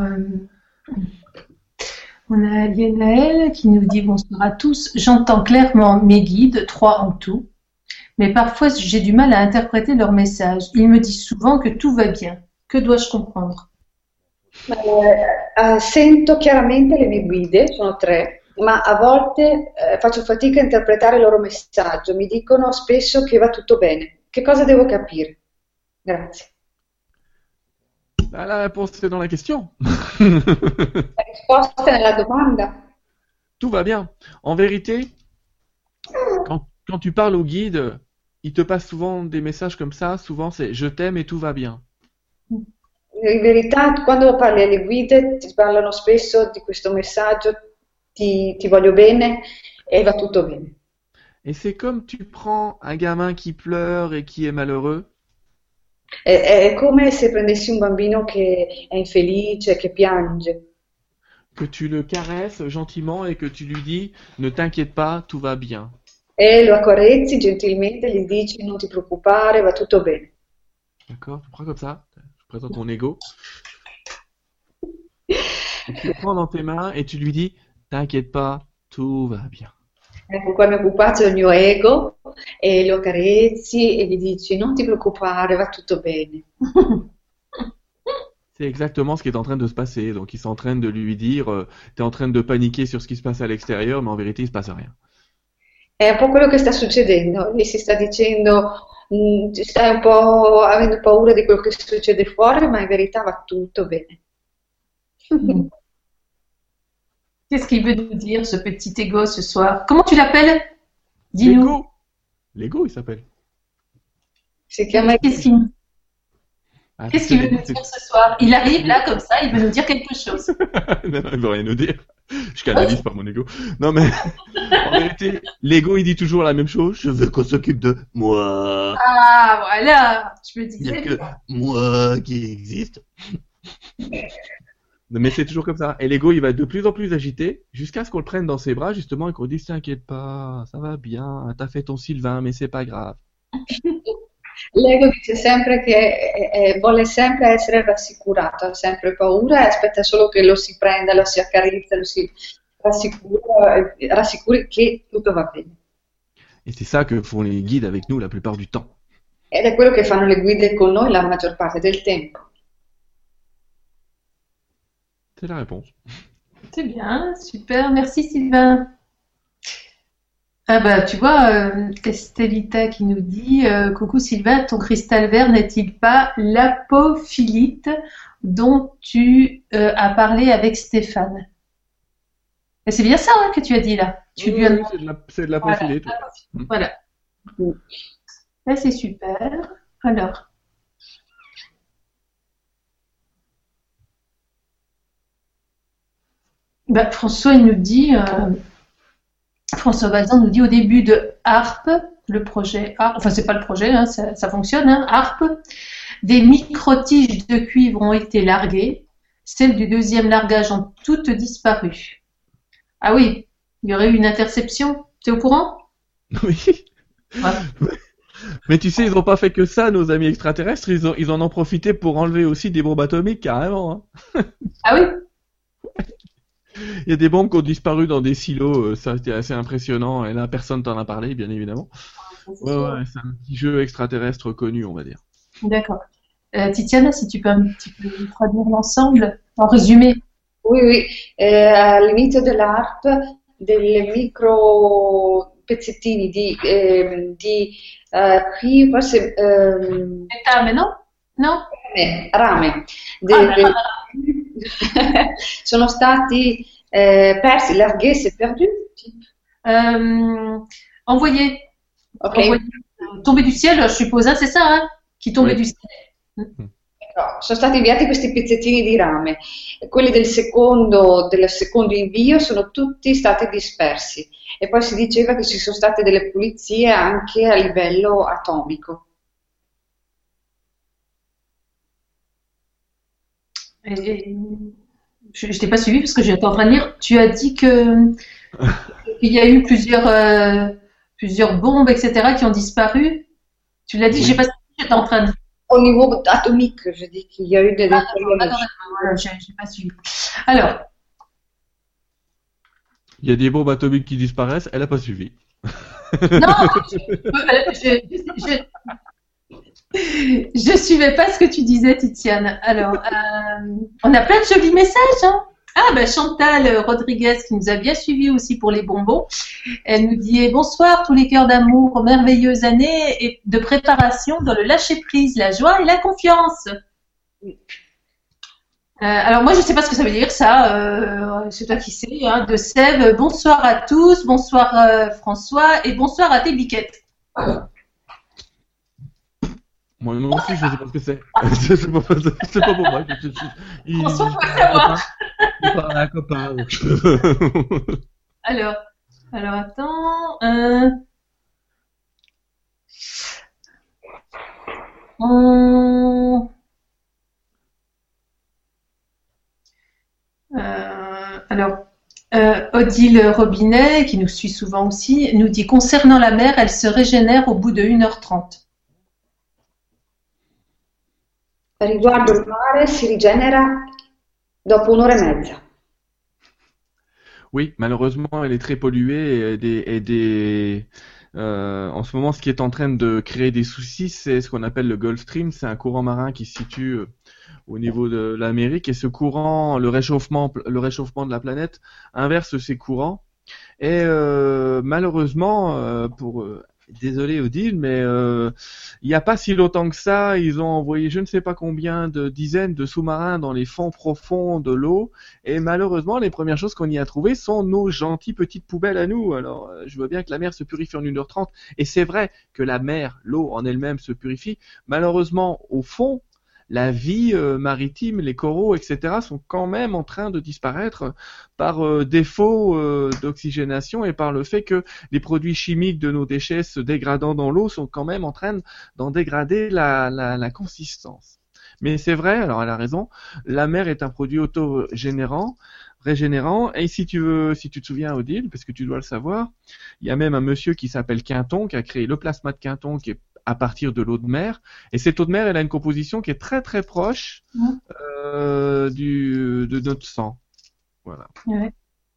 on a Yenaël qui nous dit bonsoir à tous. J'entends clairement mes guides, 3 en tout, mais parfois j'ai du mal à interpréter leur message. Ils me disent souvent que tout va bien. Que dois-je comprendre? Sento chiaramente le mie guide, sono tre, ma a volte faccio fatica a interpretare il loro messaggio. Mi dicono spesso che va tutto bene. Che cosa devo capire? Grazie. Ah, la réponse, c'est dans la question. La risposta è nella domanda. Tout va bien. En vérité, quand tu parles au guide, il te passe souvent des messages comme ça. Souvent, c'est je t'aime et tout va bien. In verità, quando parli alle guide, ti parlano spesso di questo messaggio, ti voglio bene e va tutto bene. Et c'est comme tu prends un gamin qui pleure et qui est malheureux. È come se prendessi un bambino che è infelice, che piange, Que tu le caresses gentiment et que tu lui dis ne t'inquiète pas, tout va bien. e lo accarezzi gentilmente, gli dici non ti preoccupare, va tutto bene. D'accord? Tu prends comme ça. Je présente mon ego. Tu le prends dans tes mains et tu lui dis t'inquiète pas, tout va bien. Ecco qua mi occupazio del mio ego e lo accarezzi e gli dici non ti preoccupare, va tutto bene. C'est exactement ce qui est en train de se passer. Donc, il s'entraîne de lui dire t'es en train de paniquer sur ce qui se passe à l'extérieur, mais en vérité, il se passe rien. È un po' quello che sta succedendo, gli si sta dicendo stai un po' avendo paura di quello che succede fuori, ma in verità va tutto bene. Qu'est-ce qu'il veut nous dire, ce petit égo, ce soir? Comment tu l'appelles? Dis-nous. Lego. Lego, il s'appelle. Si chiama Ah, Qu'est-ce qu'il veut nous dire ce soir? Il arrive là, comme ça, il veut nous dire quelque chose. Non, il veut rien nous dire. Je canalise par mon ego. Non, mais en vérité, l'ego, il dit toujours la même chose. Je veux qu'on s'occupe de moi. Ah, voilà, je me Il n'y a disais. que moi qui existe. Mais c'est toujours comme ça. Et l'ego, il va être de plus en plus agité jusqu'à ce qu'on le prenne dans ses bras, justement, et qu'on dise t'inquiète pas, ça va bien, t'as fait ton Sylvain, mais c'est pas grave. L'ego dice sempre che vuole sempre essere rassicurato, ha sempre paura e aspetta solo che lo si prenda, lo si accarezza, lo si rassicuri che tutto va bene. Et c'est ça que font les guides avec nous la plupart du temps. Ed è quello che fanno le guide con noi la maggior parte del tempo. C'est la réponse. C'est bien, super, merci Sylvain. Ah bah tu vois, Estelita qui nous dit coucou Sylvain, ton cristal vert n'est-il pas l'apophilite dont tu as parlé avec Stéphane? Et c'est bien ça hein, que tu as dit là. Tu lui as Oui, demandé. c'est de la Voilà, profilée. voilà. Là c'est super. Alors, bah, François il nous dit, François Bazin nous dit au début de Harpe, le projet Harpe, enfin c'est pas le projet, hein, ça fonctionne, hein, Harpe, des micro-tiges de cuivre ont été larguées, celles du deuxième largage ont toutes disparu. Ah oui, il y aurait eu une interception, tu es au courant? Oui. Ouais. Mais tu sais, ils n'ont pas fait que ça, nos amis extraterrestres. Ils en ont profité pour enlever aussi des bombes atomiques, carrément. Hein. Ah oui? Il y a des bombes qui ont disparu dans des silos. Ça, c'était assez impressionnant. Et là, personne t'en a parlé, bien évidemment. Ouais, c'est un petit jeu extraterrestre connu, on va dire. D'accord. Titiana, si tu peux un petit peu traduire l'ensemble, en résumé. Oui, all'inizio dell'ARP delle micro pezzettini di qui forse Metame, non? Non? rame Ah, sono stati persi, larghezze perdues. Envoyé. Ok. Envoyé. Tombé du ciel, je suppose, hein, c'est ça, hein? Qui tombait Oui. du ciel. No, sono stati inviati questi pezzettini di rame, quelli del secondo invio sono tutti stati dispersi e poi si diceva che ci sono state delle pulizie anche a livello atomico. Et je t'ai pas suivi parce que j'étais en train de lire. Tu as dit que qu'il y a eu plusieurs bombes, etc., qui ont disparu. Tu l'as dit, Oui. j'ai pas suivi, j'étais en train de. Au niveau atomique, je dis qu'il y a eu des Attends, voilà, j'ai pas suivi. Alors, Il y a des bombes atomiques qui disparaissent. Elle a pas suivi. non, je- Je suivais pas ce que tu disais, Titiane. Alors, on a plein de jolis messages, hein. Ah, ben Chantal Rodriguez, qui nous a bien suivis aussi pour les bonbons. Elle nous dit bonsoir tous les cœurs d'amour, merveilleuse année et de préparation dans le lâcher-prise, la joie et la confiance. Alors moi, je sais pas ce que ça veut dire, ça. C'est toi qui sais, hein, de Sèvres. Bonsoir à tous, bonsoir François et bonsoir à tes biquettes. Moi non plus, je ne sais pas ce que c'est. C'est pas pour moi. François, faut savoir. Il parle à un copain. Alors attends. Odile Robinet, qui nous suit souvent aussi, nous dit concernant la mer, elle se régénère au bout de 1h30. Riguardo il mare si rigenera dopo 1 ora e mezza. Oui, malheureusement, elle est très polluée en ce moment, ce qui est en train de créer des soucis, c'est ce qu'on appelle le Gulf Stream. C'est un courant marin qui se situe au niveau de l'Amérique, et ce courant, le réchauffement de la planète inverse ces courants. Et malheureusement, désolé Odile, mais il n'y a pas si longtemps que ça, ils ont envoyé je ne sais pas combien de dizaines de sous-marins dans les fonds profonds de l'eau, et malheureusement les premières choses qu'on y a trouvées sont nos gentilles petites poubelles à nous. Alors je vois bien que la mer se purifie en 1h30, et c'est vrai que la mer, l'eau en elle-même se purifie. Malheureusement au fond, la vie maritime, les coraux, etc. sont quand même en train de disparaître par défaut d'oxygénation, et par le fait que les produits chimiques de nos déchets se dégradant dans l'eau sont quand même en train d'en dégrader la consistance. Mais c'est vrai, alors elle a raison, la mer est un produit auto-régénérant, et si tu te souviens Odile, parce que tu dois le savoir, il y a même un monsieur qui s'appelle Quinton qui a créé le plasma de Quinton, qui est à partir de l'eau de mer, et cette eau de mer, elle a une composition qui est très très proche de notre sang. Voilà. Ouais.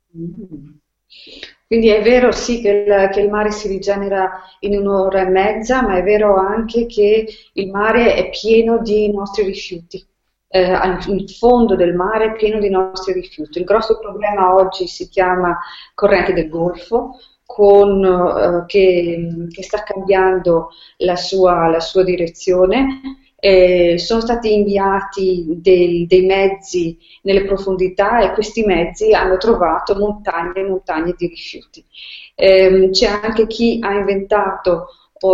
Quindi è vero sì che il mare si rigenera in 1 ora e mezza, ma è vero anche che il mare è pieno di nostri rifiuti. Il fondo del mare è pieno di nostri rifiuti. Il grosso problema oggi si chiama corrente del Golfo, che sta cambiando la sua direzione. Sono stati inviati dei mezzi nelle profondità, e questi mezzi hanno trovato montagne e montagne di rifiuti. C'è anche chi ha inventato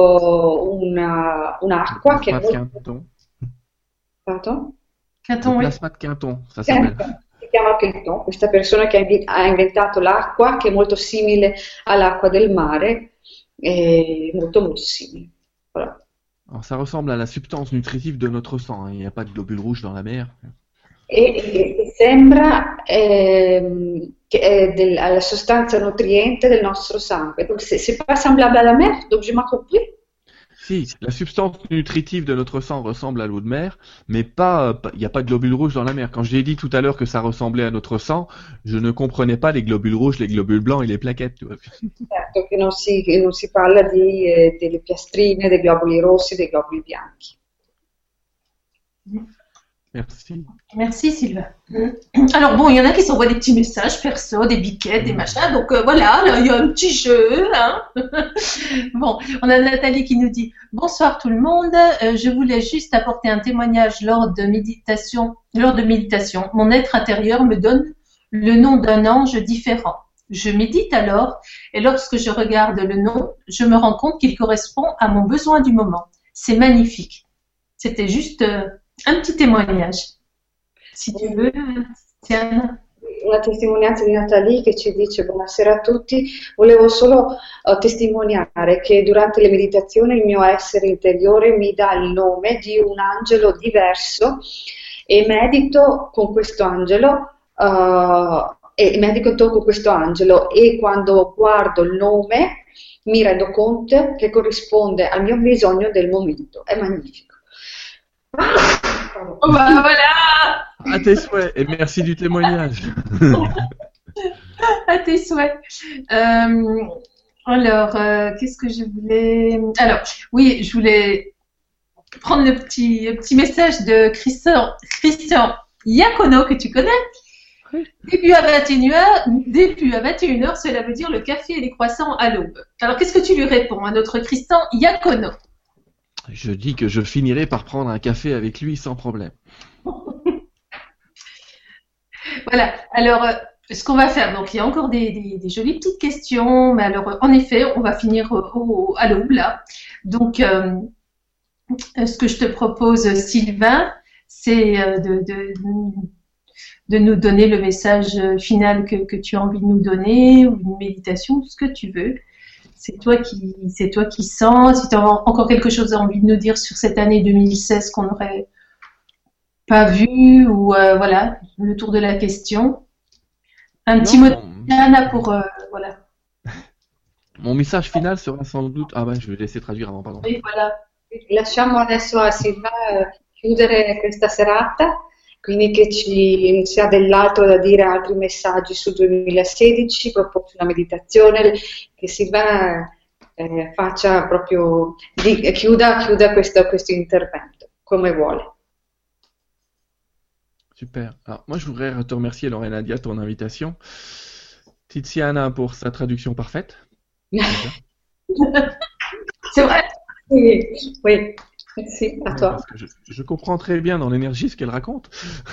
un'acqua che è molto... Quinton, Quinton, oui. Plasma de Quinton, ça s'appelle. Si chiama Quinton, questa persona che ha inventato l'acqua che è molto simile all'acqua del mare, molto molto simile. Voilà. Alors ça ressemble à la substance nutritive de notre sang, il n'y a pas de globules rouges dans la mer. E sembra che è la sostanza nutriente del nostro sangue. Donc c'est pas semblable à la mer, donc je m'en compris. Si, la substance nutritive de notre sang ressemble à l'eau de mer, mais pas, il n'y a pas de globules rouges dans la mer. Quand j'ai dit tout à l'heure que ça ressemblait à notre sang, je ne comprenais pas les globules rouges, les globules blancs et les plaquettes. Tu vois. Certo, che non si parla delle piastrine, dei globuli rossi, dei globuli bianchi. Merci. Merci Sylvain. Alors bon, il y en a qui s'envoient des petits messages perso, des biquettes, des machins. Donc voilà, là, il y a un petit jeu. Hein. Bon, on a Nathalie qui nous dit « Bonsoir tout le monde, je voulais juste apporter un témoignage lors de méditation. Mon être intérieur me donne le nom d'un ange différent. Je médite alors, et lorsque je regarde le nom, je me rends compte qu'il correspond à mon besoin du moment. C'est magnifique. » C'était juste... un petit témoignage, si tu veux, Tiana. Una testimonianza di Natalie che ci dice buonasera a tutti, volevo solo testimoniare che durante le meditazioni il mio essere interiore mi dà il nome di un angelo diverso, e medito con questo angelo, e quando guardo il nome mi rendo conto che corrisponde al mio bisogno del momento. È magnifico. Oh bah voilà. À tes souhaits, et merci du témoignage. À tes souhaits. Alors, qu'est-ce que je voulais... Alors, oui, je voulais prendre le petit message de Christian Iacono que tu connais. Oui. Début à 21h, cela veut dire le café et les croissants à l'aube. Alors, qu'est-ce que tu lui réponds à notre Christian Iacono? Je dis que je finirai par prendre un café avec lui sans problème. Voilà. Alors, ce qu'on va faire, donc il y a encore des jolies petites questions, mais alors, en effet, on va finir à l'aube, là. Donc, ce que je te propose, Sylvain, c'est de nous donner le message final que tu as envie de nous donner, ou une méditation, ce que tu veux. C'est toi qui sens. Si tu as encore quelque chose à envie de nous dire sur cette année 2016 qu'on n'aurait pas vu, ou voilà, le tour de la question. Un petit mot d'Anna pour voilà. Mon message final sera sans doute... Ah ben, je vais laisser traduire avant, pardon. Oui, voilà. Lasciamo adesso a Silva chiudere questa serata, quindi se ha dell'altro da dire, altri messaggi sul 2016, propose una meditazione, che Silva faccia proprio, chiuda questo intervento, come vuole. Super. Alors, moi, je voudrais te remercier, Lorena Dia, ton invitation. Tiziana pour sa traduction parfaite. C'est vrai. Oui, merci à toi. Parce que je comprends très bien dans l'énergie ce qu'elle raconte.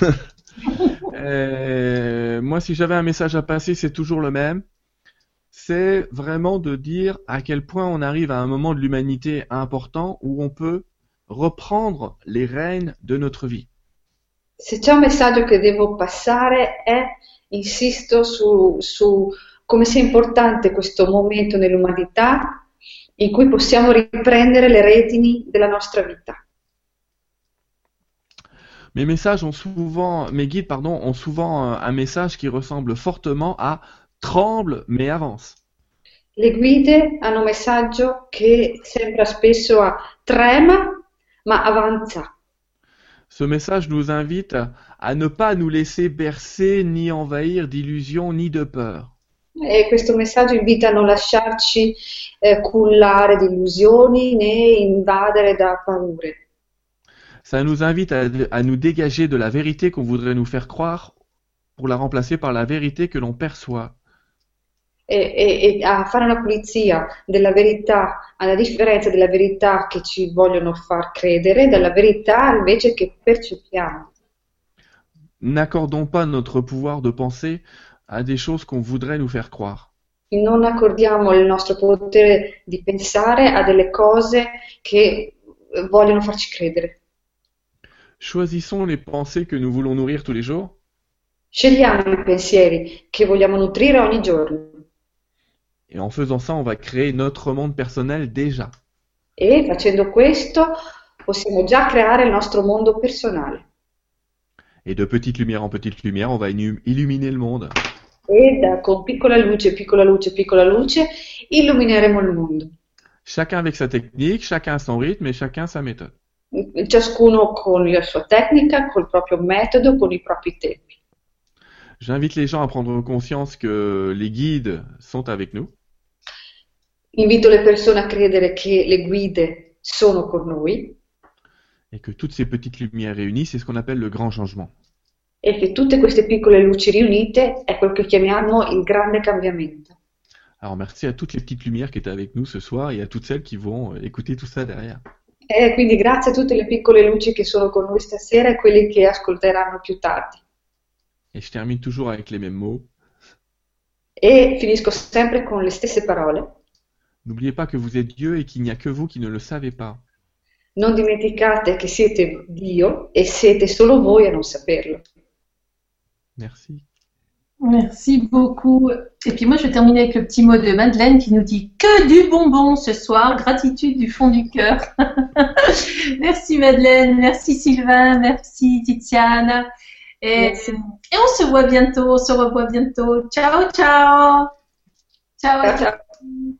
Moi, si j'avais un message à passer, c'est toujours le même. C'est vraiment de dire à quel point on arrive à un moment de l'humanité important où on peut reprendre les rênes de notre vie. Se c'è un messaggio che devo passare insisto su come sia importante questo momento nell'umanità in cui possiamo riprendere le redini della nostra vita. Mes guides ont souvent un message qui ressemble fortement à tremble mais avance. Le guide hanno un messaggio che sembra spesso a trema ma avanza. Ce message nous invite à ne pas nous laisser bercer ni envahir d'illusions ni de peur. E questo messaggio invita a non lasciarci cullare di illusioni né invadere da paure. Ça nous invite à nous dégager de la vérité qu'on voudrait nous faire croire pour la remplacer par la vérité que l'on perçoit. E a fare una pulizia della verità, alla differenza della verità che ci vogliono far credere, dalla verità invece che percepiamo. N'accordons pas notre pouvoir de penser à des choses qu'on voudrait nous faire croire. Non accordiamo il nostro potere di pensare a delle cose che vogliono farci credere. Choisissons les pensées que nous voulons nourrir tous les jours. Scegliamo i pensieri che vogliamo nutrire ogni giorno. Et en faisant ça, on va créer notre monde personnel déjà. E facendo questo possiamo già creare il nostro mondo personale. Et de petite lumière en petite lumière, on va illuminer le monde. E con piccola luce, piccola luce, piccola luce, illumineremo il mondo. Chacun avec sa technique, chacun à son rythme et chacun sa méthode. Ciascuno con la sua tecnica, col proprio metodo, con i propri tempi. J'invite les gens à prendre conscience que les guides sont avec nous. Invito le persone a credere che le guide sono con noi Et que toutes ces petites lumières réunies, c'est ce qu'on appelle le grand changement. e che tutte queste piccole luci riunite è quello che chiamiamo il grande cambiamento. Alors merci à toutes les petites lumières qui étaient avec nous ce soir et à toutes celles qui vont écouter tout ça derrière. E quindi grazie a tutte le piccole luci che sono con noi stasera e quelli che ascolteranno più tardi. Et je termine toujours avec les mêmes mots. E finisco sempre con le stesse parole. N'oubliez pas que vous êtes Dieu et qu'il n'y a que vous qui ne le savez pas. Non dimenticate che siete Dio e siete solo voi a non saperlo. Merci. Merci beaucoup. Et puis moi, je vais terminer avec le petit mot de Madeleine qui nous dit que du bonbon ce soir. Gratitude du fond du cœur. Merci Madeleine, merci Sylvain, merci Tiziana. Et on se voit bientôt, on se revoit bientôt. Ciao, ciao. Ciao. Ciao.